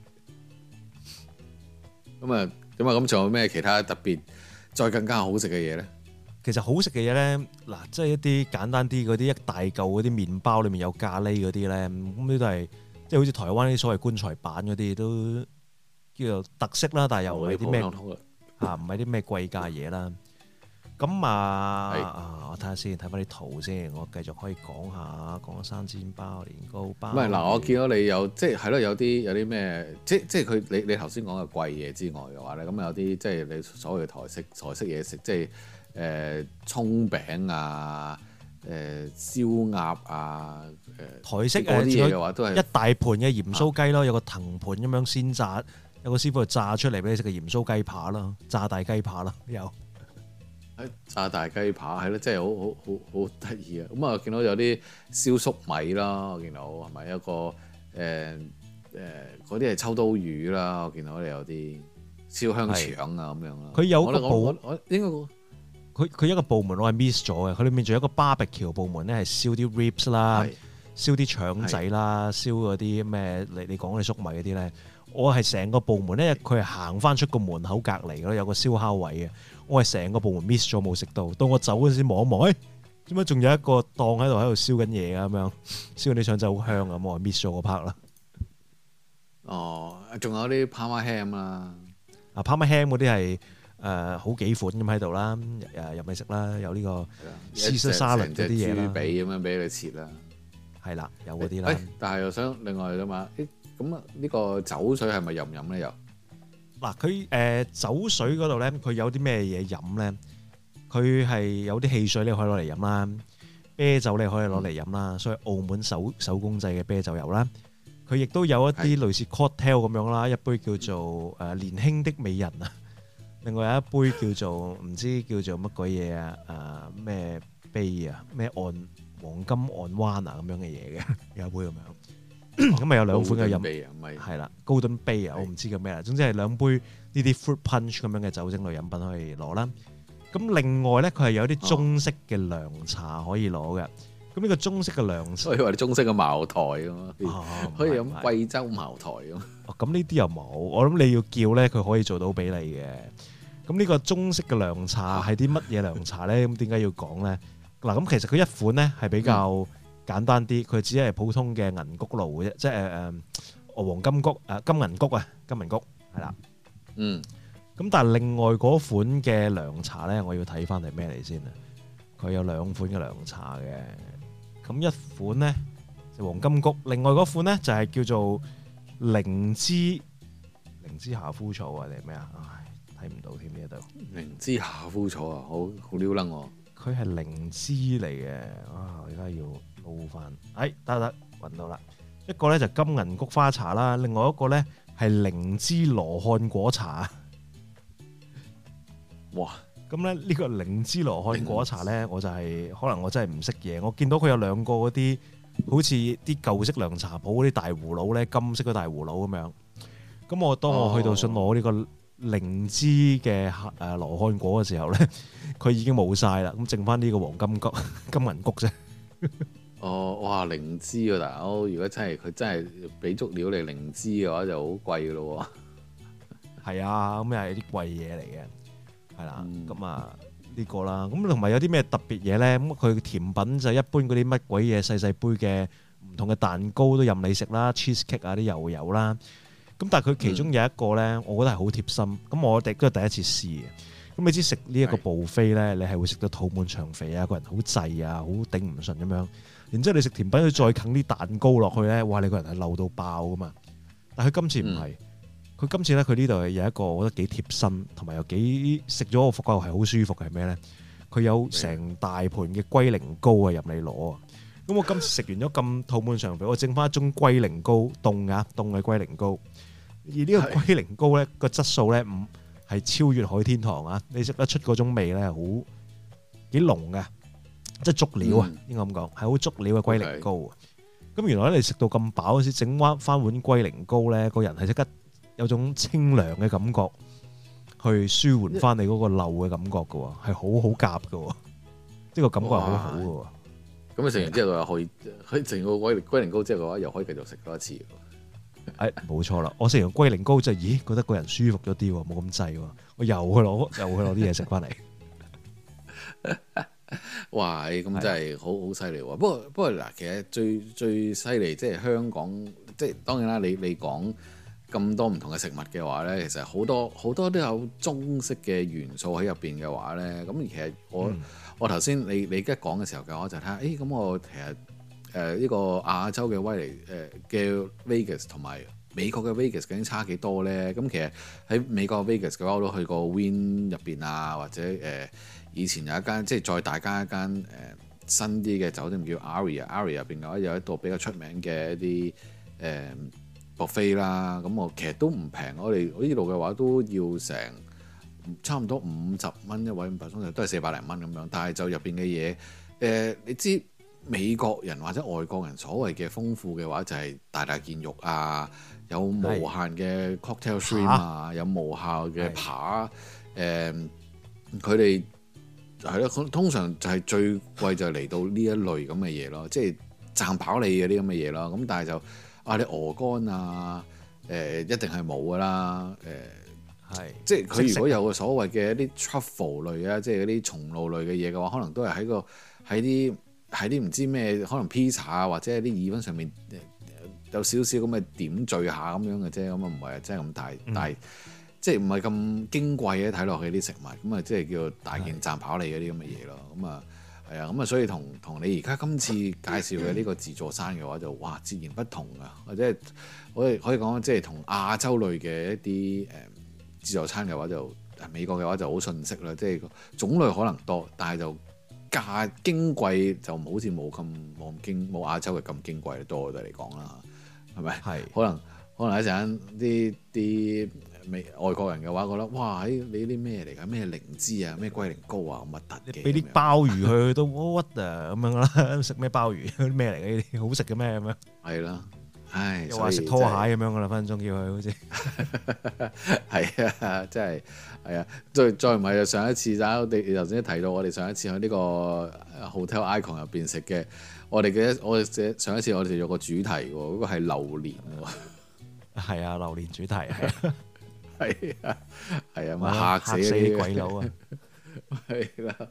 [SPEAKER 2] 咁啊咁啊咁仲有咩其他特別再更加好食嘅嘢咧？
[SPEAKER 3] 其實好食嘅嘢咧，嗱即係一啲簡單啲嗰啲一大嚿嗰啲麵包裏面有咖喱嗰啲咧，咁呢都係。即係好似台灣啲所謂棺材板嗰啲都叫做特色啦，但係又唔係啲咩嚇，唔係啲咩貴價嘢啦。咁啊，啊我睇下先，睇翻啲圖先，我繼續可以講下講生煎包、年糕包。唔係
[SPEAKER 2] 嗱，我見到你有即係係咯，有啲有啲咩，即即係佢你你頭先講嘅貴嘢之外嘅話咧，咁有啲即係你所謂嘅台式台式嘢食，即係誒葱餅啊。誒、呃、燒鴨啊，誒、呃、
[SPEAKER 3] 台式
[SPEAKER 2] 嗰啲嘢嘅話都係
[SPEAKER 3] 一大盤嘅鹽酥雞咯，啊、有個藤盤咁樣先炸，有個師傅炸出嚟俾你食嘅鹽酥雞扒啦，炸大雞扒啦，有
[SPEAKER 2] 炸大雞扒係咯，真係好好好好得意啊！咁啊，見到有啲燒粟米啦，我見到係咪一個誒誒嗰啲係秋刀魚啦，我見到你有啲燒香腸啊咁樣啦。
[SPEAKER 3] 佢有個部，
[SPEAKER 2] 我應該。
[SPEAKER 3] 佢佢一個部門我係 miss 咗嘅，佢裏面仲有一個 barbecue 部門咧，係燒啲 ribs 啦，燒啲腸仔啦，燒嗰啲咩你你講嘅粟米嗰啲咧，我係成個部門咧，佢係行翻出個門口隔離咯，有個燒烤位嘅，我係成個部門 miss 咗冇食到，到我走嗰陣時望一望，誒點解仲有一個檔喺度喺度燒緊嘢啊咁樣，燒啲腸仔好香啊，我係 miss 咗個 part 啦。
[SPEAKER 2] 哦，仲有啲 Parma ham 啦，
[SPEAKER 3] 啊 Parma ham 嗰啲係。誒、呃、好幾款咁喺度啦，誒入嚟食啦，有呢個 Caesar salad 嗰啲嘢啦，豬
[SPEAKER 2] 髀咁樣俾你切啦，
[SPEAKER 3] 係啦，有嗰啲啦。
[SPEAKER 2] 但係又想另外啫嘛，誒咁啊呢個酒水係咪飲唔飲咧？又
[SPEAKER 3] 嗱佢誒酒水嗰度咧，佢有啲咩嘢飲咧？佢係有啲汽水你可以攞嚟飲啦，啤酒你可以攞嚟飲啦，嗯、所以澳門手手工製嘅啤酒有啦。佢亦都有一啲類似 cocktail 咁樣啦，一杯叫做誒年輕的美人啊。另外有一杯叫做唔知叫做乜鬼嘢啊，誒咩杯啊，咩岸黃金岸灣啊咁樣嘅嘢嘅，有一杯咁樣，咁咪有兩款嘅飲，係啦，高端杯啊，我唔知叫咩啦，總之係兩杯呢啲 fruit punch 咁樣嘅酒精類飲品可以攞啦。咁另外咧，佢係有啲中式嘅涼茶可以攞嘅。咁呢個中式嘅涼茶，
[SPEAKER 2] 所以話你中式嘅茅台咁啊，可以飲貴州茅台咁。
[SPEAKER 3] 哦，咁呢啲又冇，我諗你要叫咧，佢可以做到俾你嘅。咁呢個中式嘅涼茶係啲乜嘢涼茶咧？咁點解要講咧？嗱，咁其實佢一款咧係比較簡單啲，佢只係普通嘅銀菊露嘅啫，即係誒誒黃金菊誒金銀菊啊，金銀菊係啦。
[SPEAKER 2] 嗯。
[SPEAKER 3] 咁但係另外嗰款嘅涼茶咧，我要睇翻係咩嚟先啊？佢有兩款嘅涼茶嘅，咁一款咧就黃金菊，另外嗰款咧就係叫做靈芝靈芝夏枯草啊定係咩啊？唉，睇唔到添呢度。
[SPEAKER 2] 靈芝夏枯草啊，好好撩楞喎。佢
[SPEAKER 3] 係靈芝嚟嘅，啊！我而家要撈翻，哎得得揾到啦。一個咧就金銀菊花茶啦，另外一個咧係靈芝羅漢果茶。
[SPEAKER 2] 哇！
[SPEAKER 3] 咁咧呢個靈芝羅漢果茶咧，我就係、是、可能我真係唔識嘢。我見到佢有兩個嗰啲好似啲舊式涼茶鋪嗰啲大葫蘆咧，金色嘅大葫蘆咁樣。咁我當我去到想攞呢個靈芝嘅誒羅漢果嘅時候咧，佢已經冇晒啦。咁剩翻呢個黃金菊、金銀菊啫。
[SPEAKER 2] 哦，哇！靈芝啊，大佬！如果真係佢真係俾足料你靈芝嘅話，就好貴噶咯喎。係
[SPEAKER 3] 啊，咁又係啲貴嘢嚟嘅。係啦，咁啊呢個啦，咁同埋有啲咩特別嘢咧？咁佢甜品就一般嗰啲乜鬼嘢細細杯嘅唔同嘅蛋糕都任你食啦 ，cheese cake 啊啲又有啦。咁但係佢其中有一個咧，嗯、我覺得係好貼心。咁我哋都係第一次試嘅。咁你知食呢一個 buffet咧，你係會食到肚滿腸肥啊，個人好滯啊，好頂唔順咁樣。然之後你食甜品，佢再啃啲蛋糕落去咧，哇！你個人係漏到爆噶嘛。但係佢今次唔係。嗯佢今次咧，佢呢度係有一個我覺得幾貼身，同埋又幾食咗我覺得係好舒服嘅係咩咧？佢有成大盤嘅龜苓膏啊，任你攞啊！咁我今次食完咗咁肚滿腸肥，我剩翻一盅龜苓膏凍嘅凍嘅龜苓膏。而呢個龜苓膏咧個質素咧唔係超越海天堂啊！你食得出嗰種味咧，好幾濃嘅，即係足料啊！應該咁講係好足料嘅龜苓膏啊！咁原來咧你食到咁飽嗰時，整翻翻碗龜苓膏咧，個人係即刻〜有種清涼嘅感覺，去舒緩翻你嗰個漏嘅感覺嘅喎，係好好夾嘅喎，呢個感覺係好好嘅喎。
[SPEAKER 2] 咁你食完之後又可以，可以食個龜龜苓膏之後嘅話，又可以繼續食多一次。
[SPEAKER 3] 誒，冇錯啦，我食完龜苓膏就咦覺得個人舒服咗啲喎，冇咁滯喎，我又去攞又去攞啲嘢食翻嚟。
[SPEAKER 2] 哇！咁真係好好犀利喎。不過不過嗱，其實最最犀利即係香港，即係當然啦，你你講。咁多唔同嘅食物嘅話呢，其實好多好多都有中式嘅元素喺入邊嘅話呢。咁其實我、嗯、我頭先你你而家講嘅時候嘅，我就睇下，誒咁我其實誒呢、呃呢個亞洲嘅威尼誒嘅 Vegas 同埋美國嘅 Vegas 究竟差幾多呢？咁其實喺美國 Vegas 嘅話，我都去過 Wynn 入邊啊，或者誒、呃、以前有一間即係再大間一間誒、呃、新啲嘅酒店叫 Aria，Aria 入邊嘅話有一度比較出名嘅一啲誒。呃buffet啦，咁我其實都唔平，我哋呢度嘅話都要成差唔多五十蚊一位，五百鐘頭都係四百零蚊咁樣。但係就入邊嘅嘢，誒、呃、你知美國人或者外國人所謂嘅豐富嘅話，就係大大件肉啊，有無限嘅 cocktail shrimp 啊，爬有無限嘅扒，誒佢哋係咯，通常就係最貴就嚟到呢一類咁嘅嘢咯，即係賺飽你嘅啲咁嘅嘢咯。咁但係就啊！你鵝肝啊，誒、呃、一定係冇噶啦，誒、呃、係是即係佢如果有個所謂嘅一啲 truffle 類啊，即係嗰啲松露類嘅嘢嘅話，可能都係喺個喺啲喺啲唔知咩，可能 pizza 啊或者係啲意粉上面有少少咁嘅點綴下咁樣嘅啫，咁啊唔係真係咁大，嗯、但係即係唔係咁矜貴嘅睇落去啲食物，咁啊即係叫大件賺飽你嗰啲咁嘅嘢咯，咁啊。係啊，咁啊，所以同同你而家今次介紹嘅呢個自助餐嘅話就，就哇截然不同啊！或者可以可以講，即係同亞洲類嘅一啲誒自助餐嘅話就，美國嘅話就好遜色啦，即係種類可能多，但係就價矜貴就好似冇咁冇咁矜冇亞洲嘅咁矜貴多我哋嚟講啦，係咪？係是可能可能一陣間啲啲。外國人嘅話覺得哇，你啲咩嚟㗎？咩靈芝啊，咩龜苓膏啊，咁核突嘅。俾啲鮑魚佢都屈啊咁樣啦，食咩鮑魚？咩嚟嘅呢啲？好食嘅咩咁樣？係啦，唉，又話食拖鞋咁樣㗎啦，分分鐘叫佢好似。係啊，真係係啊，再再唔係就上一次就我哋頭先提到我哋上一次喺呢個 Hotel Icon 入邊食嘅，我哋嘅我哋上一次我哋有個主題喎，嗰、嗰個係榴蓮喎。係啊，榴蓮主題係。係啊，係啊，嚇死啲鬼佬啊！係啦，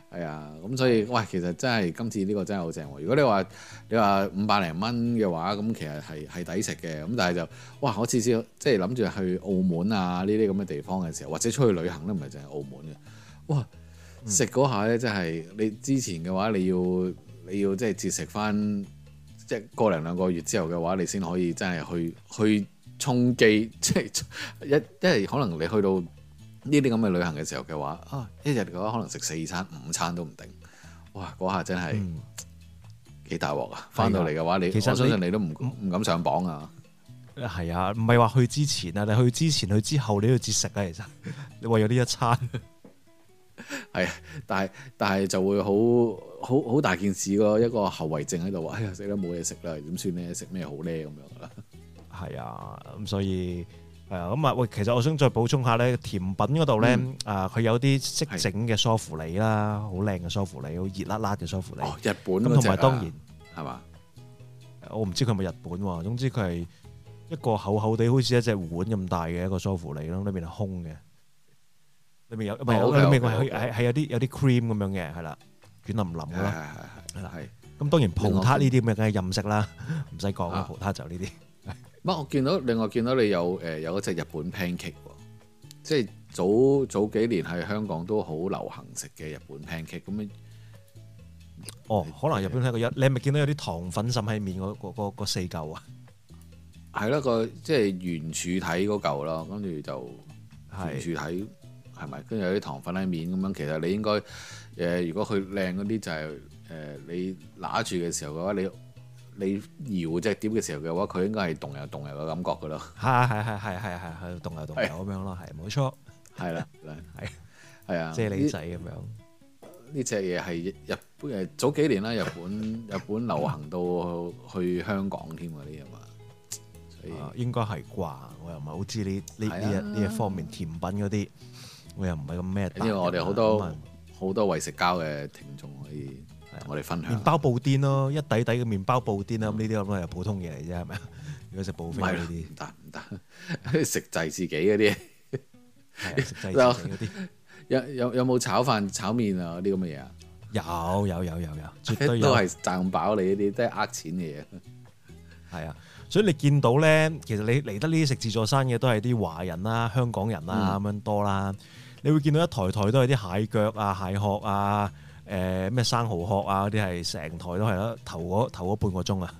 [SPEAKER 2] 係啊，咁所以喂，其實真係今次呢個真係好正喎。如果你話你話五百零蚊嘅話，咁其實係係抵食嘅。咁但係就哇，我次次即係諗住去澳門啊呢啲咁嘅地方嘅時候，或者出去旅行都唔係淨係澳門嘅。哇，食嗰下咧真係你之前嘅話，你要你要即係節食翻，即係個零兩個月之後嘅話，你先可以真係去去充飢，即係一因為可能你去到呢啲咁嘅旅行嘅時候嘅話，啊一日嘅話可能食四餐五餐都唔定，哇嗰下真係幾大鑊啊！翻到嚟嘅話，你其實我相信你都唔唔敢上磅啊。
[SPEAKER 3] 係啊，唔係話去之前啊，你去之前去之後你都要節食啊。其實你為咗呢一餐
[SPEAKER 2] 係，但係但係就會好好好大件事咯，一個後遺症喺度話，哎呀死啦冇嘢食啦，點算咧？食咩好咧咁樣啦。係
[SPEAKER 3] 啊，咁所以。係啊，咁啊喂，其實我想再補充下咧，甜品嗰度咧，嗯、啊佢有啲識整嘅梳芙梨啦，好靚嘅梳芙梨，好熱辣辣嘅梳芙梨。
[SPEAKER 2] 哦，日本嗰隻啊。咁
[SPEAKER 3] 同埋當然
[SPEAKER 2] 係嘛？
[SPEAKER 3] 我唔知佢係咪日本喎，總之佢係一個厚厚地，好似一隻碗咁大嘅一個梳芙梨咯，裏面係空嘅，裏面有唔係裏面係係係有啲有啲 cream 咁樣嘅，係啦，軟腍腍嘅啦，係啦，係。咁當然葡撻呢啲咁嘅梗係任食啦，唔使講啦，葡撻就呢啲。
[SPEAKER 2] 乜？我見到另外見到你有誒有一隻日本 pancake 喎，即係早早幾年喺香港都好流行食嘅日本 pancake 咁樣。
[SPEAKER 3] 哦，可能日本係個一，你係咪見到有啲糖粉滲喺面嗰嗰嗰四嚿啊？
[SPEAKER 2] 係啦，個即係圓柱體嗰嚿啦，跟住就圓柱體係咪？跟住有啲糖粉喺面咁樣。其實你應該誒、呃，如果佢靚嗰啲就係、是、誒、呃，你拿住嘅時候嘅話，你。你搖隻碟嘅時候嘅話，佢應該係動又動又嘅感覺噶咯。
[SPEAKER 3] 係係係係係係係動又動又咁樣咯，係冇錯。係啦，係係啊，啫喱仔咁樣。
[SPEAKER 2] 呢隻嘢係日本誒早幾年啦，日本日本流行到去香港添嗰啲啊嘛。所以
[SPEAKER 3] 應該係啩，我又唔係好知呢呢呢一呢一方面甜品嗰啲，我又唔係咁咩。
[SPEAKER 2] 因為我哋好多好多為食交嘅聽眾可以。我哋分享
[SPEAKER 3] 麵包布甸咯，一底底嘅麵包布甸啦，咁呢啲咁係普通嘢嚟啫，係咪啊？如果食布菲呢啲
[SPEAKER 2] 唔得唔得，食滯自己嗰啲，
[SPEAKER 3] 食滯自己嗰啲。
[SPEAKER 2] 有有有冇炒飯、炒麵啊？嗰啲咁嘅嘢啊？
[SPEAKER 3] 有有有有有，絕對有。
[SPEAKER 2] 都係賺飽你呢啲，都係呃錢嘅嘢。
[SPEAKER 3] 係啊，所以你見到咧，其實你嚟得呢啲食自助餐嘅都係啲華人啦、香港人啦咁樣多啦。你會見到一台台都係啲蟹腳啊、蟹殼啊。誒咩、呃、生蠔殼啊嗰啲係成台都係咯，頭嗰頭嗰半個鐘啊，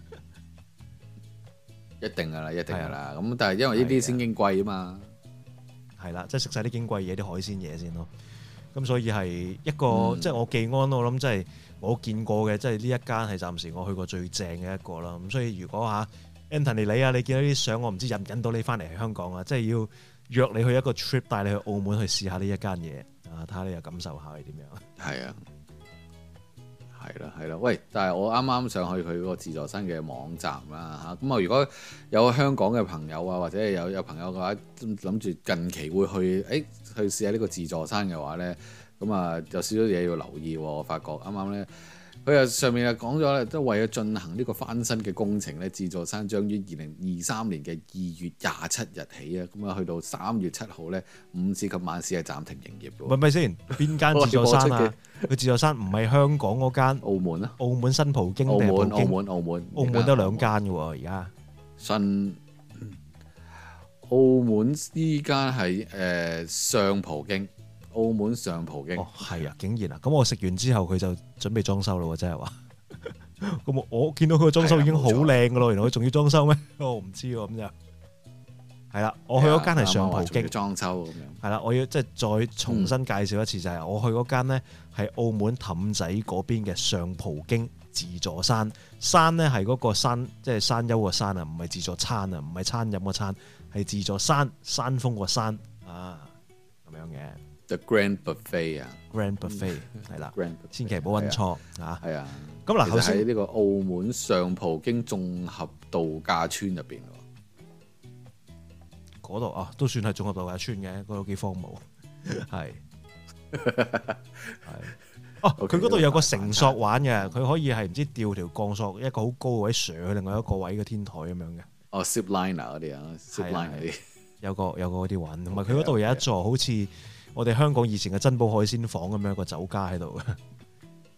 [SPEAKER 2] 一定噶啦，一定噶啦。咁但係因為呢啲先矜貴啊嘛，
[SPEAKER 3] 係啦，即係食晒啲矜貴嘢，啲海鮮嘢先咯。咁所以係一個、嗯、即係我技安，我諗即係我見過嘅，即係呢一間係暫時我去過最正嘅一個啦。咁所以如果嚇 Anthony 你啊，你見到啲相，我唔知引唔引到你翻嚟香港啊，即係要約你去一個 trip 帶你去澳門去試下呢一間嘢啊，睇下你又感受下係點樣。
[SPEAKER 2] 係啊。係啦，係啦，喂！但係我啱啱上去佢嗰個自助餐嘅網站啦嚇，咁啊如果有香港嘅朋友啊，或者係有有朋友嘅話，諗住近期會去，誒、欸、去試下呢個自助餐嘅話咧，咁啊有少少嘢要留意喎。我發覺啱啱咧，佢啊上面啊講咗咧，都為咗進行呢個翻新嘅工程咧，自助餐將於二零二三年嘅二月廿七日起啊，咁啊去到三月七號咧，午市及晚市係暫停營業嘅。
[SPEAKER 3] 喂咪先，邊間自助餐啊？佢自助餐唔係香港嗰間，
[SPEAKER 2] 澳門啊，
[SPEAKER 3] 澳門新葡京定係葡京？
[SPEAKER 2] 澳門，澳門，
[SPEAKER 3] 澳門都兩間嘅喎，而家
[SPEAKER 2] 新澳門呢間係誒上葡京，澳門上葡京。
[SPEAKER 3] 哦，係啊，竟然啊，咁我食完之後佢就準備裝修咯喎，真係話。咁我我見到佢嘅裝修已經好靚嘅咯，原來佢仲要裝修咩？我唔知喎，咁就。係啦，我去嗰間係上葡京
[SPEAKER 2] 裝修咁樣。係
[SPEAKER 3] 啦，我要即係再重新介紹一次，就係、是、我去嗰間呢係澳門氹仔嗰邊嘅上葡京自助餐。山呢係嗰個山，即係山丘個山啊，唔係自助餐啊，唔係餐飲個餐，係自助山，山峰個山啊，咁樣嘅。
[SPEAKER 2] The Grand Buffet 啊
[SPEAKER 3] ，Grand Buffet 係啦，千祈唔好揾錯啊。
[SPEAKER 2] 係啊，
[SPEAKER 3] 咁嗱，頭先
[SPEAKER 2] 喺呢個澳門上葡京綜合度假村入邊。
[SPEAKER 3] 嗰度啊，都算係綜合度假村嘅，嗰度幾荒蕪，係係哦。佢嗰度有個繩索玩嘅，佢可以係唔知吊條鋼索，一個好高嘅位上去另外一個位嘅天台咁樣嘅。
[SPEAKER 2] 哦 ，zip liner 嗰啲啊 zip line 嗰啲，
[SPEAKER 3] 有個有個嗰啲玩，同埋佢嗰度有一座好似我哋香港以前嘅珍寶海鮮舫咁樣一個酒家喺度嘅。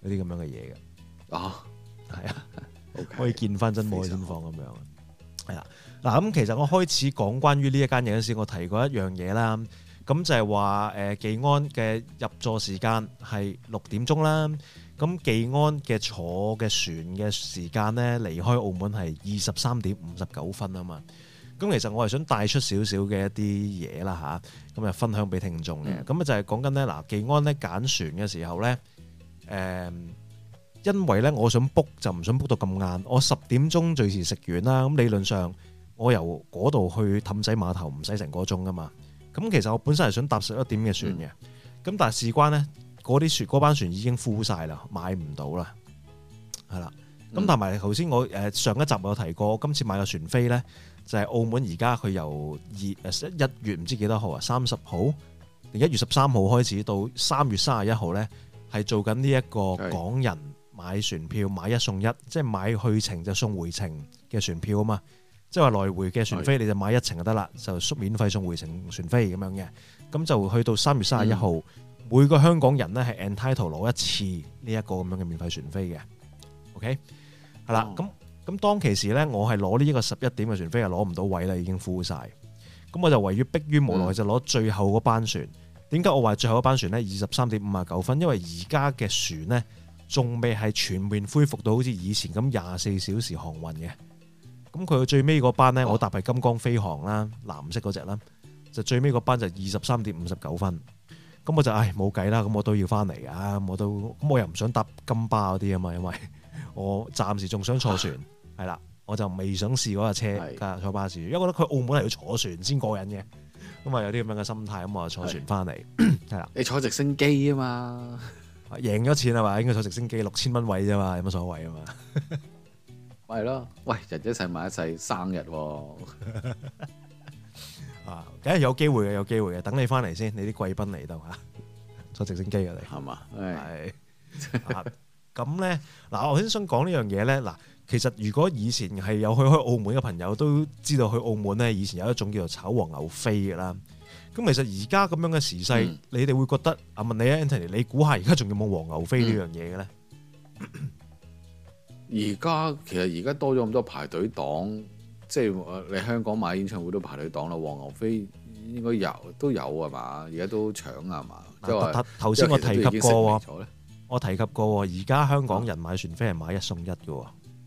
[SPEAKER 3] 嗰啲咁樣嘅嘢嘅。
[SPEAKER 2] 啊，
[SPEAKER 3] 係啊，
[SPEAKER 2] okay,
[SPEAKER 3] 可以見翻真冇先放咁樣。係啦，嗱咁其實我開始講關於呢一間嘢嗰時，我提過一樣嘢啦。咁就係話誒技安嘅入座時間係六點鐘啦。咁技安嘅坐嘅船嘅時間咧，離開澳門係二十三點五十九分啊嘛。咁其實我係想帶出少少嘅一啲嘢啦吓，咁啊分享俾聽眾嘅。咁啊、嗯、就係講緊咧嗱，技安咧揀船嘅時候咧，誒、呃，因為咧我想 book 就唔想 book 到咁晏，我十點鐘最遲食完啦。咁理論上我由嗰度去氹仔碼頭唔使成個鐘噶嘛。咁其實我本身係想搭十一點嘅船嘅，咁、嗯、但係事關咧。嗰啲船嗰班船已經 full 晒啦，買唔到啦，係啦。咁同埋頭先我誒上一集我有提過，今次買嘅船飛咧就係澳門而家佢由二誒一月唔知幾多號啊，三十號定一月十三號開始到三月三十一號咧，係做緊呢一個港人買船票買一送一，即係買去程就送回程嘅船票啊嘛。即係話來回嘅船飛你就買一程就得啦，就免費送回程船飛咁樣嘅。咁就去到三月三十一號。嗯每個香港人咧係 entitled 攞一次呢一個咁樣嘅免費船飛嘅 ，OK 係啦。咁咁、哦、當其時咧，我係攞呢一個十一點嘅船飛係攞唔到位啦，已經 full 晒。咁我就唯於迫於無奈就攞最後嗰班船。點解、嗯、我話最後嗰班船咧二十三點五十九分？因為而家嘅船咧仲未係全面恢復到好似以前咁廿四小時航運嘅。咁佢最尾嗰班咧，哦、我搭係金光飛航啦，藍色嗰隻啦，就最尾嗰班就二十三點五十九分。咁我就唉冇計啦，咁我都要翻嚟噶，我都咁我又唔想搭金巴嗰啲啊嘛，因為我暫時仲想坐船，係啦，我就未想試嗰架車加坐巴士，因為覺得佢澳門係要坐船先過癮嘅，咁啊有啲咁樣嘅心態，咁我就坐船翻嚟，係啦。你坐直升機啊嘛，贏咗錢係嘛，應該坐直升機六千蚊位啫嘛，有乜所謂啊嘛？係咯，喂，人一世買一世，生日喎。啊，梗係有機會嘅，有機會嘅。等你翻嚟先，你啲貴賓嚟到嚇，坐直升機嘅你係嘛？係咁咧。嗱，我先想講呢樣嘢咧。嗱，其實如果以前係有去開澳門嘅朋友都知道，去澳門咧以前有一種叫做炒黃牛飛嘅啦。咁其實而家咁樣嘅時勢，嗯、你哋會覺得啊？問你啊，Anthony，你估下而家仲有冇黃牛飛呢樣嘢嘅咧？而家、嗯、其實而家多咗咁多排隊檔。即係你香港買演唱會都排隊檔啦，黃牛飛應該有都有係嘛？而家都搶啊嘛！即係頭先我提及過喎，我提及過喎，而家香港人買船飛係買一送一嘅喎。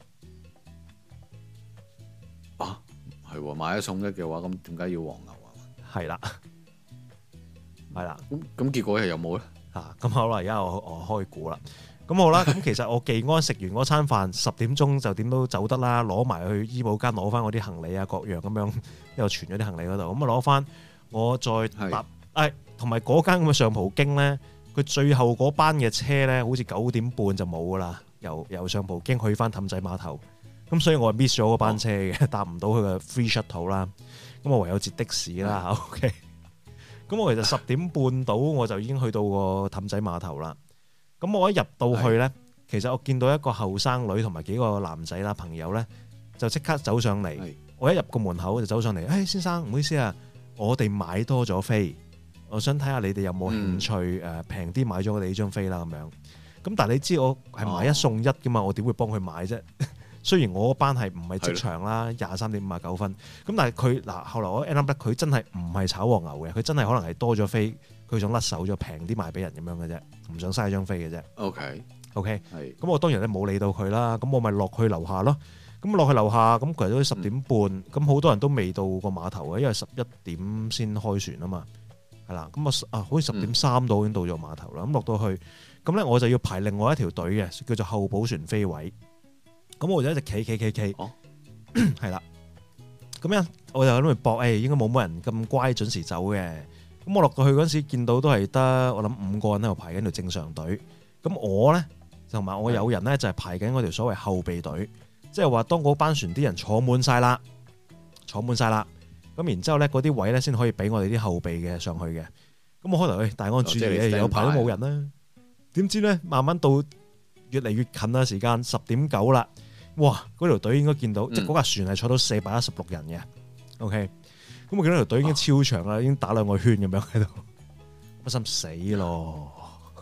[SPEAKER 3] 啊，係喎，買一送一嘅話，咁點解要黃牛啊？係啦，係啦。咁咁結果係有冇咧？嚇，咁好啦，而家我我開估啦。咁好啦，咁其實我技安食完嗰餐飯，十點鐘就點都走得啦，攞埋去醫保間攞翻我啲行李啊，各樣咁樣，又存咗啲行李嗰度，咁啊攞翻，我再搭，誒，同埋嗰間咁嘅上葡京咧，佢最後嗰班嘅車咧，好似九點半就冇噶啦，由由上葡京去翻氹仔碼頭，咁所以我係 miss 咗嗰班車嘅，搭唔到佢嘅 free shuttle 啦，咁我唯有截的士啦 ，OK，咁我其實十點半到我就已經去到個氹仔碼頭啦。咁我一入到去咧，其實我見到一個後生女同埋幾個男仔啦朋友咧，就即刻走上嚟。我一入個門口就走上嚟，誒先生唔好意思啊，我哋買多咗飛，我想睇下你哋有冇興趣誒平啲買咗我哋呢張飛啦咁樣。咁但係你知我係買一送一噶嘛，我點會幫佢買啫？雖然我嗰班係唔係即場啦，廿三點五十九分。咁但係佢嗱後來我 end up 佢真係唔係炒黃牛嘅，佢真係可能係多咗飛。佢想甩手咗平啲賣俾人咁樣嘅啫，唔想嘥張飛嘅啫。OK OK，係。咁我當然咧冇理到佢啦，咁我咪落去樓下咯。咁落去樓下，咁其實都十點半，咁好、嗯、多人都未到個碼頭嘅，因為十一點先開船啊嘛。係啦，咁啊啊，好似十點三到已經到咗碼頭啦。咁落到去，咁咧我就要排另外一條隊嘅，叫做候補船飛位。咁我就一直企企企企，係啦。咁樣我就喺度搏，誒應該冇乜人咁乖準時走嘅。咁我落到去嗰陣時，見到都係得我諗五個人喺度排緊條正常隊。咁我咧同埋我有人咧就係排緊嗰條所謂後備隊，即係話當嗰班船啲人坐滿晒啦，坐滿晒啦，咁然之後咧嗰啲位咧先可以俾我哋啲後備嘅上去嘅。咁我開頭去大安注意嘅，有排都冇人啦。點知咧慢慢到越嚟越近啦，時間十點九啦，哇！嗰條隊應該見到，嗯、即係嗰架船係坐到四百一十六人嘅。OK。咁我見到條隊已經超長啦，已經打兩個圈咁樣喺度，我心死咯！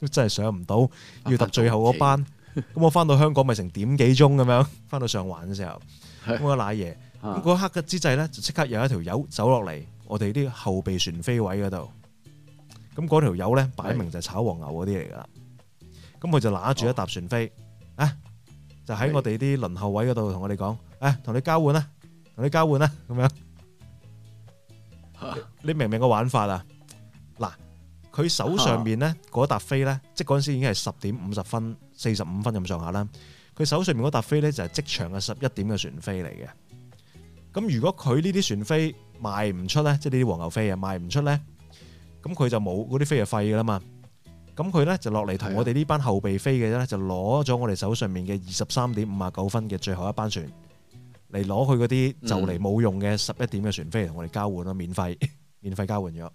[SPEAKER 3] 真係上唔到，要搭最後嗰班。咁我翻到香港咪成點幾鐘咁樣，翻到上環嘅時候，咁我瀨嘢。咁嗰刻嘅之際咧，就即刻有一條友走落嚟，我哋啲後備船飛位嗰度。咁嗰條友咧，擺明就係炒黃牛嗰啲嚟噶啦。咁佢就揦住一沓船飛，啊，就喺我哋啲輪候位嗰度同我哋講，誒，同你交換啦，同你交換啦，咁樣。你明唔明個玩法啊？嗱，佢手上面咧嗰沓飛咧，即係嗰陣時已經係十點五十分、四十五分咁上下啦。佢手上面嗰沓飛咧就係即場嘅十一點嘅船飛嚟嘅。咁如果佢呢啲船飛賣唔出咧，即係呢啲黃牛飛啊賣唔出咧，咁佢就冇嗰啲飛就廢噶啦嘛。咁佢咧就落嚟同我哋呢班後備飛嘅咧，就攞咗我哋手上面嘅二十三點五啊九分嘅最後一班船。嚟攞佢嗰啲就嚟冇用嘅十一點嘅船飛嚟同我哋交換咯，免費免費交換咗。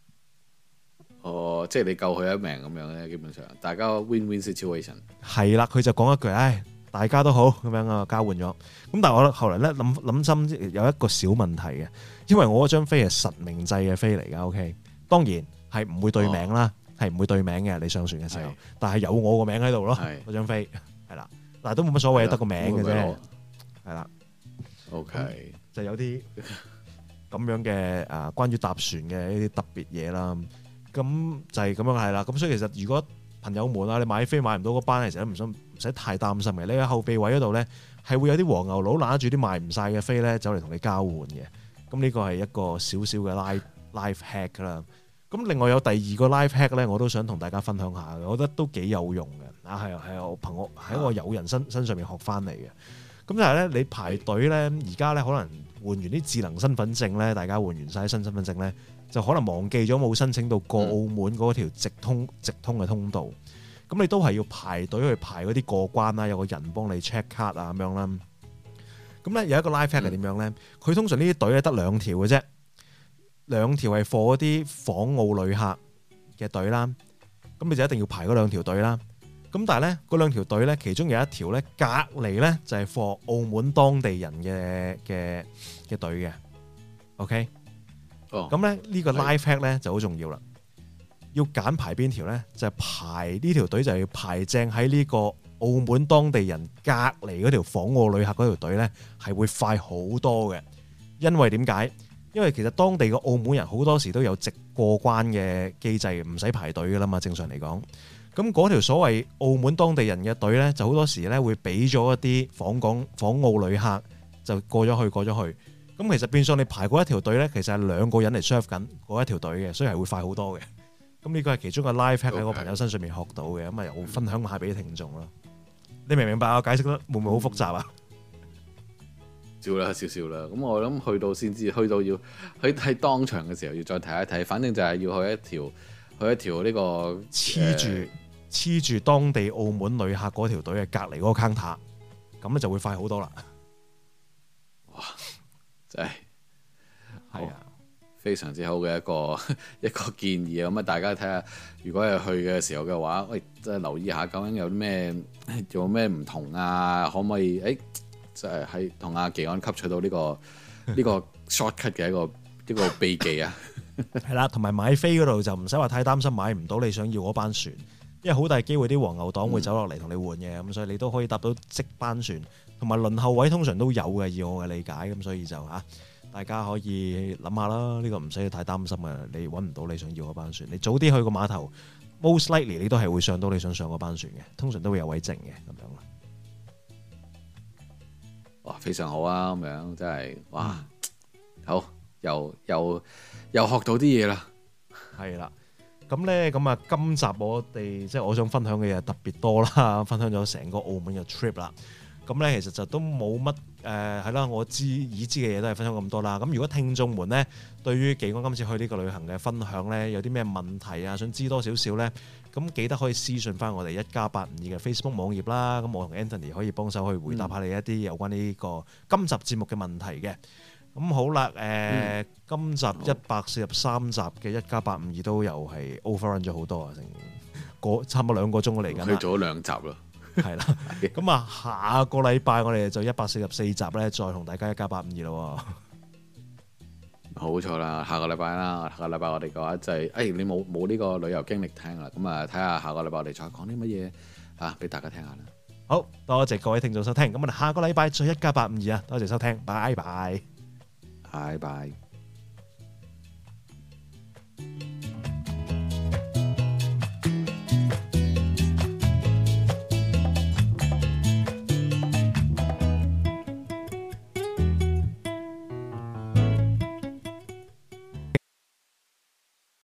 [SPEAKER 2] 哦，即係你救佢一命咁樣咧，基本上大家 win-win situation。
[SPEAKER 3] 係啦，佢就講一句，唉，大家都好咁樣啊，交換咗。咁但係我後來咧諗諗深，有一個小問題嘅，因為我嗰張飛係實名制嘅飛嚟㗎。OK，當然係唔會對名啦，係唔、哦、會對名嘅。你上船嘅時候，但係有我個名喺度咯，嗰張飛係啦，但係都冇乜所謂，得個名嘅啫，係啦。OK，就有啲咁樣嘅誒，關於搭船嘅一啲特別嘢啦。咁就係咁樣係啦。咁所以其實如果朋友們啊，你買飛買唔到嗰班，其實都唔使唔使太擔心嘅。你喺後備位嗰度咧，係會有啲黃牛佬拿住啲賣唔晒嘅飛咧，走嚟同你交換嘅。咁呢個係一個少少嘅 life life hack 啦。咁另外有第二個 life hack 咧，我都想同大家分享下嘅，我覺得都幾有用嘅。啊，係啊係啊，我憑我喺我友人身身上面學翻嚟嘅。咁就係咧，你排隊咧，而家咧可能換完啲智能身份證咧，大家換完晒新身份證咧，就可能忘記咗冇申請到過澳門嗰條直通直通嘅通道。咁、嗯、你都係要排隊去排嗰啲過關啦，有個人幫你 check 卡啊咁樣啦。咁咧有一個 live hack 係點樣咧？佢、嗯、通常呢啲隊咧得兩條嘅啫，兩條係 for 嗰啲訪澳旅客嘅隊啦。咁你就一定要排嗰兩條隊啦。咁但係咧，嗰兩條隊咧，其中有一條咧，隔離咧就係 for 澳門當地人嘅嘅嘅隊嘅。OK，哦，咁咧呢個 live hack 咧就好重要啦。要揀排邊條咧，就係排呢條隊就要排正喺呢個澳門當地人隔離嗰條訪澳旅客嗰條隊咧，係會快好多嘅。因為點解？因為其實當地嘅澳門人好多時都有直過關嘅機制，唔使排隊噶啦嘛。正常嚟講。咁嗰條所謂澳門當地人嘅隊咧，就好多時咧會俾咗一啲訪港訪澳旅客就過咗去過咗去。咁其實變相你排嗰一條隊咧，其實係兩個人嚟 serve 緊嗰一條隊嘅，所以係會快好多嘅。咁呢個係其中個 live hack 喺我朋友身上面學到嘅，咁啊又分享下俾啲聽眾咯。你明唔明白我解釋得會唔會好複雜啊？
[SPEAKER 2] 少啦少少啦。咁我諗去到先知，去到要去喺當場嘅時候要再睇一睇。反正就係要去一條去一條呢個
[SPEAKER 3] 黐住。黐住當地澳門旅客嗰條隊嘅隔離嗰個 counter，咁咧就會快好多啦。
[SPEAKER 2] 哇！真係係啊，
[SPEAKER 3] 啊
[SPEAKER 2] 非常之好嘅一個一個建議啊！咁啊，大家睇下，如果係去嘅時候嘅話，喂，即係留意下究竟有啲咩有咩唔同啊？可唔可以誒，即係喺同阿技安吸取到呢個呢個 shortcut 嘅一個一個秘技啊？
[SPEAKER 3] 係啦，同埋買飛嗰度就唔使話太擔心買唔到你想要嗰班船。因為好大機會啲黃牛黨會走落嚟同你換嘅，咁、嗯、所以你都可以搭到即班船，同埋輪候位通常都有嘅，以我嘅理解，咁所以就嚇大家可以諗下啦，呢、呢個唔使太擔心嘅，你揾唔到你想要嗰班船，你早啲去個碼頭 ，most likely 你都係會上到你想上嗰班船嘅，通常都會有位剩嘅咁樣啦。
[SPEAKER 2] 哇，非常好啊，咁樣真係哇，嗯、好又又又學到啲嘢啦，
[SPEAKER 3] 係啦。咁咧，咁啊，今集我哋即係我想分享嘅嘢特別多啦，分享咗成個澳門嘅 trip 啦。咁咧，其實就都冇乜誒係啦，我知已知嘅嘢都係分享咁多啦。咁如果聽眾們咧對於技安今次去呢個旅行嘅分享咧，有啲咩問題啊，想知多少少咧，咁記得可以私信翻我哋一加八五二嘅 Facebook 網頁啦。咁我同 Anthony 可以幫手去回答下你一啲有關呢個今集節目嘅問題嘅。咁好啦，誒、呃，嗯、今集一百四十三集嘅一加八五二都又係 overrun 咗好多啊，成個差唔多兩個鐘嚟緊啦，
[SPEAKER 2] 去咗兩集啦，
[SPEAKER 3] 係啦，咁啊，下個禮拜我哋就一百四十四集咧，再同大家一加八五二咯，
[SPEAKER 2] 冇錯啦，下個禮拜啦，下個禮拜我哋嘅話就係、是，誒、哎、你冇冇呢個旅遊經歷聽啦，咁啊睇下下個禮拜我哋再講啲乜嘢啊，俾大家聽下啦。
[SPEAKER 3] 好多謝各位聽眾收聽，咁我哋下個禮拜再一家八五二啊，多謝收聽，拜拜，
[SPEAKER 2] 拜拜。